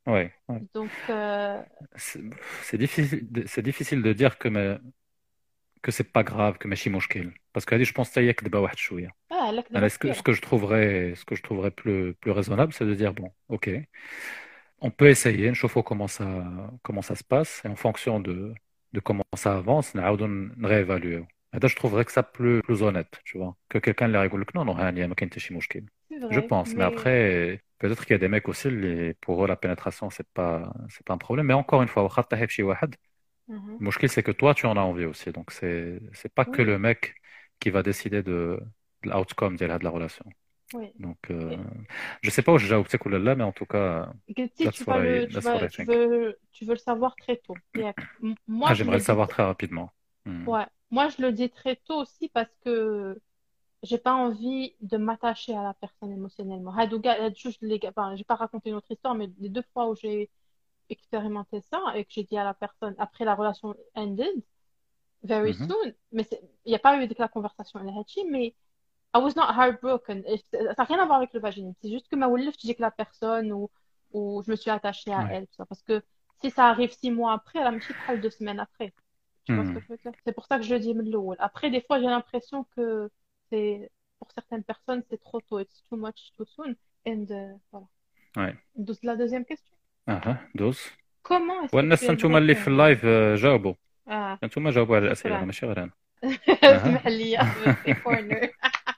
Ouais, ouais. Donc, C'est c'est difficile de dire que c'est pas grave, que ماشي مشكل. Parce que je pense que ça y est كدبة واحد شوية. là, Alors, ce que je trouverais plus raisonnable, c'est de dire, bon, ok, on peut essayer, نشوفوا comment ça se passe, et en fonction de comment ça avance, نعاودوا نréévaluer. Et là, je trouverais que ça plus honnête, tu vois, que quelqu'un leur يقول لك non, non, هانية ما كاين حتى شي مشكل. c'est Je vrai. pense, mais Mais après, peut-être qu'il y a des mecs aussi, pour eux, la pénétration, c'est pas un problème. Mais encore une fois, واخا طيح في شي واحد, mhm. le مشكل, c'est que toi, tu en as envie aussi. Donc, c'est pas que Oui, le mec qui va décider de l'outcome de la relation. oui. Donc, Et je sais pas où j'ai جاوبتك ولا لا, mais en tout cas, Guilty, that's what that's what I think. tu veux le savoir très tôt. Ah, Moi, je j'aimerais le le dis, savoir très rapidement. Hmm. ouais. Moi, je le dis très tôt aussi parce que j'ai pas envie de m'attacher à la personne émotionnellement. Enfin, j'ai pas raconté une autre histoire, mais les deux fois où j'ai expérimenté ça et que j'ai dit à la personne après la relation ended, very Mhm. soon, mais il n'y a pas eu de la conversation, elle a dit, mais I was not heartbroken. Et ça n'a rien à voir avec le vaginisme. C'est juste que ma je dis que la personne ou je me suis attachée à Ouais. elle. Tout ça. Parce que si ça arrive 6 mois après, elle a même pas 2 semaines après. Tu vois ce que Hmm. je veux dire? C'est pour ça que je le dis من الأول. Après, des fois, j'ai l'impression que c'est pour certaines personnes, c'est trop tôt. It's too much too soon. And voilà. Ouais. Donc, la deuxième question. دوز. Comment est-ce que tu والناس انتم aimerais اللي في qu'on... اللايف جاوبوا. Ah, انتم جاوبوا على الأسئلة، أنا شكرا. ماشي غير أنا. اسمح لي في corner.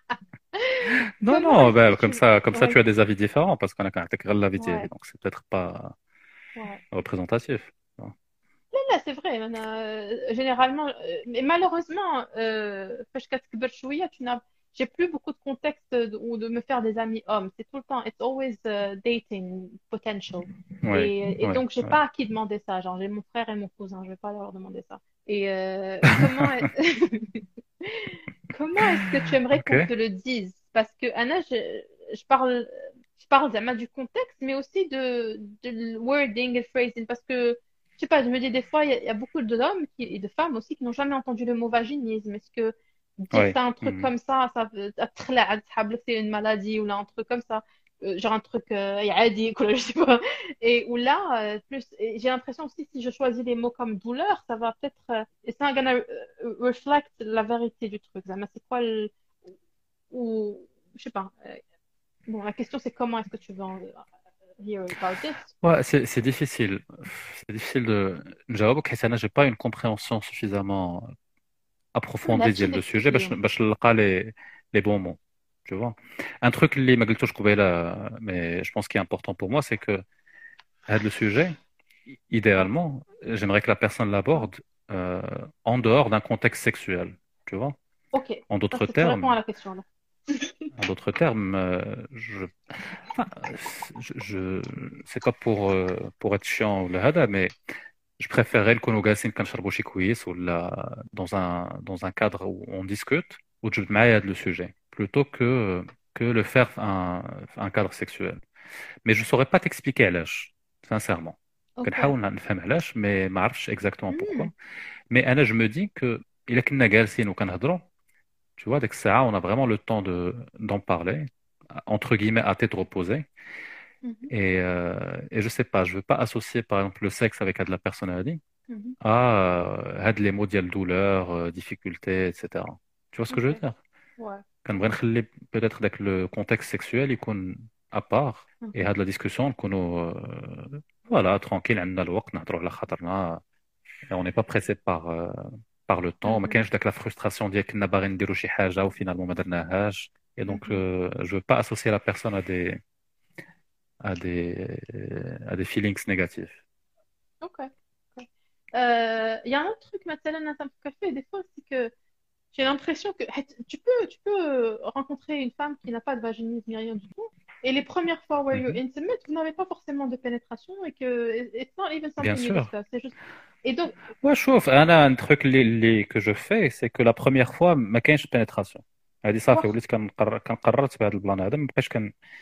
Non, Comment non, est-ce que bah, comme tu... ça, comme ça, tu Ouais, as des avis différents parce qu'on a quand même l'avis ouais, donc c'est peut-être pas ouais. représentatif. Là, c'est vrai. Généralement, mais malheureusement, فاش كتكبر شوية, j'ai plus beaucoup de contexte ou de me faire des amis hommes. C'est tout le temps, it's always dating potential. Ouais, Et ouais, donc, j'ai ouais. pas à qui demander ça. Genre, j'ai mon frère et mon cousin. Je vais pas leur demander ça. Et comment est-ce que tu aimerais Ok. qu'on te le dise? Parce que Anna, je parle vraiment du contexte, mais aussi de wording et phrasing. Parce que, je sais pas, je me dis des fois, il y a beaucoup d'hommes et de femmes aussi qui n'ont jamais entendu le mot vaginisme. Est-ce que dire Ouais. ça, un truc comme ça veut c'est une maladie ou là, un truc comme ça, genre un truc عادي, quoi, je sais pas. Et ou là, et j'ai l'impression aussi, si je choisis des mots comme douleur, ça va peut-être, it's not gonna reflect la vérité du truc. Mais c'est quoi ou, je sais pas. Bon, la question c'est comment est-ce que tu veux hear about this? Ouais, c'est difficile. C'est difficile de نجاوبك حيت أنا j'ai pas une compréhension suffisamment approfondie هادشي ديال اللي le قلت sujet لهم. باش نلقى les bons mots. Tu vois. Un truc اللي ما قلتوش قبيلة, mais je pense qu'il est important pour moi, c'est que le sujet, Ouais. idéalement, j'aimerais que la personne l'aborde euh, en dehors d'un contexte sexuel. Tu vois. Ok, En ça d'autres c'est tu réponds à termes, la question là. en d'autres termes, enfin, c'est pas pour être chiant ou le hada, mais je préférerais le konogasin كنشربوا شي كويس ولا dans un cadre où on discute وتجبد معايا هذا le sujet plutôt que le faire un cadre sexuel. Mais je saurais pas t'expliquer علاش, sincèrement. Ok. كنحاول نفهم علاش, mais ما عرفتش exactement pourquoi. Hmm. Mais أنا je me dis que إلا كنا جالسين وكنهضروا, tu vois, dès que ça, on a vraiment le temps d'en parler, entre guillemets, à tête reposée. Mhm. Et je sais pas, je veux pas associer, par exemple, le sexe avec de la personnalité Mhm. à les mots de douleur, difficulté, etc. Tu vois ce que je veux Ok. dire? Ouais. Quand نخلي peut-être avec le contexte sexuel, il يكون à part, et Mhm. la discussion, نكونوا voilà, tranquille, عندنا الوقت نهضروا على خاطرنا, et on n'est pas pressé par le temps. ما Mhm. كاينش داك la frustration ديال كنا باغيين نديروا شي حاجة وفينالمون ما درناهاش. Et donc, Mhm. je veux pas associer la personne à des, à des feelings négatifs. Ok. Ok. Il y a un autre truc مثلا ça me fait café des fois, c'est que j'ai l'impression que tu peux rencontrer une femme qui n'a pas de vaginisme ni rien du tout, et les premières fois where you're Mhm. intimate, vous n'avez pas forcément de pénétration et que it's not even Bien something you sûr. discuss. C'est juste. Et donc, Ouais, chauffe. Un truc que je fais, c'est que la première fois, ما كاينش pénétration. هذه صافي واخ- وليت كنقررت بهذا البلان هذا ما بقاش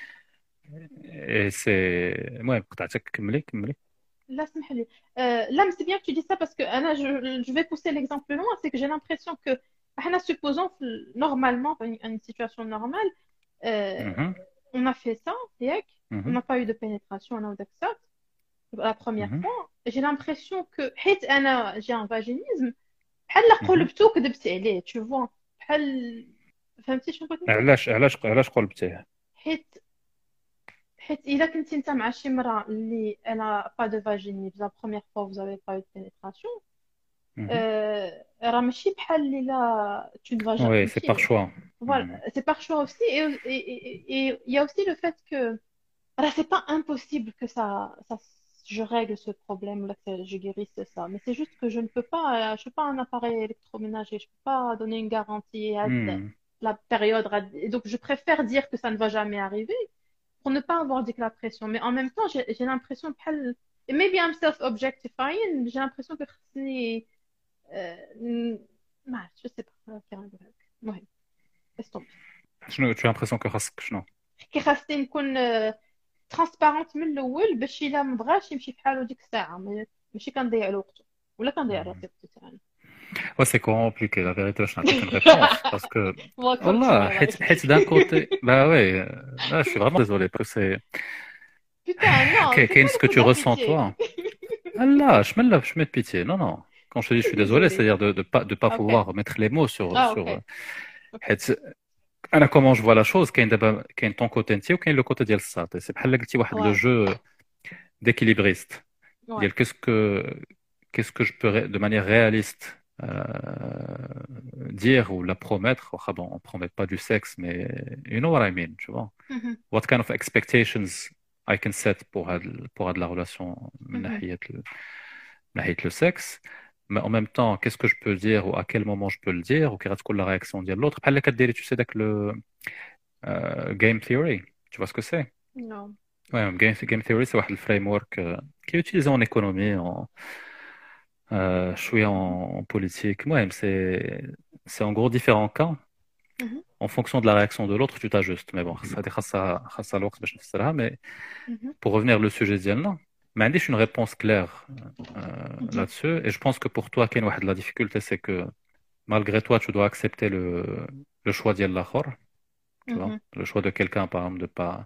سي المهم قطعتك, كملي. là, اسمح لي. Là, mais c'est bien que tu dis ça parce que Anna, je vais pousser l'exemple plus loin, c'est que j'ai l'impression que Anna, supposons normalement, une situation normale, euh, Mhm. on a fait ça, ياك, on Mhm. n'a pas eu de pénétration, on a eu ça. la première Mhm. fois, j'ai l'impression que حيت أنا j'ai un vaginisme بحال لا Mhm. قلبتو كذبت عليه tu vois بحال فهمتي شنو بغيت نقول علاش قلبتيه؟ حيت إذا كنتي أنت مع شي مرأة اللي elle a pas de vaginisme la première fois vous avez pas eu de pénétration Mhm. راه ماشي بحال اللي لا tu ne vas jamais Oui, c'est par فهمتي choix. voilà Mhm. c'est par choix aussi et il y a aussi le fait que alors, c'est pas impossible que je règle ce problème ou là, que je guérisse ça. Mais c'est juste que je ne peux pas, je suis pas un appareil électroménager. Je peux pas donner une garantie à Mhm. la période. Et donc, je préfère dire que ça ne va jamais arriver pour ne pas avoir dit que la pression. Mais en même temps, j'ai l'impression, et maybe I'm self-objectifying, j'ai l'impression que خصني, je sais pas. Ouais, laisse tomber. Tu as l'impression que شنو؟ كي خاصني نكون ترانسبارونت من الاول باش الا ما بغاش يمشي بحالو ديك الساعه ماشي كنضيع له وقته ولا كنضيع راسي وقتي تاعنا Ouais, c'est compliqué, la vérité, je n'ai aucune réponse. Parce que, Welcome to Wallah, my life. d'un côté, bah ouais, là, je suis vraiment désolé, parce que Putain, non, fais pas ce le que coup de tu la ressens, pitié. toi. Allah, je mets de pitié. Non, non. Quand je te dis je suis désolé, Désolée. c'est-à-dire de pas Ok. vouloir mettre les mots Ah, sur, ok. Ok. comment je vois la chose, qu'il y a ton côté entier ou qu'il y a le côté ديال الساط. C'est بحال قلتي واحد le Ouais. jeu d'équilibriste. Ouais. Dire qu'est-ce que je peux de manière réaliste dire ou la promettre. Ah bon, on promet pas du sexe, mais you know what I mean, tu vois. Mhm. What kind of expectations I can set pour la relation من Mhm. ناحية le sexe. Mais en même temps, qu'est-ce que je peux dire ou à quel moment je peux le dire ou quelle est la réaction de l'autre. بحال اللي كديري, tu sais, avec le game theory. Tu vois ce que c'est? Non. Ouais, game theory, c'est un framework qui est utilisé en économie, je suis en politique. Ouais, c'est en gros différents cas. Mhm. En fonction de la réaction de l'autre, tu t'ajustes. Mais bon, ça الوقت باش نفسرها. Mais Mhm. pour revenir au sujet ديالنا, ما عنديش une réponse claire Mhm. là-dessus. Et je pense que pour toi, كاين واحد la difficulté, c'est que malgré toi, tu dois accepter le choix ديال الآخر. Tu vois, Mhm. le choix de quelqu'un, par exemple,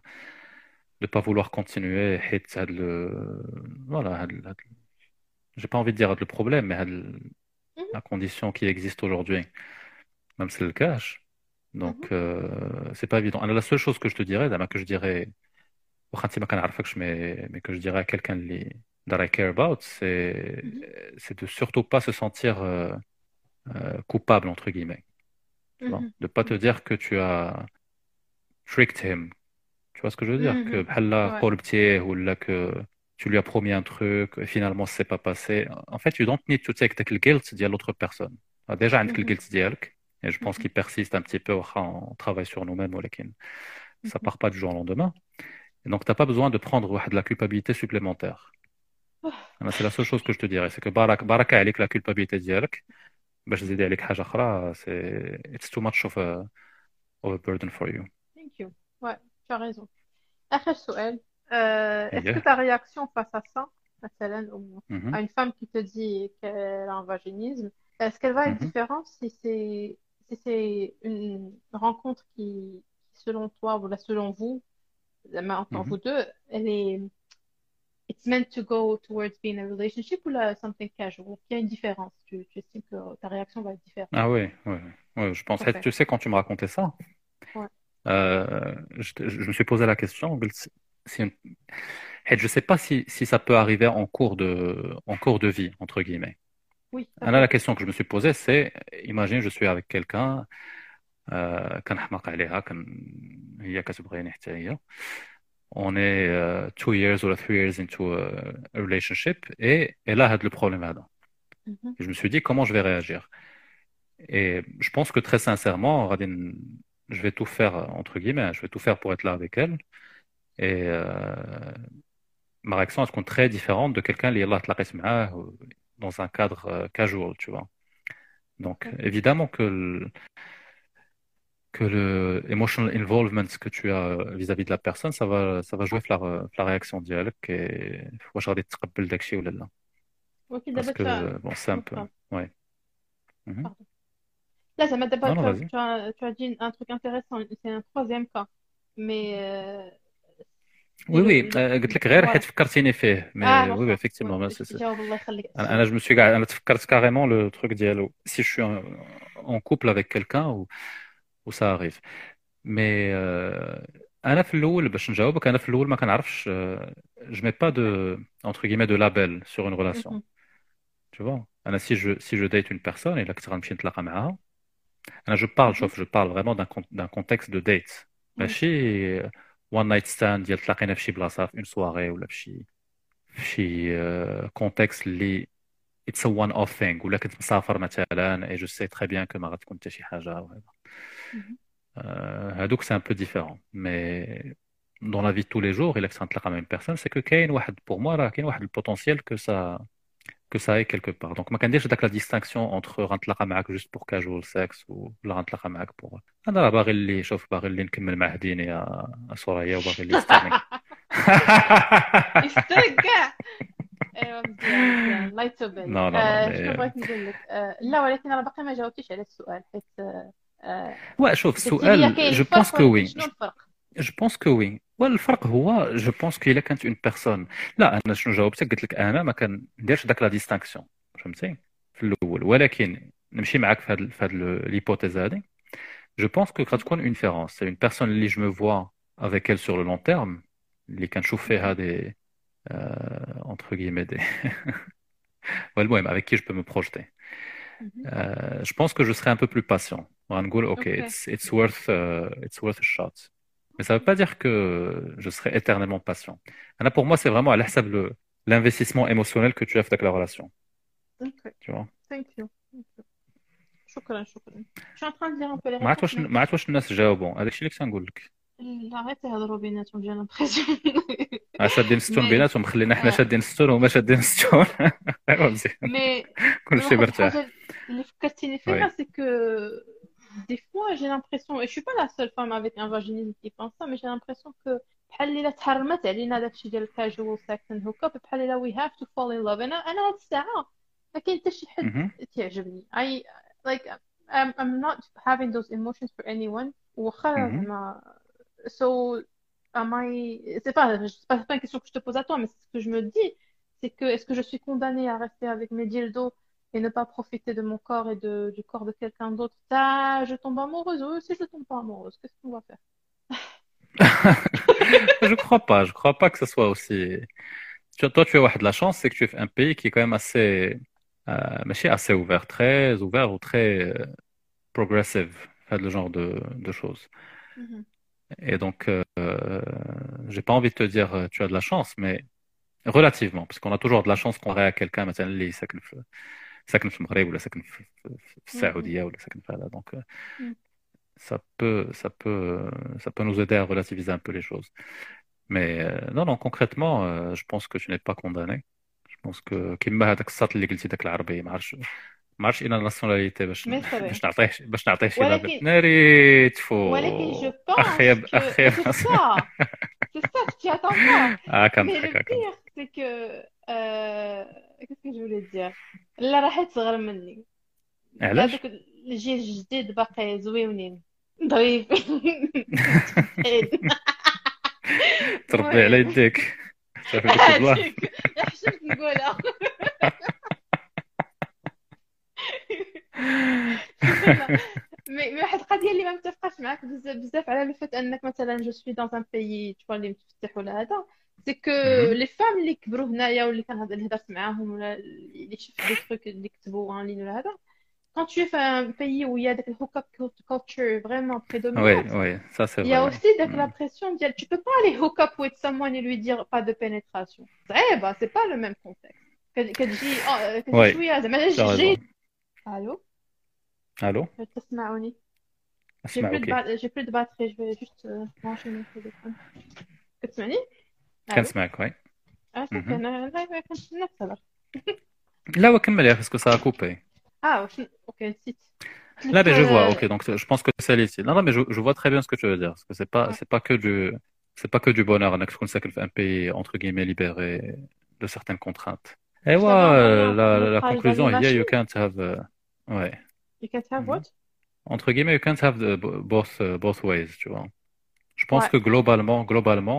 de pas vouloir continuer. حيت voilà, j'ai pas envie de dire le problème, mais Mhm. la condition qui existe aujourd'hui, même si c'est le cache. Mhm. Donc, c'est pas évident. Alors, la seule chose que je te dirais, que je dirais, واخا ما كنعرفكش, mais que je dirais à quelqu'un that I care about, Mhm. c'est de surtout pas se sentir coupable, entre guillemets. Tu vois, Mhm. de pas te Mhm. dire que tu as tricked him. Tu vois ce que je veux dire? Que Mhm. بحال لا Ouais. قلبتيه ou là que tu lui as promis un truc et finalement c'est pas passé. En fait, you don't need to take the guilt de l'autre personne. Déjà, عندك Mhm. الguilt ديالك et je pense Mhm. qu'il persiste un petit peu quand on travaille sur nous-mêmes ولكن ça Mhm. part pas du jour au lendemain. Et donc t'as pas besoin de prendre de la culpabilité supplémentaire. C'est la seule chose que je te dirais, c'est que baraka عليك la culpabilité ديالك باش تزيدي عليك حاجة أخرى, c'est it's too much of a burden for you. Thank you. Ouais, tu as raison. آخر سؤال est-ce que Yeah. ta réaction face à ça, مثلا, ou Mhm. à une femme qui te dit qu'elle a un vaginisme, est-ce qu'elle va être Mhm. différente si c'est une rencontre selon toi ou là, selon vous, entre Mhm. vous deux, elle est it's meant to go towards being a relationship ou là, something casual? Il y a une différence. Tu estimes que ta réaction va être différente. Ah oui, ouais, ouais. Ouais, je pense. Ok. Tu sais, quand tu me racontais ça, Ouais. je me suis posé la question. Je ne sais pas si ça peut arriver en cours de vie, entre guillemets. Oui, ça Là, peut. la question que je me suis posée, c'est, imagine, je suis avec quelqu'un, كنحماق عليها, هي كتبغيني حتى هي. On est 2 years ou 3 years into a relationship et là, le problème هذا. Mhm. Et je me suis dit, comment je vais réagir? Et je pense que très sincèrement, je vais tout faire, entre guillemets, je vais tout faire pour être là avec elle. Et ma réaction, elle compte très différente de quelqu'un qui est là, dans un cadre casual, tu vois. Donc, Ok. évidemment que le emotional involvement que tu as vis-à-vis de la personne, ça va jouer sur la réaction dialecte et faut que je regarde تقبل داكشي ولا لا. Ok, Parce d'abord, que, bon, c'est un peu, Pardon. ouais. Mhm. Là, ça m'a d'abord, Non, non, vas-y. tu as dit un truc intéressant, c'est un troisième cas. Mais وي ديروا وي قلت لك غير حيت فوالا فكرتيني فيه مي وي وي واخا effectivement باش تجاوب الله يخليك انا السؤال. جو me suis انا تفكرت كاريمون لو تروك ديالو si je suis en couple avec quelqu'un ou ça arrive mais انا في الاول باش نجاوبك انا في الاول ما كنعرفش je mets pas de entre guillemets de label sur une relation مهم. tu vois انا si je date une personne et là كنت غنمشي نتلاقى معاها انا je parle مهم. شوف je parle vraiment d'un contexte de date ماشي one night stand ديال تلاقينا في شي بلاصه في une soirée ولا في شي contexte اللي it's a one off thing ولا كنت مسافر مثلا et je sais très bien que ما غتكون حتى شي حاجه وهذا مهم. هادوك c'est un peu différent mais dans la vie de tous les jours il que تلاقى مع une personne c'est que كاين واحد pour moi راه كاين واحد le potentiel que ça est quelque part donc ما كنديرش داك la distinction entre غنتلاقى معاك juste pour casual sex ولا غنتلاقى معاك pour انا راه باغي اللي شوف باغي اللي نكمل مع ديني يا سوريا وباغي اللي يسترني يسترك كاع. ايوا مزيان مزيان الله يتوب non عليك. non non شنو mais بغيت نقول لك؟ لا ولكن انا باقي ما جاوبتيش على السؤال حيت ouais شوف قلتي لي السؤال كاين je pense الفرق que ولكن oui شنو الفرق؟ Je pense que oui. والفرق هو je pense qu'il كانت une personne. لا أنا شنو جاوبتك قلت لك أنا ما كنديرش داك لا ديستانكسيون فهمتي في الأول ولكن نمشي معاك في هاد l'hypothèse هادي. Je pense que غتكون une différence. C'est une personne اللي je me vois avec elle sur le long terme اللي كنشوف فيها des entre guillemets des والمهم avec qui je peux me projeter. Je pense que je serai un peu plus patient. غنقول OK اوكي it's worth a shot. Mais ça ne veut pas dire que je serai éternellement patient. Anna, pour moi, c'est vraiment à l'hsab l'investissement émotionnel que tu as fait avec la relation. اوكي Tu vois. ثانك يو شكرا شكرا. شو ان تران دير ان بو لي ما عرفت ريبونس واش مي ما عرفت واش الناس جاوبوا هذاك الشيء اللي كنت نقول لك. لا غير تهضروا بيناتهم جا لامبرسيون. شادين ستون مي بيناتهم خلينا حنا شادين ستون وما شادين ستون. ايوا مزيان مي كل شيء واحد مرتاح. الحاجه اللي فكرتيني فيها وي سي كو des fois j'ai l'impression et je suis pas la seule femme avec un vaginisme qui pense ça mais j'ai l'impression que بحال الا تحرمت علينا داكشي ديال الكاجوال سكس اند هوك اب بحال الا we have to fall in love. انا هاد الساعه ما كاين حتى شي حد Mhm. تعجبني I like I'm not having those emotions for anyone واخا Mhm. زعما so am I c'est pas une question que je te pose à toi mais ce que je me dis c'est que est-ce que je suis condamnée à rester avec mes dildos et ne pas profiter de mon corps et du corps de quelqu'un d'autre? Ça, je tombe amoureuse. Ou si je tombe pas amoureuse, qu'est-ce qu'on va faire? Je crois pas que ce soit aussi. Toi, tu as واحد la chance, c'est que tu es un pays qui est quand même assez, ماشي assez ouvert, très ouvert ou très progressive, fait le genre de choses. Mhm. Et donc, j'ai pas envie de te dire tu as de la chance, mais relativement, parce qu'on a toujours de la chance comparé à quelqu'un مثلا اللي ساكن في المغرب ولا ساكن في السعودية ولا ساكن في هذا. Donc, Mhm. ça peut nous aider à relativiser un peu les choses. Mais non, non, concrètement, je pense que tu n'es pas condamné. Je pense que كيما هذاك السطر اللي قلتي داك العربي ما عرفتش الا ناسيوناليتي Mais c'est vrai. باش نعطيه شي لابل ولكن ناري ولكن je تفو اخيب pense que اخيب c'est ça que tu attends pas. Mais كنضحك le pire, c'est que qu'est-ce que je voulais dire? لا راحت صغر مني. علاش هذوك الجيل الجديد باقي زويونين ظريفين. تربي على المهم يديك صافي ديك البلان هذيك حشمت نقولها. مي واحد القضيه اللي ما متفقاش معاك بزاف على لو فات انك مثلا جو سوي دون ان بيي تشوا اللي متفتح ولا هذا سي كو لي فام اللي كبروا هنايا واللي اللي هضرت معاهم ولا اللي شفت دي تروك اللي كتبوا ان لين ولا هذا quand tu es في un pays où il y a le hook-up culture vraiment prédominante, oui ça c'est il y a vrai aussi la pression de tu peux pas aller hook up with someone et lui dire pas de pénétration. C'est pas le même contexte. Que شويه زعما جي. Allô? الو تسمعوني؟ J'ai اسمع اوكي j'ai plus de batterie, je vais juste brancher mon téléphone. كتسمعني؟ Allô? كنسمعك وي صافي انا كنت نتصل. لا وكمل يا باسكو سا كوبي اوكي نسيت. là mais je vois ok donc je pense que c'est ici non mais je vois très bien ce que tu veux dire parce que c'est pas que du bonheur انك تكون ساكن في un pays entre guillemets libéré de certaines contraintes et la conclusion il y a you can't have ouais You can't have what? entre guillemets you can't have both ways tu vois je pense que globalement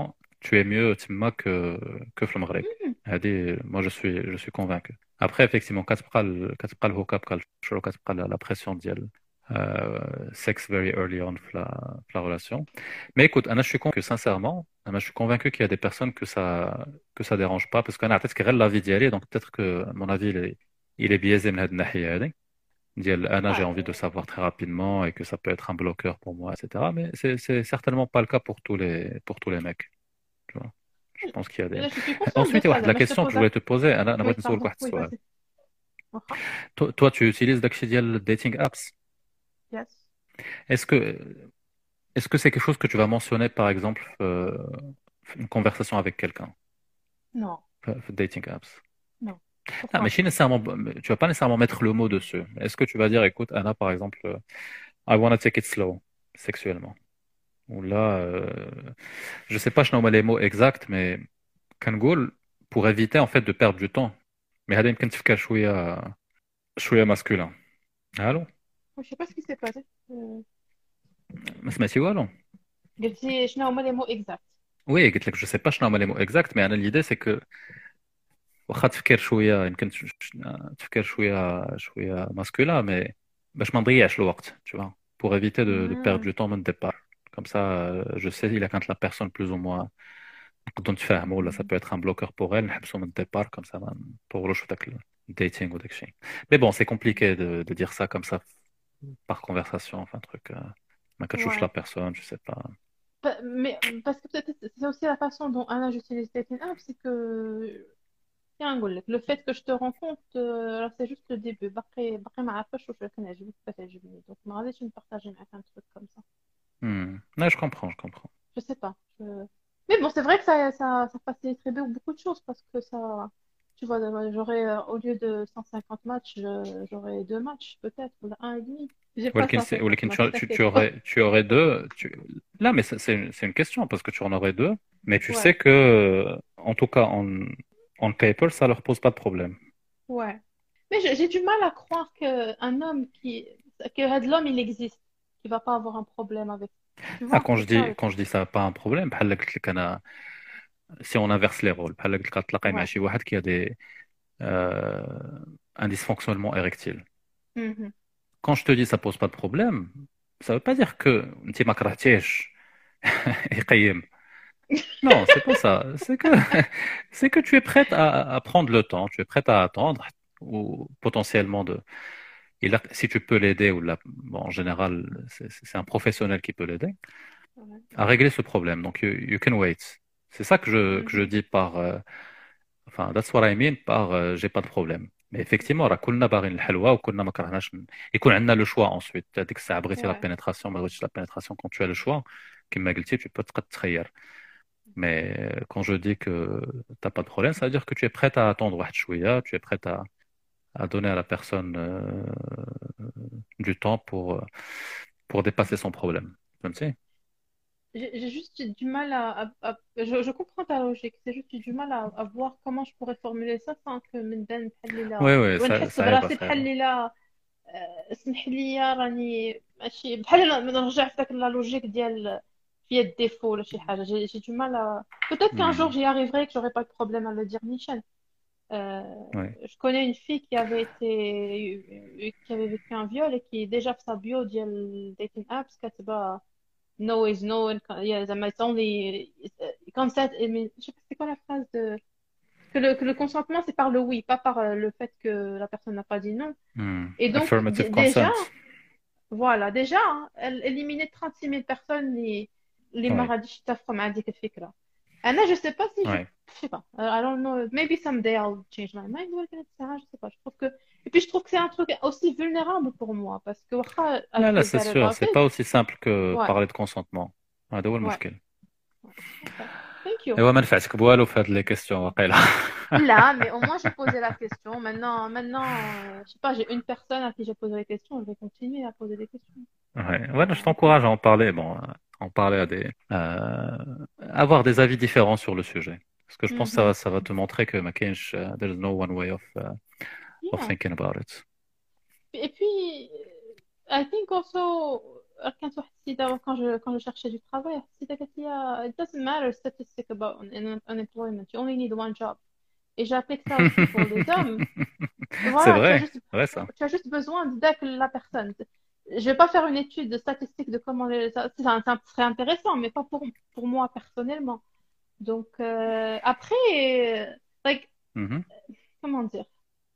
tu es mieux تما que في المغرب. هذه moi je suis convaincu. Après effectivement كتبقى الهوكا بقى الشروع كتبقى la pression ديال sex very early on في la relation. Mais écoute, Anna, je suis convaincu sincèrement, Anna, je suis convaincu qu'il y a des personnes que ça dérange pas parce qu'Anna peut-être qu'elle la vie d'y aller donc peut-être que mon avis il est biaisé من هاد الناحية هذه. ديال Anna, j'ai envie de savoir très rapidement et que ça peut être un bloqueur pour moi, etc. Mais c'est certainement pas le cas pour tous les mecs. Tu vois. Je pense qu'il y a des. Là, je suis consciente de Ensuite, ça, la mais je te question que pose je voulais te poser, Anna, Oui, بغيت نسولك pardon. واحد Oui, السؤال. vas-y. Waha. Toi, tu utilises داكشي ديال dating apps. Yes. Est-ce que est-ce que c'est quelque chose que tu vas mentionner, par exemple, une conversation avec quelqu'un, Non, dating apps? non. Ah, Pourquoi? mais tu vas pas nécessairement mettre le mot dessus. Est-ce que tu vas dire, écoute, Anna, par exemple, I wanna take it slow, sexuellement. Ou là, je sais pas شنو هما les mots exacts, mais كنقول pour éviter en fait de perdre du temps. Mais هذا يمكن تفكير شوية masculin. Allô? Je sais pas ce qui s'est passé. ما سمعتي والو؟ قلتي شنو هما les mots exacts. Oui, قلت لك je sais pas شنو هما les mots exacts, mais أنا l'idée c'est que واخا تفكير شوية يمكن تفكير شوية masculin, mais باش ما نضيعش الوقت, tu vois, pour éviter de perdre du temps من départ. Comme ça, je sais il a quand la personne plus ou moins نقدروا نتفاهموا ولا ça peut être un bloqueur pour elle نحبسوا من départ comme ça ما نطولوش في داك الديتينغ وداك الشيء. Mais bon, c'est compliqué de dire ça comme ça par conversation, enfin truc ما كتشوفش la Ouais. personne, je sais pas. Mais parce que peut-être c'est aussi la façon dont Anna j'utilise dating app, c'est que tiens, نقول لك, le fait que je te rencontre, alors c'est juste le début. باقي ما عارفاش واش كنعجبك ولا تعجبني. Donc ما غاديش نبارطاجي معاك un truc comme ça. Ouais, je comprends. Je sais pas. Mais bon, c'est vrai que ça faciliterait beaucoup de choses parce que ça, tu vois, j'aurais, au lieu de 150 matchs, j'aurais 2 matchs peut-être, ou un et demi. J'ai pas ولكن ça, c'est ولكن pas tu aurais deux. Là, mais c'est une question parce que tu en aurais deux, mais tu sais Ouais, que, en tout cas, en paper, ça leur pose pas de problème. ouais. Mais j'ai du mal à croire qu'un homme que l'homme il existe, qu'il va pas avoir un problème avec. Tu Ah, vois, c'est ça le quand je truc. dis ça, pas un problème. بحال قلت لك أنا, si on inverse les rôles, بحال قلت لك تلاقي مع Ouais. شي واحد qui a un dysfonctionnement érectile. Mhm. Quand je te dis ça pose pas de problème, ça veut pas dire que انت ما كرهتيش يقيم. Non, c'est pas ça. C'est que tu es prête à prendre le temps, tu es prête à attendre, ou potentiellement si tu peux l'aider, bon, en général, c'est un professionnel qui peut l'aider, Ouais. à régler ce problème. Donc, you can wait. C'est ça que je Mhm. dis par, enfin, that's what I mean par j'ai pas de problème. Mais effectivement, راه كلنا باغيين الحلوى وكلنا ما كرهناش يكون عندنا le choix ensuite. هذيك الساعة بغيتي la Ouais. pénétration, ما بغيتيش la pénétration, quand tu as le choix, كما قلتي, tu peux تقد تخير. Mais quand je dis que t'as pas de problème, ça veut dire que tu es prête à attendre واحد شوية, tu es prête à donner à la personne du temps pour dépasser son problème. فهمتي؟ J'ai juste du mal je comprends ta logique, c'est juste du mal à voir comment je pourrais formuler ça sans que من بان بحال لا Oui, ونحس ça براسي ça va. بحال لا اسمح لي راني ماشي بحال نرجع في داك لا لوجيك ديال فيا الديفو ولا شي حاجه j'ai du mal à peut-être qu'un jour Hmm, j'y arriverai que j'aurai pas de problème à le dire Michel. oui. Je connais une fille qui avait vécu un viol et qui déjà في sa bio ديال dating apps كاتبه no is no and yeah, زعما it's only consent. Mais je sais pas c'est quoi la phrase de que le consentement c'est par le oui, pas par le fait que la personne n'a pas dit non. Et donc Affirmative déjà consent. voilà déjà hein, elle éliminait 36 000 personnes اللي ما Oui, غاديش يتفقوا مع ديك الفكرة. أنا je sais pas si oui. je sais pas I don't know maybe someday I'll change my mind ولكن هاد الساعة je sais pas je trouve que et puis je trouve que c'est un truc aussi vulnérable pour moi parce que واخا I Là, feel c'est bad sûr, about c'est it. pas aussi simple que Ouais, parler de consentement. هذا هو ouais, المشكل. ouais. Okay. Thank you. ايوا ما نفعتك بوالو في هاد لي كيستيون واقيلا. Là, mais au moins j'ai posé la question. Maintenant, je sais pas, j'ai une personne à qui j'ai posé les questions, je vais continuer à poser des questions. Ouais, ouais, je t'encourage à en parler, bon, en parler avoir des avis différents sur le sujet. Parce que je pense que Mhm. ça va te montrer que ما كاينش, there's no one way of Yeah. thinking about it. Et puis, I think also, كانت واحد السيدة quand je cherchais du travail السيدة قالت لي it doesn't matter statistic about unemployment you only need one job et j'applique ça aussi pour les hommes. C'est Voilà, vrai, vrai ça. tu as juste besoin d'aider la personne. Je vais pas faire une étude de statistique de comment ça serait intéressant, mais pas pour moi personnellement. Donc, après, like, Mhm, comment dire,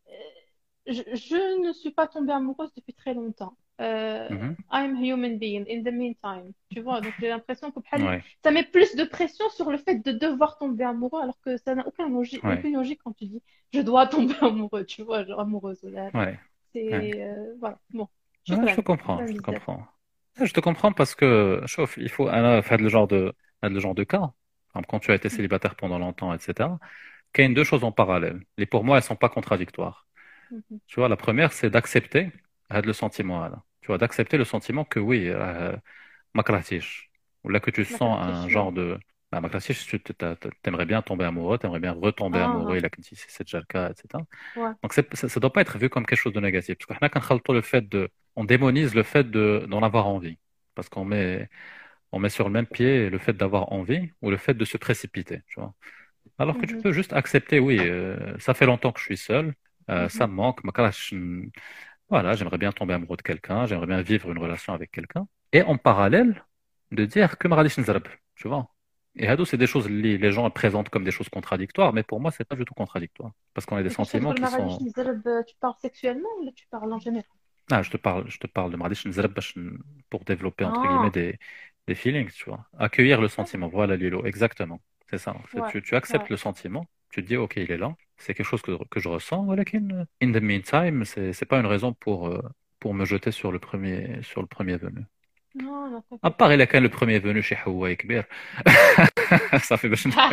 je ne suis pas tombée amoureuse depuis très longtemps. mhm. I'm a human being in the meantime. Tu vois, donc j'ai l'impression que Ouais, ça met plus de pression sur le fait de devoir tomber amoureux, alors que ça n'a ouais, aucune logique quand tu dis je dois tomber amoureux, tu vois, genre amoureuse. ouais, ouais. C'est, voilà, bon, Ouais, je te شكرا comprends, شكرا je te بزاف. comprends. Je te comprends parce que, chauffe, il faut faire le genre de cas. Par exemple, quand tu as été célibataire pendant longtemps, etc. Qu'il y a deux choses en parallèle. Et pour moi, elles sont pas contradictoires. Mhm. Tu vois, la première, c'est d'accepter le sentiment. Là. Tu vois, d'accepter le sentiment que oui, ma kratish, ou là que tu ما sens كرهتش un شنو. genre de ma kratish, t'aimerais bien tomber amoureux, t'aimerais bien retomber amoureux, اه là, si c'est déjà le cas, etc. ouais. Donc ça doit pas être vu comme quelque chose de négatif. Parce qu'on a le fait on démonise le fait d'en avoir envie. Parce on met sur le même pied le fait d'avoir envie ou le fait de se précipiter, tu vois. Alors que tu Mhm. peux juste accepter, oui, ça fait longtemps que je suis seul, ça Mhm. me manque, voilà, j'aimerais bien tomber amoureux de quelqu'un, j'aimerais bien vivre une relation avec quelqu'un. Et en parallèle, de dire que ma nzarb, tu vois. Et hado, c'est des choses que les gens présentent comme des choses contradictoires, mais pour moi, c'est pas du tout contradictoire. Parce qu'on a des Mais quand tu sentiments تقول qui ما غاديش sont. نزرب, tu parles sexuellement ou tu parles en général? Ah, je te parle de ma nzarb pour développer, entre guillemets, Ah, des feelings, tu vois. Accueillir le ah, sentiment. Voilà, Lilo, exactement. C'est ça. En fait, ouais, tu acceptes ouais. le sentiment, tu te dis, OK, il est là, c'est quelque chose que je ressens, voilà, in the meantime, c'est pas une raison pour me jeter sur le premier venu. Non, non, À t'inquiète part pas. il a quand le premier venu chez Hawaii Kbir. Ça fait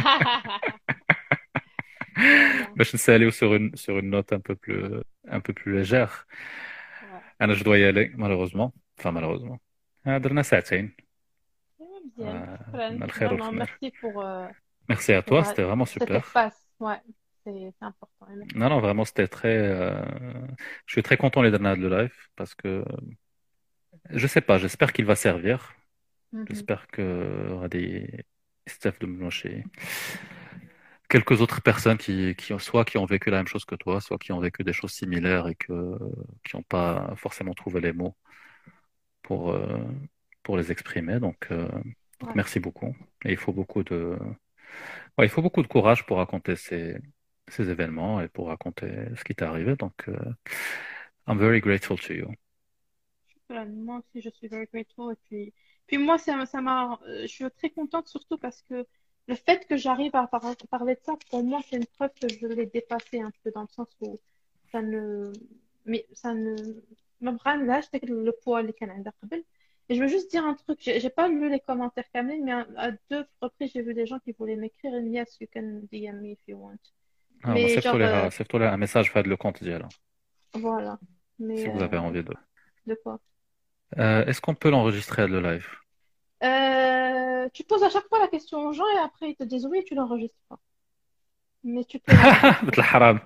Voilà, باش نساليو sur une note un peu plus légère. ouais. Je dois y aller malheureusement. Enfin malheureusement. درنا ساعتين. Bien, شكراً. قلنا الخير Vraiment, والخمير. merci Merci à pour toi, c'était vraiment cet super. espace. Ouais, c'est important. Et Non, merci. non, vraiment, c'était très. Je suis très content les derniers de live parce que je sais pas, j'espère qu'il va servir. Mhm. J'espère que aura des Steph de Mnoché, quelques autres personnes qui ont vécu la même chose que toi, soit qui ont vécu des choses similaires et qui n'ont pas forcément trouvé les mots pour, euh, pour les exprimer. Donc Ouais. merci beaucoup. Et il faut beaucoup de courage pour raconter ces événements et pour raconter ce qui t'est arrivé. Donc, I'm very grateful to you. Voilà, moi aussi, je suis very grateful. Et puis moi, je suis très contente surtout parce que le fait que j'arrive à parler de ça, pour moi, c'est une preuve que je l'ai dépassé un peu dans le sens où ça ne, mais ça ne, ما بغانلاش داك le poids اللي كان عندها قبل. Et je veux juste dire un truc, j'ai pas lu les commentaires Kamel, mais à deux reprises, j'ai vu des gens qui voulaient m'écrire, and yes, you can DM me if you want. Ah, moi, Mais genre, save-toi un message, fait le compte d'hier, voilà. si Mais vous avez envie de. de quoi? Est-ce qu'on peut l'enregistrer le live? Tu poses à chaque fois la question aux gens et après ils te disent oui, tu l'enregistres pas. Mais tu peux l'enregistrer. مثل الحرام.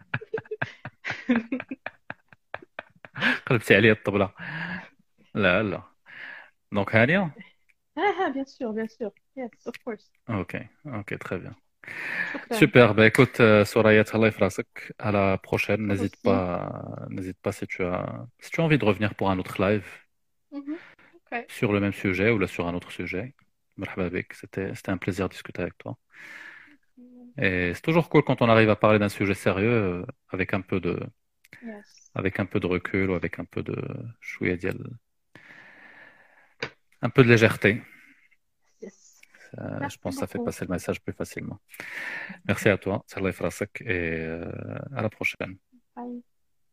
قلبتي علي الطبلة. لا لا. Donc, هانية. Bien sûr, bien sûr. Yes, of course. Ok, ok, très bien. شكرا. Super, bah écoute, Soraya, Allah yafrasek. À la prochaine. Toi N'hésite aussi. pas, n'hésite pas si tu as envie de revenir pour un autre live Mhm. Ok. sur le même sujet ou là sur un autre sujet. Marhaba bik. C'était un plaisir de discuter avec toi. Et c'est toujours cool quand on arrive à parler d'un sujet sérieux avec Yes. avec un peu de recul ou avec شوية un peu de légèreté. Yes. Je Merci pense que ça fait beaucoup. passer le message plus facilement. Merci à toi, Allah yafrasek, et à la prochaine. Bye.